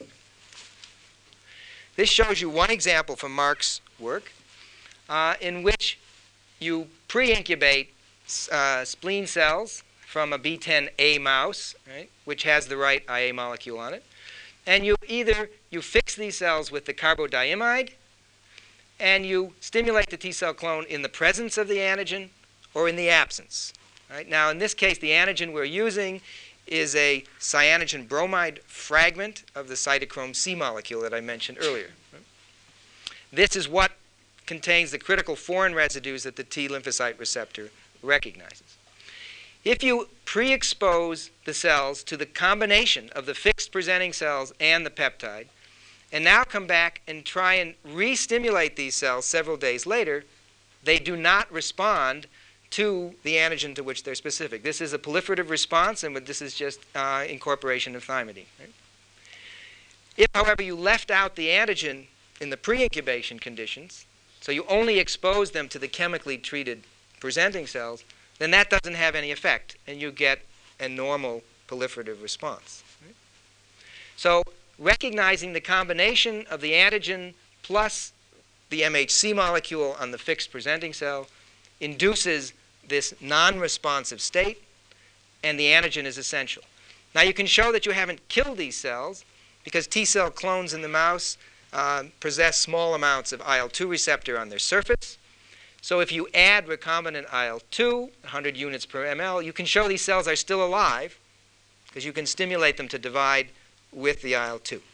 This shows you one example from Mark's work uh, in which you pre-incubate uh, spleen cells from a B ten A mouse, right, which has the right I A molecule on it. And you either you fix these cells with the carbodiamide, and you stimulate the T cell clone in the presence of the antigen or in the absence. Right? Now, in this case, the antigen we're using is a cyanogen bromide fragment of the cytochrome C molecule that I mentioned earlier. Right? This is what contains the critical foreign residues that the T lymphocyte receptor recognizes. If you pre-expose the cells to the combination of the fixed presenting cells and the peptide, and now come back and try and re-stimulate these cells several days later, they do not respond to the antigen to which they're specific. This is a proliferative response, and this is just uh, incorporation of thymidine. Right? If, however, you left out the antigen in the pre-incubation conditions, so you only expose them to the chemically treated presenting cells, then that doesn't have any effect, and you get a normal proliferative response. Right? So recognizing the combination of the antigen plus the M H C molecule on the fixed presenting cell induces this non-responsive state, and the antigen is essential. Now you can show that you haven't killed these cells because T cell clones in the mouse uh, possess small amounts of I L two receptor on their surface. So if you add recombinant I L two, one hundred units per ml, you can show these cells are still alive because you can stimulate them to divide with the I L two.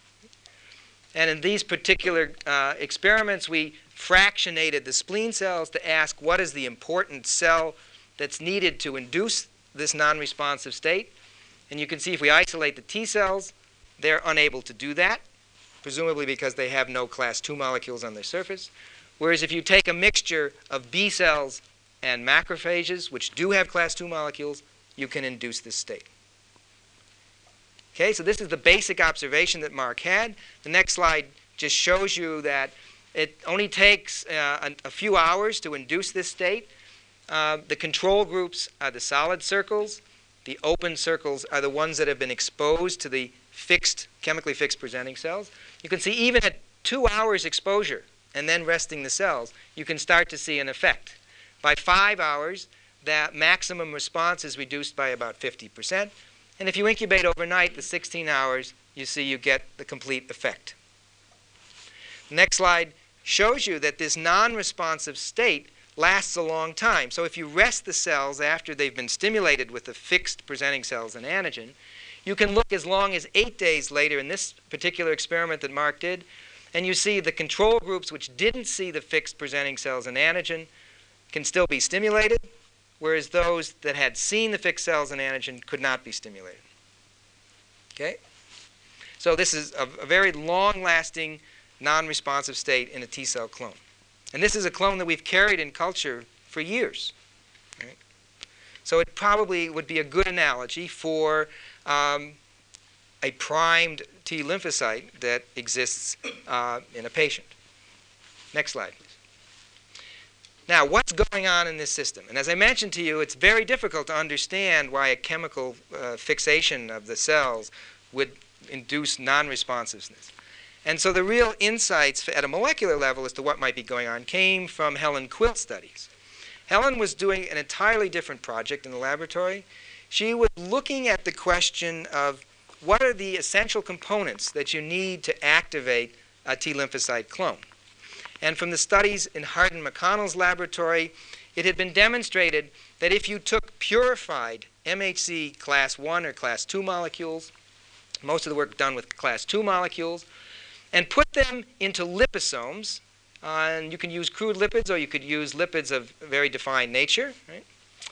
And in these particular uh, experiments, we fractionated the spleen cells to ask what is the important cell that's needed to induce this non-responsive state. And you can see if we isolate the T cells, they're unable to do that, presumably because they have no class two molecules on their surface. Whereas if you take a mixture of B cells and macrophages, which do have class two molecules, you can induce this state. Okay, so this is the basic observation that Mark had. The next slide just shows you that it only takes uh, a, a few hours to induce this state. Uh, the control groups are the solid circles. The open circles are the ones that have been exposed to the fixed, chemically fixed presenting cells. You can see even at two hours exposure and then resting the cells, you can start to see an effect. By five hours, that maximum response is reduced by about fifty percent. And if you incubate overnight, the sixteen hours, you see you get the complete effect. The next slide shows you that this non-responsive state lasts a long time. So if you rest the cells after they've been stimulated with the fixed presenting cells and antigen, you can look as long as eight days later in this particular experiment that Mark did, and you see the control groups which didn't see the fixed presenting cells and antigen can still be stimulated, whereas those that had seen the fixed cells and antigen could not be stimulated. Okay? So this is a, a very long-lasting, non-responsive state in a T cell clone. And this is a clone that we've carried in culture for years. Right? So it probably would be a good analogy for um, a primed T lymphocyte that exists uh, in a patient. Next slide, please. Now, what's going on in this system? And as I mentioned to you, it's very difficult to understand why a chemical uh, fixation of the cells would induce non-responsiveness. And so the real insights at a molecular level as to what might be going on came from Helen Quilt studies. Helen was doing an entirely different project in the laboratory. She was looking at the question of what are the essential components that you need to activate a T lymphocyte clone. And from the studies in Hardin McConnell's laboratory, it had been demonstrated that if you took purified M H C class one or class two molecules, most of the work done with class two molecules, and put them into liposomes, uh, and you can use crude lipids or you could use lipids of very defined nature, right?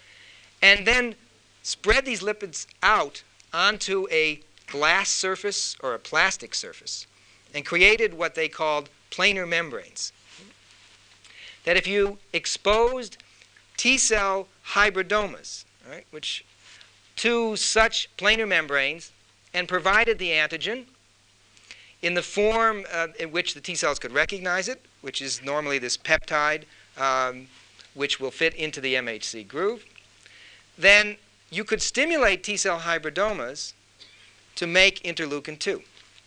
And then spread these lipids out onto a glass surface or a plastic surface and created what they called planar membranes. That if you exposed T cell hybridomas, right, which to such planar membranes and provided the antigen in the form uh, in which the T cells could recognize it, which is normally this peptide, um, which will fit into the M H C groove, then you could stimulate T cell hybridomas to make interleukin two.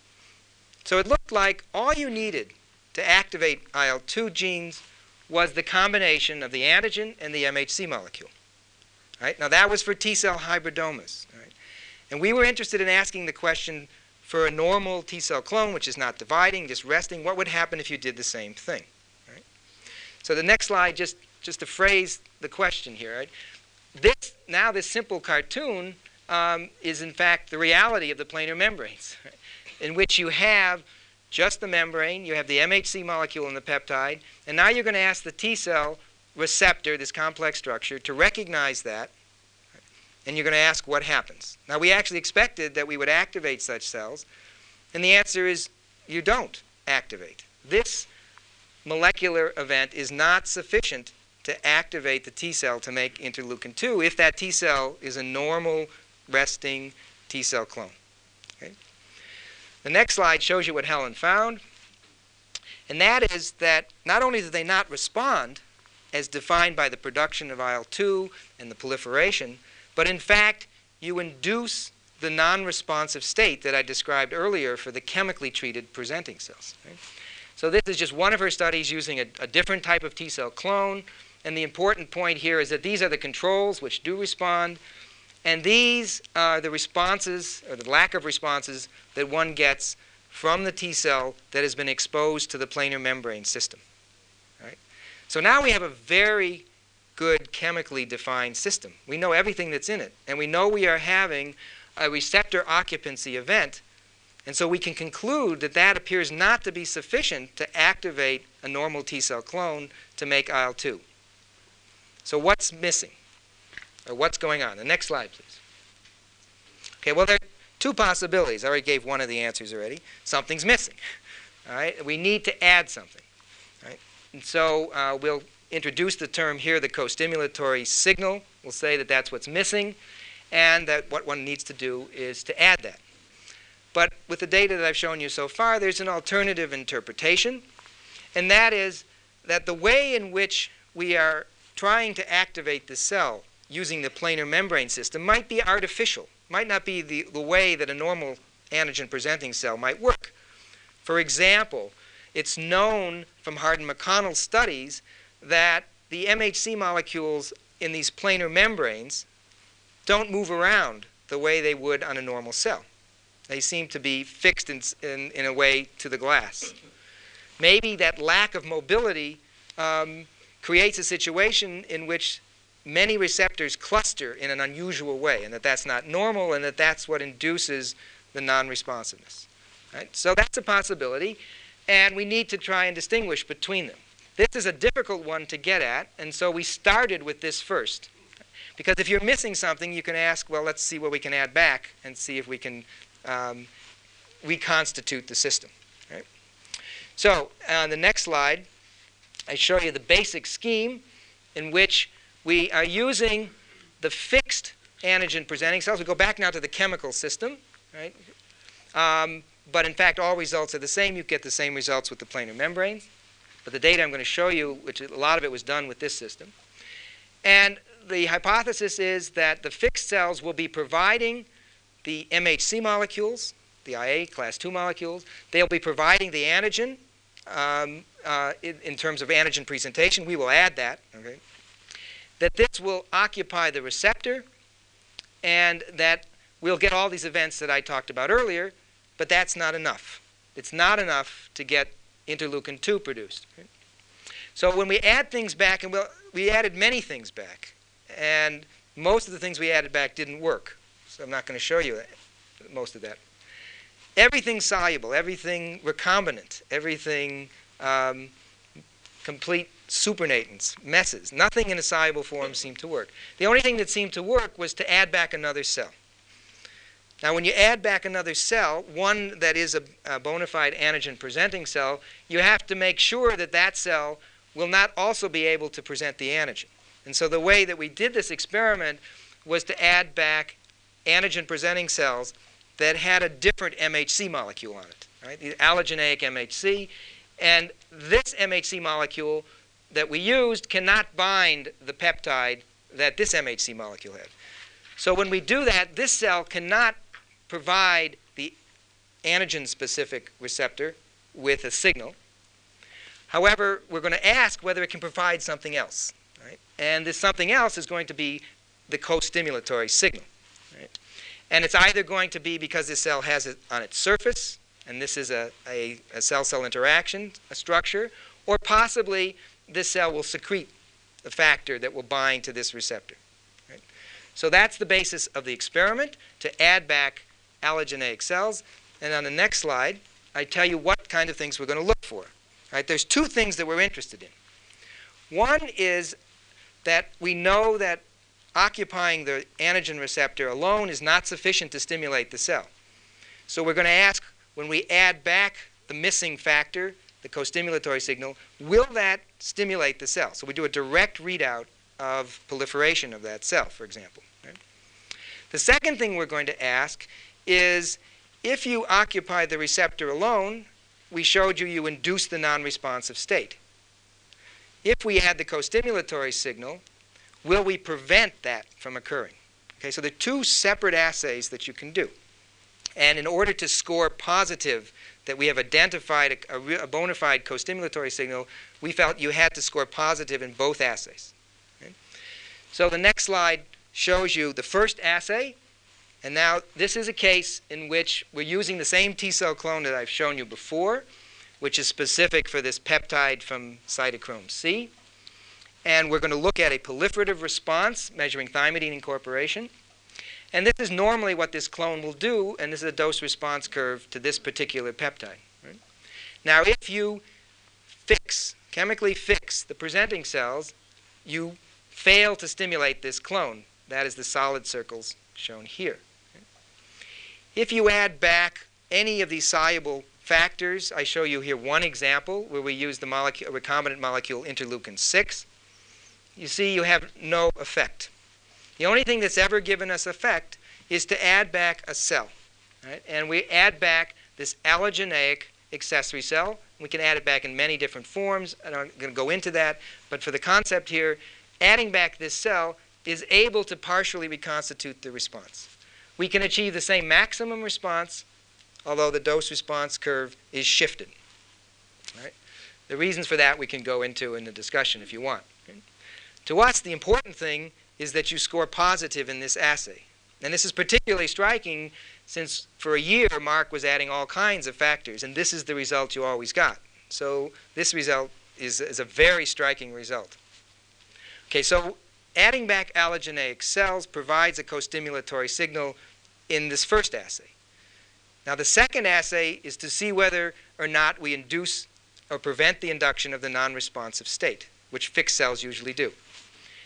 So it looked like all you needed to activate I L two genes was the combination of the antigen and the M H C molecule. Right? Now that was for T cell hybridomas. Right? And we were interested in asking the question for a normal T cell clone, which is not dividing, just resting, what would happen if you did the same thing? Right? So the next slide, just, just to phrase the question here. Right? This, now this simple cartoon um, is in fact the reality of the planar membranes, right? In which you have just the membrane, you have the M H C molecule in the peptide, and now you're going to ask the T cell receptor, this complex structure, to recognize that, and you're going to ask what happens. Now, we actually expected that we would activate such cells, and the answer is you don't activate. This molecular event is not sufficient to activate the T cell to make interleukin two if that T cell is a normal resting T cell clone. Okay? The next slide shows you what Helen found, and that is that not only do they not respond as defined by the production of I L two and the proliferation, but in fact you induce the non-responsive state that I described earlier for the chemically treated presenting cells. Right? So this is just one of her studies using a, a different type of T cell clone, and the important point here is that these are the controls which do respond, and these are the responses, or the lack of responses, that one gets from the T cell that has been exposed to the planar membrane system. Right? So now we have a very good chemically defined system. We know everything that's in it, and we know we are having a receptor occupancy event, and so we can conclude that that appears not to be sufficient to activate a normal T cell clone to make I L two. So what's missing? Or what's going on? The next slide, please. Okay, well, there are two possibilities. I already gave one of the answers already. Something's missing. All right, we need to add something. All right? And so uh, we'll introduce the term here, the co-stimulatory signal. We'll say that that's what's missing, and that what one needs to do is to add that. But with the data that I've shown you so far, there's an alternative interpretation, and that is that the way in which we are trying to activate the cell using the planar membrane system might be artificial, might not be the, the way that a normal antigen-presenting cell might work. For example, it's known from Hardin McConnell's studies that the M H C molecules in these planar membranes don't move around the way they would on a normal cell. They seem to be fixed in, in, in a way to the glass. Maybe that lack of mobility um, creates a situation in which many receptors cluster in an unusual way, and that that's not normal, and that that's what induces the non-responsiveness. Right? So that's a possibility, and we need to try and distinguish between them. This is a difficult one to get at, and so we started with this first. Because if you're missing something, you can ask, well, let's see what we can add back and see if we can um, reconstitute the system. Right? So on the next slide, I show you the basic scheme in which we are using the fixed antigen presenting cells. We go back now to the chemical system. Right? Um, but in fact, all results are the same. You get the same results with the planar membranes. But the data I'm going to show you, which a lot of it was done with this system. And the hypothesis is that the fixed cells will be providing the M H C molecules, the I A class two molecules. They'll be providing the antigen um, uh, in, in terms of antigen presentation. We will add that. Okay? That this will occupy the receptor, and that we'll get all these events that I talked about earlier, but that's not enough. It's not enough to get interleukin two produced. Okay? So when we add things back, and we'll, we added many things back, and most of the things we added back didn't work. So I'm not going to show you that, most of that. Everything soluble, everything recombinant, everything um, complete supernatants, messes. Nothing in a soluble form seemed to work. The only thing that seemed to work was to add back another cell. Now, when you add back another cell, one that is a, a bona fide antigen-presenting cell, you have to make sure that that cell will not also be able to present the antigen. And so the way that we did this experiment was to add back antigen-presenting cells that had a different M H C molecule on it, right? The allogeneic M H C. And this M H C molecule that we used cannot bind the peptide that this M H C molecule had. So when we do that, this cell cannot provide the antigen-specific receptor with a signal. However, we're going to ask whether it can provide something else. Right? And this something else is going to be the co-stimulatory signal. Right? And it's either going to be because this cell has it on its surface, and this is a, a, a cell-cell interaction, a structure, or possibly this cell will secrete a factor that will bind to this receptor. Right? So that's the basis of the experiment, to add back allogeneic cells. And on the next slide, I tell you what kind of things we're going to look for. Right? There's two things that we're interested in. One is that we know that occupying the antigen receptor alone is not sufficient to stimulate the cell. So we're going to ask, when we add back the missing factor, the co-stimulatory signal, will that stimulate the cell? So we do a direct readout of proliferation of that cell, for example. Right? The second thing we're going to ask is, if you occupy the receptor alone, we showed you you induce the non-responsive state. If we add the co-stimulatory signal, will we prevent that from occurring? Okay, so there are two separate assays that you can do. And in order to score positive that we have identified a, a, a bona fide co-stimulatory signal, we felt you had to score positive in both assays. Okay? So the next slide shows you the first assay. And now this is a case in which we're using the same T-cell clone that I've shown you before, which is specific for this peptide from cytochrome C. And we're going to look at a proliferative response measuring thymidine incorporation. And this is normally what this clone will do, and this is a dose-response curve to this particular peptide. Right? Now, if you fix, chemically fix the presenting cells, you fail to stimulate this clone. That is the solid circles shown here. Right? If you add back any of these soluble factors, I show you here one example where we use the molecule, recombinant molecule interleukin six. You see you have no effect. The only thing that's ever given us effect is to add back a cell. Right? And we add back this allogeneic accessory cell. We can add it back in many different forms. I'm not going to go into that. But for the concept here, adding back this cell is able to partially reconstitute the response. We can achieve the same maximum response, although the dose-response curve is shifted. Right? The reasons for that we can go into in the discussion if you want. Okay? To us, the important thing is that you score positive in this assay. And this is particularly striking since for a year Mark was adding all kinds of factors, and this is the result you always got. So this result is, is a very striking result. Okay, so adding back allogeneic cells provides a co-stimulatory signal in this first assay. Now the second assay is to see whether or not we induce or prevent the induction of the non-responsive state, which fixed cells usually do.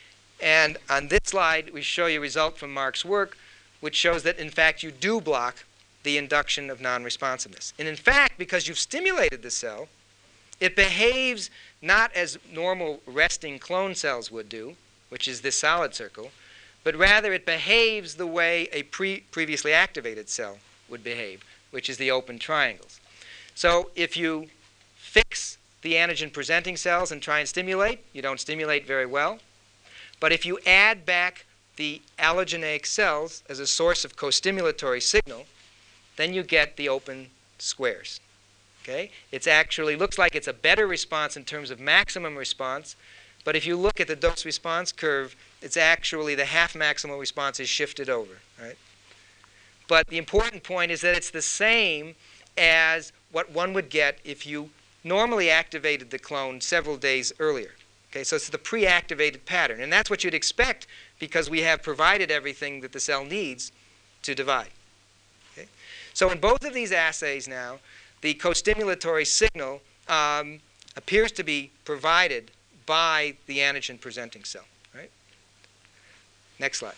And on this slide, we show you a result from Mark's work, which shows that, in fact, you do block the induction of non-responsiveness. And in fact, because you've stimulated the cell, it behaves not as normal resting clone cells would do, which is this solid circle, but rather it behaves the way a pre previously activated cell would behave, which is the open triangles. So if you fix the antigen-presenting cells and try and stimulate, you don't stimulate very well. But if you add back the allogeneic cells as a source of co-stimulatory signal, then you get the open squares. Okay? It actually looks like it's a better response in terms of maximum response, but if you look at the dose-response curve, it's actually the half maximal response is shifted over. Right? But the important point is that it's the same as what one would get if you normally activated the clone several days earlier. Okay, so it's the pre-activated pattern, and that's what you'd expect because we have provided everything that the cell needs to divide. Okay? So in both of these assays now, the co-stimulatory signal um, appears to be provided by the antigen-presenting cell. Right? Next slide.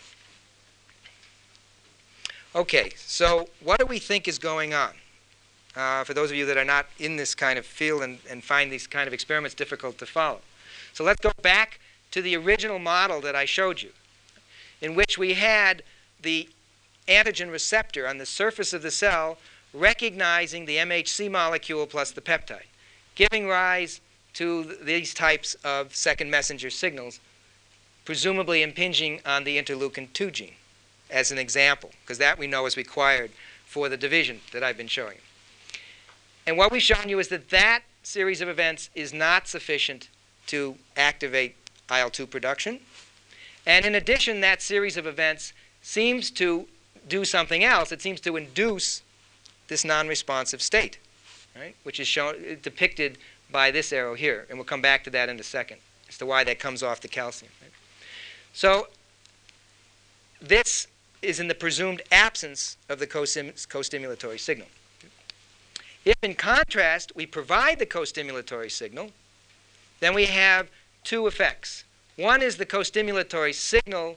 Okay, so what do we think is going on? Uh, for those of you that are not in this kind of field and, and find these kind of experiments difficult to follow. So let's go back to the original model that I showed you, in which we had the antigen receptor on the surface of the cell recognizing the M H C molecule plus the peptide, giving rise to th these types of second messenger signals, presumably impinging on the interleukin two gene as an example, because that we know is required for the division that I've been showing you. And what we've shown you is that that series of events is not sufficient to activate I L two production. And in addition, that series of events seems to do something else. It seems to induce this non-responsive state, right, which is shown, depicted by this arrow here. And we'll come back to that in a second as to why that comes off the calcium. Right? So this is in the presumed absence of the co-stimulatory signal. If, in contrast, we provide the co-stimulatory signal, then we have two effects. One is the co-stimulatory signal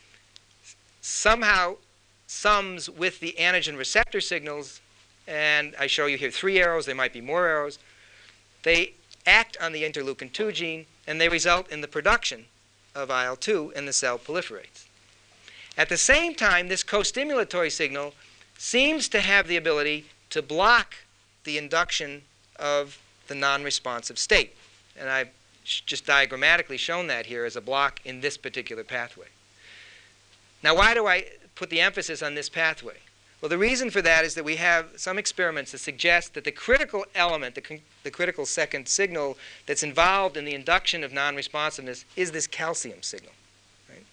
somehow sums with the antigen receptor signals, and I show you here three arrows, there might be more arrows. They act on the interleukin two gene, and they result in the production of I L two, and the cell proliferates. At the same time, this co-stimulatory signal seems to have the ability to block the induction of the non-responsive state. And I've just diagrammatically shown that here as a block in this particular pathway. Now, why do I put the emphasis on this pathway? Well, the reason for that is that we have some experiments that suggest that the critical element, the, the critical second signal that's involved in the induction of non-responsiveness is this calcium signal. Right?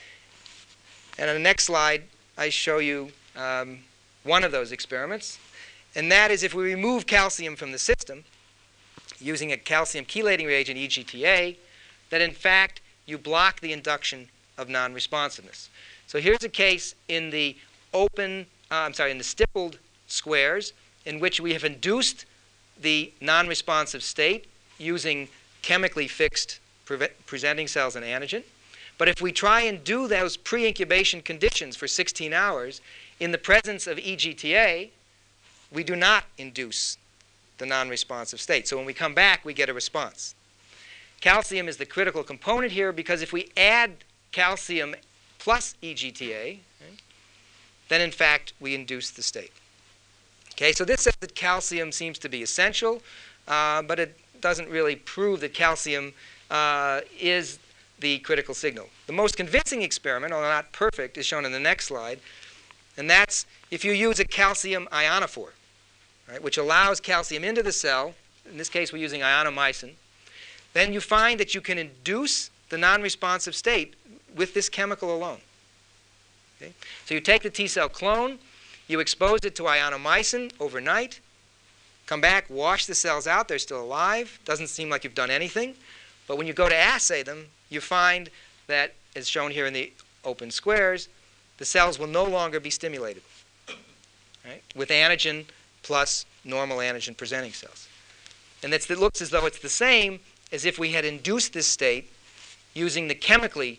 And on the next slide, I show you um, one of those experiments. And that is if we remove calcium from the system using a calcium chelating reagent, E G T A, that in fact you block the induction of non-responsiveness. So here's a case in the open, uh, I'm sorry, in the stippled squares in which we have induced the non-responsive state using chemically fixed pre presenting cells and antigen. But if we try and do those pre-incubation conditions for sixteen hours in the presence of E G T A, we do not induce the non-responsive state. So when we come back, we get a response. Calcium is the critical component here because if we add calcium plus E G T A, right, then in fact we induce the state. Okay, so this says that calcium seems to be essential, uh, but it doesn't really prove that calcium uh, is the critical signal. The most convincing experiment, although not perfect, is shown in the next slide, and that's if you use a calcium ionophore, right, which allows calcium into the cell. In this case, we're using ionomycin. Then you find that you can induce the non-responsive state with this chemical alone. Okay? So you take the T cell clone, you expose it to ionomycin overnight, come back, wash the cells out, they're still alive, doesn't seem like you've done anything. But when you go to assay them, you find that, as shown here in the open squares, the cells will no longer be stimulated, right, with antigen plus normal antigen presenting cells. And that's, it looks as though it's the same as if we had induced this state using the chemically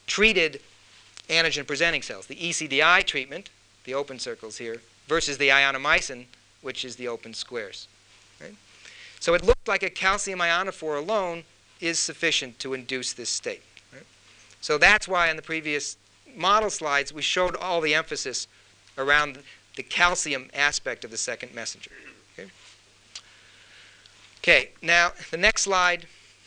treated antigen-presenting cells, the E C D I treatment, the open circles here, versus the ionomycin, which is the open squares. Right? So it looked like a calcium ionophore alone is sufficient to induce this state. Right? So that's why in the previous model slides we showed all the emphasis around the calcium aspect of the second messenger. Okay, okay, now the next slide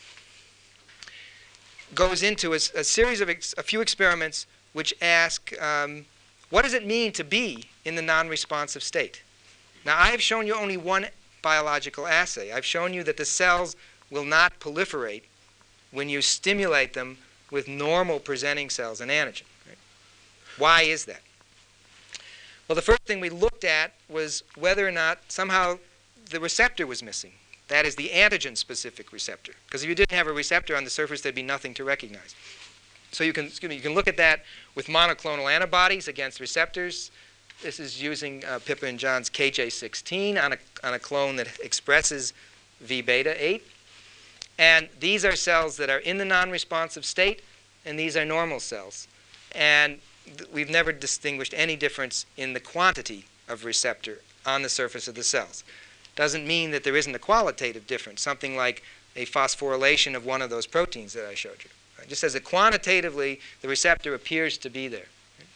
goes into a, a series of ex, a few experiments which ask, um, what does it mean to be in the non-responsive state? Now, I have shown you only one biological assay. I've shown you that the cells will not proliferate when you stimulate them with normal presenting cells and antigen. Right? Why is that? Well, the first thing we looked at was whether or not somehow the receptor was missing. That is, the antigen-specific receptor. Because if you didn't have a receptor on the surface, there'd be nothing to recognize. So you can, excuse me, you can look at that with monoclonal antibodies against receptors. This is using uh, Pippa and John's K J sixteen on a, on a clone that expresses V beta eight. And these are cells that are in the non-responsive state, and these are normal cells. And th we've never distinguished any difference in the quantity of receptor on the surface of the cells. Doesn't mean that there isn't a qualitative difference, something like a phosphorylation of one of those proteins that I showed you. Right? Just as that quantitatively the receptor appears to be there.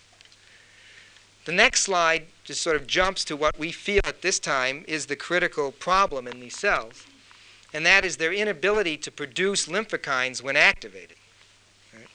The next slide just sort of jumps to what we feel at this time is the critical problem in these cells, and that is their inability to produce lymphokines when activated. Right?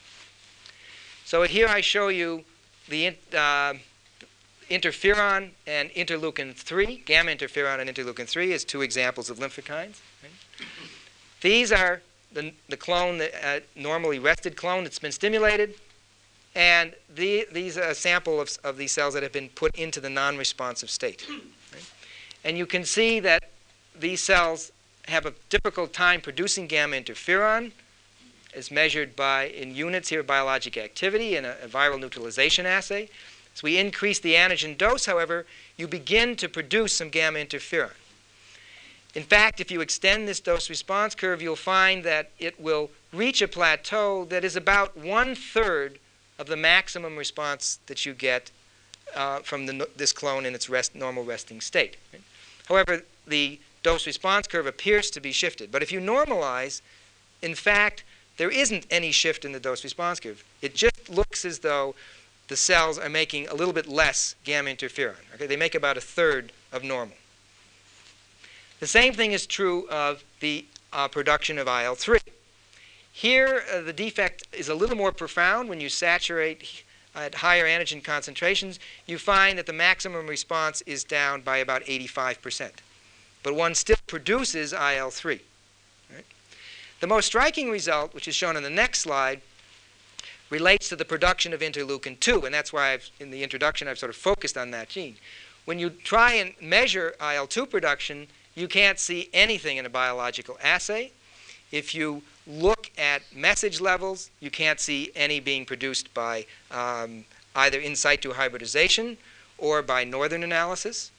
So here I show you the uh, interferon and interleukin three, gamma interferon and interleukin three as two examples of lymphokines. Right? These are the, the clone, that, uh, normally rested clone that's been stimulated. And the, these are a sample of, of these cells that have been put into the non-responsive state. Right? And you can see that these cells have a difficult time producing gamma interferon, as measured by, in units here, biologic activity in a, a viral neutralization assay. As we increase the antigen dose, however, you begin to produce some gamma interferon. In fact, if you extend this dose-response curve, you'll find that it will reach a plateau that is about one-third of the maximum response that you get uh, from the, this clone in its rest, normal resting state. Right? However, the dose-response curve appears to be shifted. But if you normalize, in fact, there isn't any shift in the dose-response curve. It just looks as though the cells are making a little bit less gamma interferon. Okay? They make about a third of normal. The same thing is true of the uh, production of I L three. Here, uh, the defect is a little more profound. When you saturate at higher antigen concentrations, you find that the maximum response is down by about eighty-five percent. But one still produces I L three. Right? The most striking result, which is shown in the next slide, relates to the production of interleukin two, and that's why I've, in the introduction I've sort of focused on that gene. When you try and measure I L two production, you can't see anything in a biological assay. If you look at message levels, you can't see any being produced by um, either in situ hybridization or by northern analysis.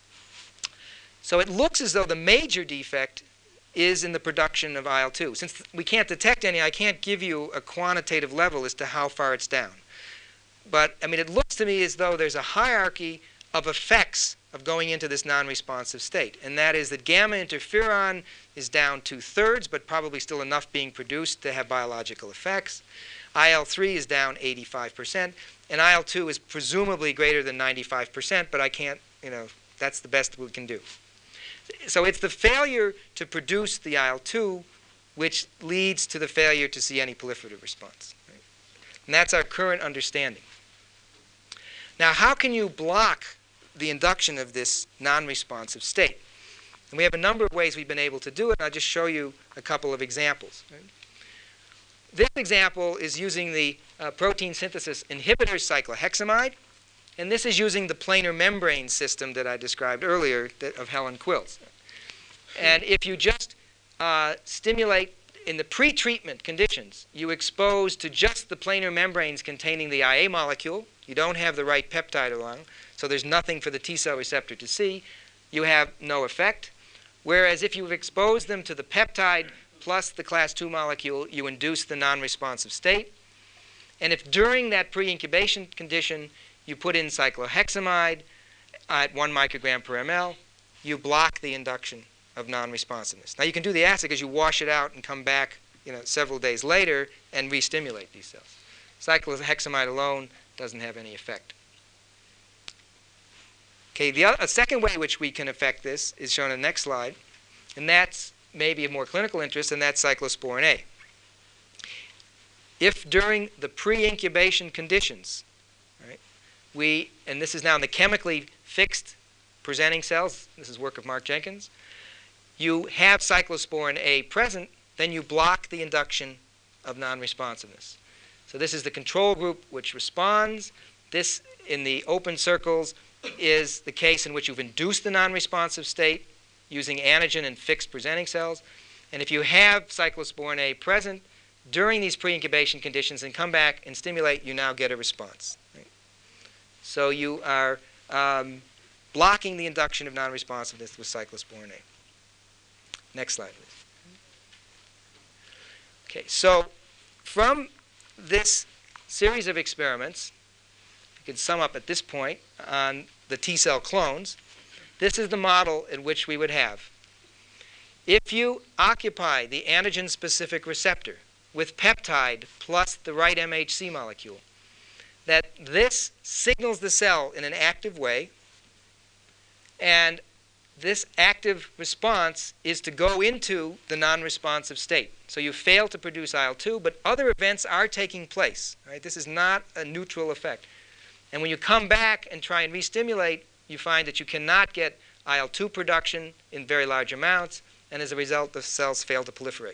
So it looks as though the major defect is in the production of I L two. Since we can't detect any, I can't give you a quantitative level as to how far it's down. But, I mean, it looks to me as though there's a hierarchy of effects of going into this non-responsive state, and that is that gamma interferon is down two-thirds, but probably still enough being produced to have biological effects. I L three is down eighty-five percent, and I L two is presumably greater than ninety-five percent, but I can't, you know, that's the best we can do. So it's the failure to produce the I L two which leads to the failure to see any proliferative response. Right? And that's our current understanding. Now, how can you block the induction of this non-responsive state? And we have a number of ways we've been able to do it, and I'll just show you a couple of examples. Right? This example is using the uh, protein synthesis inhibitor cyclohexamide, and this is using the planar membrane system that I described earlier that, of Helen Quills. And if you just uh, stimulate in the pre-treatment conditions, you expose to just the planar membranes containing the I A molecule. You don't have the right peptide along, so there's nothing for the T-cell receptor to see. You have no effect. Whereas if you've exposed them to the peptide plus the class two molecule, you induce the non-responsive state. And if during that pre-incubation condition you put in cyclohexamide at one microgram per ml, you block the induction of non-responsiveness. Now you can do the assay because you wash it out and come back, you know, several days later and re-stimulate these cells. Cyclohexamide alone doesn't have any effect. Okay, the other, a second way which we can affect this is shown in the next slide, and that's maybe of more clinical interest, and that's cyclosporin A. If during the pre-incubation conditions, right, we, and this is now in the chemically fixed presenting cells, this is work of Mark Jenkins, you have cyclosporin A present, then you block the induction of non-responsiveness. So this is the control group which responds. This, in the open circles, is the case in which you've induced the non-responsive state using antigen and fixed presenting cells. And if you have cyclosporin A present during these pre-incubation conditions and come back and stimulate, you now get a response. Right? So you are um, blocking the induction of non-responsiveness with cyclosporin A. Next slide, please. Okay, so from this series of experiments, you can sum up at this point on the T cell clones. This is the model in which we would have. If you occupy the antigen-specific receptor with peptide plus the right M H C molecule, that this signals the cell in an active way, and this active response is to go into the non-responsive state. So you fail to produce I L two, but other events are taking place. Right? This is not a neutral effect. And when you come back and try and re-stimulate, you find that you cannot get I L two production in very large amounts, and as a result, the cells fail to proliferate.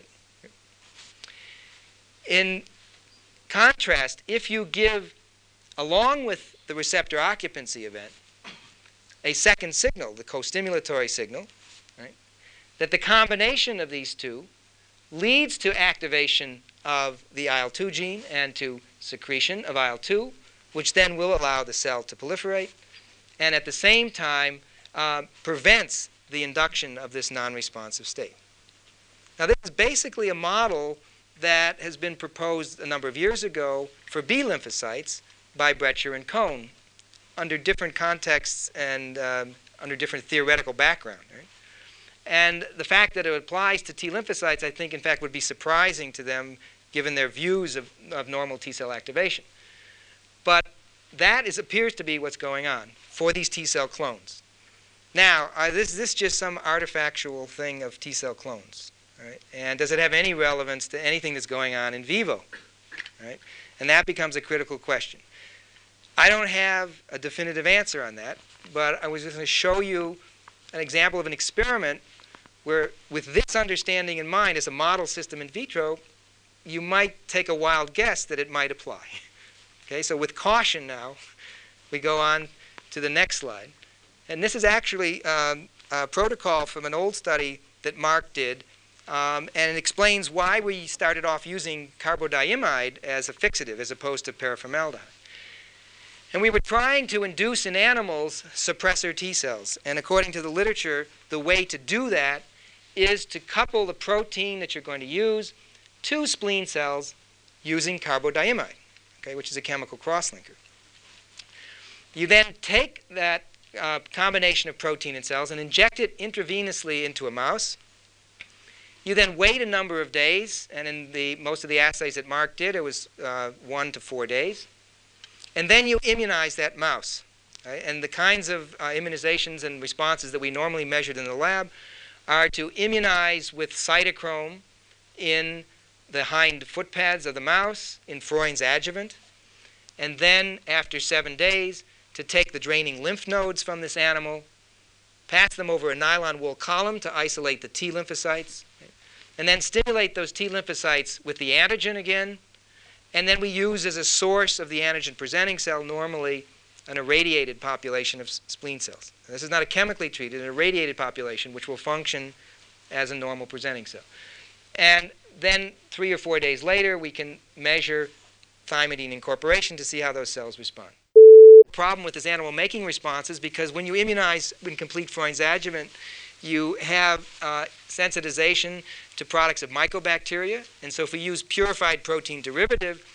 In contrast, if you give, along with the receptor occupancy event, a second signal, the co-stimulatory signal, right, that the combination of these two leads to activation of the I L two gene and to secretion of I L two, which then will allow the cell to proliferate, and at the same time uh, prevents the induction of this non-responsive state. Now, this is basically a model that has been proposed a number of years ago for B lymphocytes by Brecher and Cohn under different contexts and um, under different theoretical background. Right? And the fact that it applies to T lymphocytes, I think, in fact, would be surprising to them given their views of, of normal T cell activation. But that is, appears to be what's going on for these T cell clones. Now, uh, this, this just some artifactual thing of T cell clones? Right? And does it have any relevance to anything that's going on in vivo? Right? And that becomes a critical question. I don't have a definitive answer on that, but I was just going to show you an example of an experiment where, with this understanding in mind as a model system in vitro, you might take a wild guess that it might apply. Okay, so with caution now, we go on to the next slide. And this is actually um, a protocol from an old study that Mark did, um, and it explains why we started off using carbodiamide as a fixative as opposed to paraformaldehyde. And we were trying to induce in animals suppressor T cells. And according to the literature, the way to do that is to couple the protein that you're going to use to spleen cells using carbodiamide, okay, which is a chemical crosslinker. You then take that uh, combination of protein and cells and inject it intravenously into a mouse. You then wait a number of days, and in the, most of the assays that Mark did, it was uh, one to four days. And then you immunize that mouse. Right? And the kinds of uh, immunizations and responses that we normally measured in the lab are to immunize with cytochrome in the hind foot pads of the mouse in Freund's adjuvant, and then after seven days to take the draining lymph nodes from this animal, pass them over a nylon wool column to isolate the T lymphocytes, right? And then stimulate those T lymphocytes with the antigen again, and then we use as a source of the antigen-presenting cell normally an irradiated population of spleen cells. Now, this is not a chemically treated, an irradiated population which will function as a normal presenting cell. And then three or four days later, we can measure thymidine incorporation to see how those cells respond. The problem with this animal making response is because when you immunize in complete Freund's adjuvant, you have uh, sensitization to products of mycobacteria. And so if we use purified protein derivative,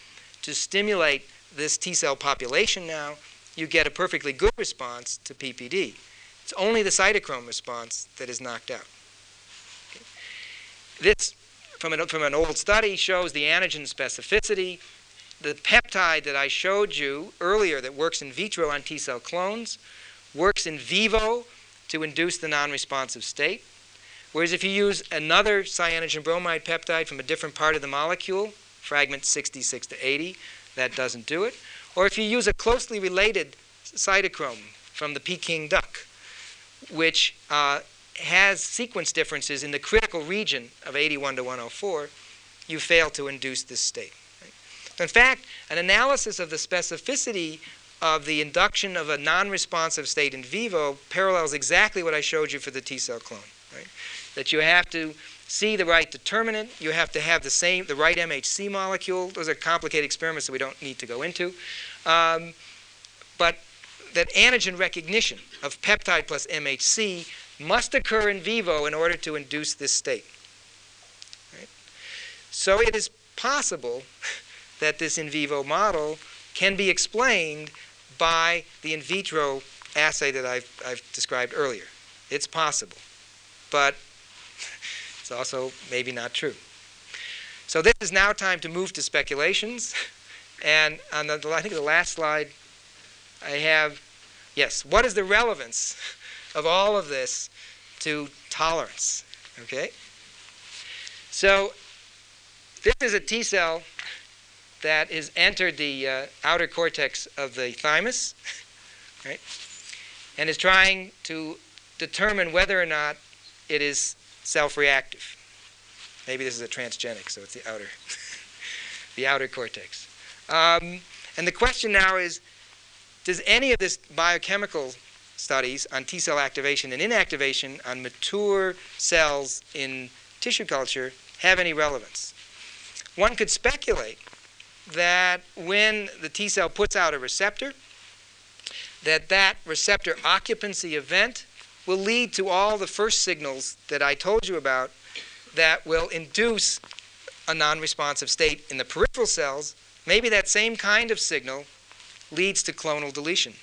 to stimulate this T cell population now, you get a perfectly good response to P P D. It's only the cytochrome response that is knocked out. Okay. This, from an, from an old study, shows the antigen specificity. The peptide that I showed you earlier that works in vitro on T cell clones works in vivo to induce the non-responsive state. Whereas if you use another cyanogen bromide peptide from a different part of the molecule, fragment sixty-six to eighty, that doesn't do it. Or if you use a closely related cytochrome from the Peking duck, which uh, has sequence differences in the critical region of eighty-one to one oh four, you fail to induce this state. Right? In fact, an analysis of the specificity of the induction of a non-responsive state in vivo parallels exactly what I showed you for the T cell clone. Right? That you have to see the right determinant, you have to have the same, the right M H C molecule. Those are complicated experiments that we don't need to go into. Um, but that antigen recognition of peptide plus M H C must occur in vivo in order to induce this state. Right? So it is possible that this in vivo model can be explained by the in vitro assay that I've, I've described earlier. It's possible, but it's also maybe not true. So this is now time to move to speculations. And on the, I think the last slide, I have, yes, what is the relevance of all of this to tolerance? Okay? So this is a T cell that has entered the uh, outer cortex of the thymus, right? And is trying to determine whether or not it is self-reactive. Maybe this is a transgenic, so it's the outer, the outer cortex. Um, and the question now is, does any of this biochemical studies on T cell activation and inactivation on mature cells in tissue culture have any relevance? One could speculate that when the T cell puts out a receptor, that that receptor occupancy event will lead to all the first signals that I told you about that will induce a non-responsive state in the peripheral cells. Maybe that same kind of signal leads to clonal deletion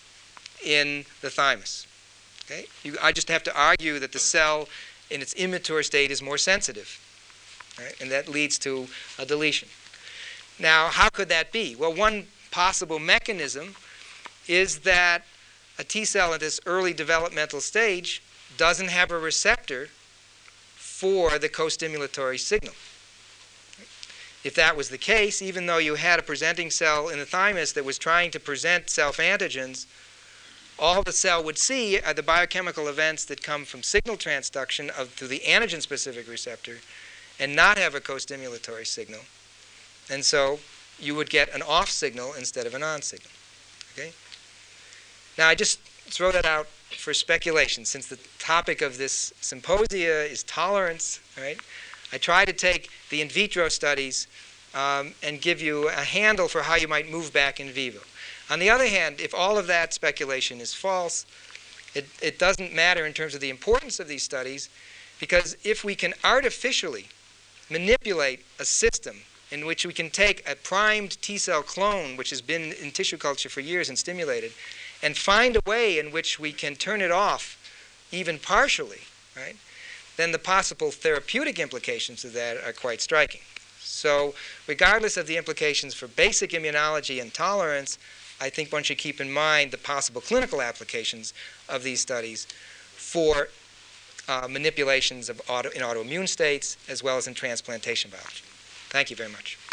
in the thymus. Okay? You, I just have to argue that the cell in its immature state is more sensitive, right? And that leads to a deletion. Now, how could that be? Well, one possible mechanism is that a T cell at this early developmental stage doesn't have a receptor for the co-stimulatory signal. If that was the case, even though you had a presenting cell in the thymus that was trying to present self-antigens, all the cell would see are the biochemical events that come from signal transduction of, through the antigen-specific receptor and not have a co-stimulatory signal. And so you would get an off signal instead of an on signal. Okay? Now, I just throw that out for speculation, since the topic of this symposia is tolerance, right? I try to take the in vitro studies um, and give you a handle for how you might move back in vivo. On the other hand, if all of that speculation is false, it, it doesn't matter in terms of the importance of these studies, because if we can artificially manipulate a system in which we can take a primed T cell clone, which has been in tissue culture for years and stimulated, and find a way in which we can turn it off, even partially, right, then the possible therapeutic implications of that are quite striking. So regardless of the implications for basic immunology and tolerance, I think one should keep in mind the possible clinical applications of these studies for uh, manipulations of auto, in autoimmune states as well as in transplantation biology. Thank you very much.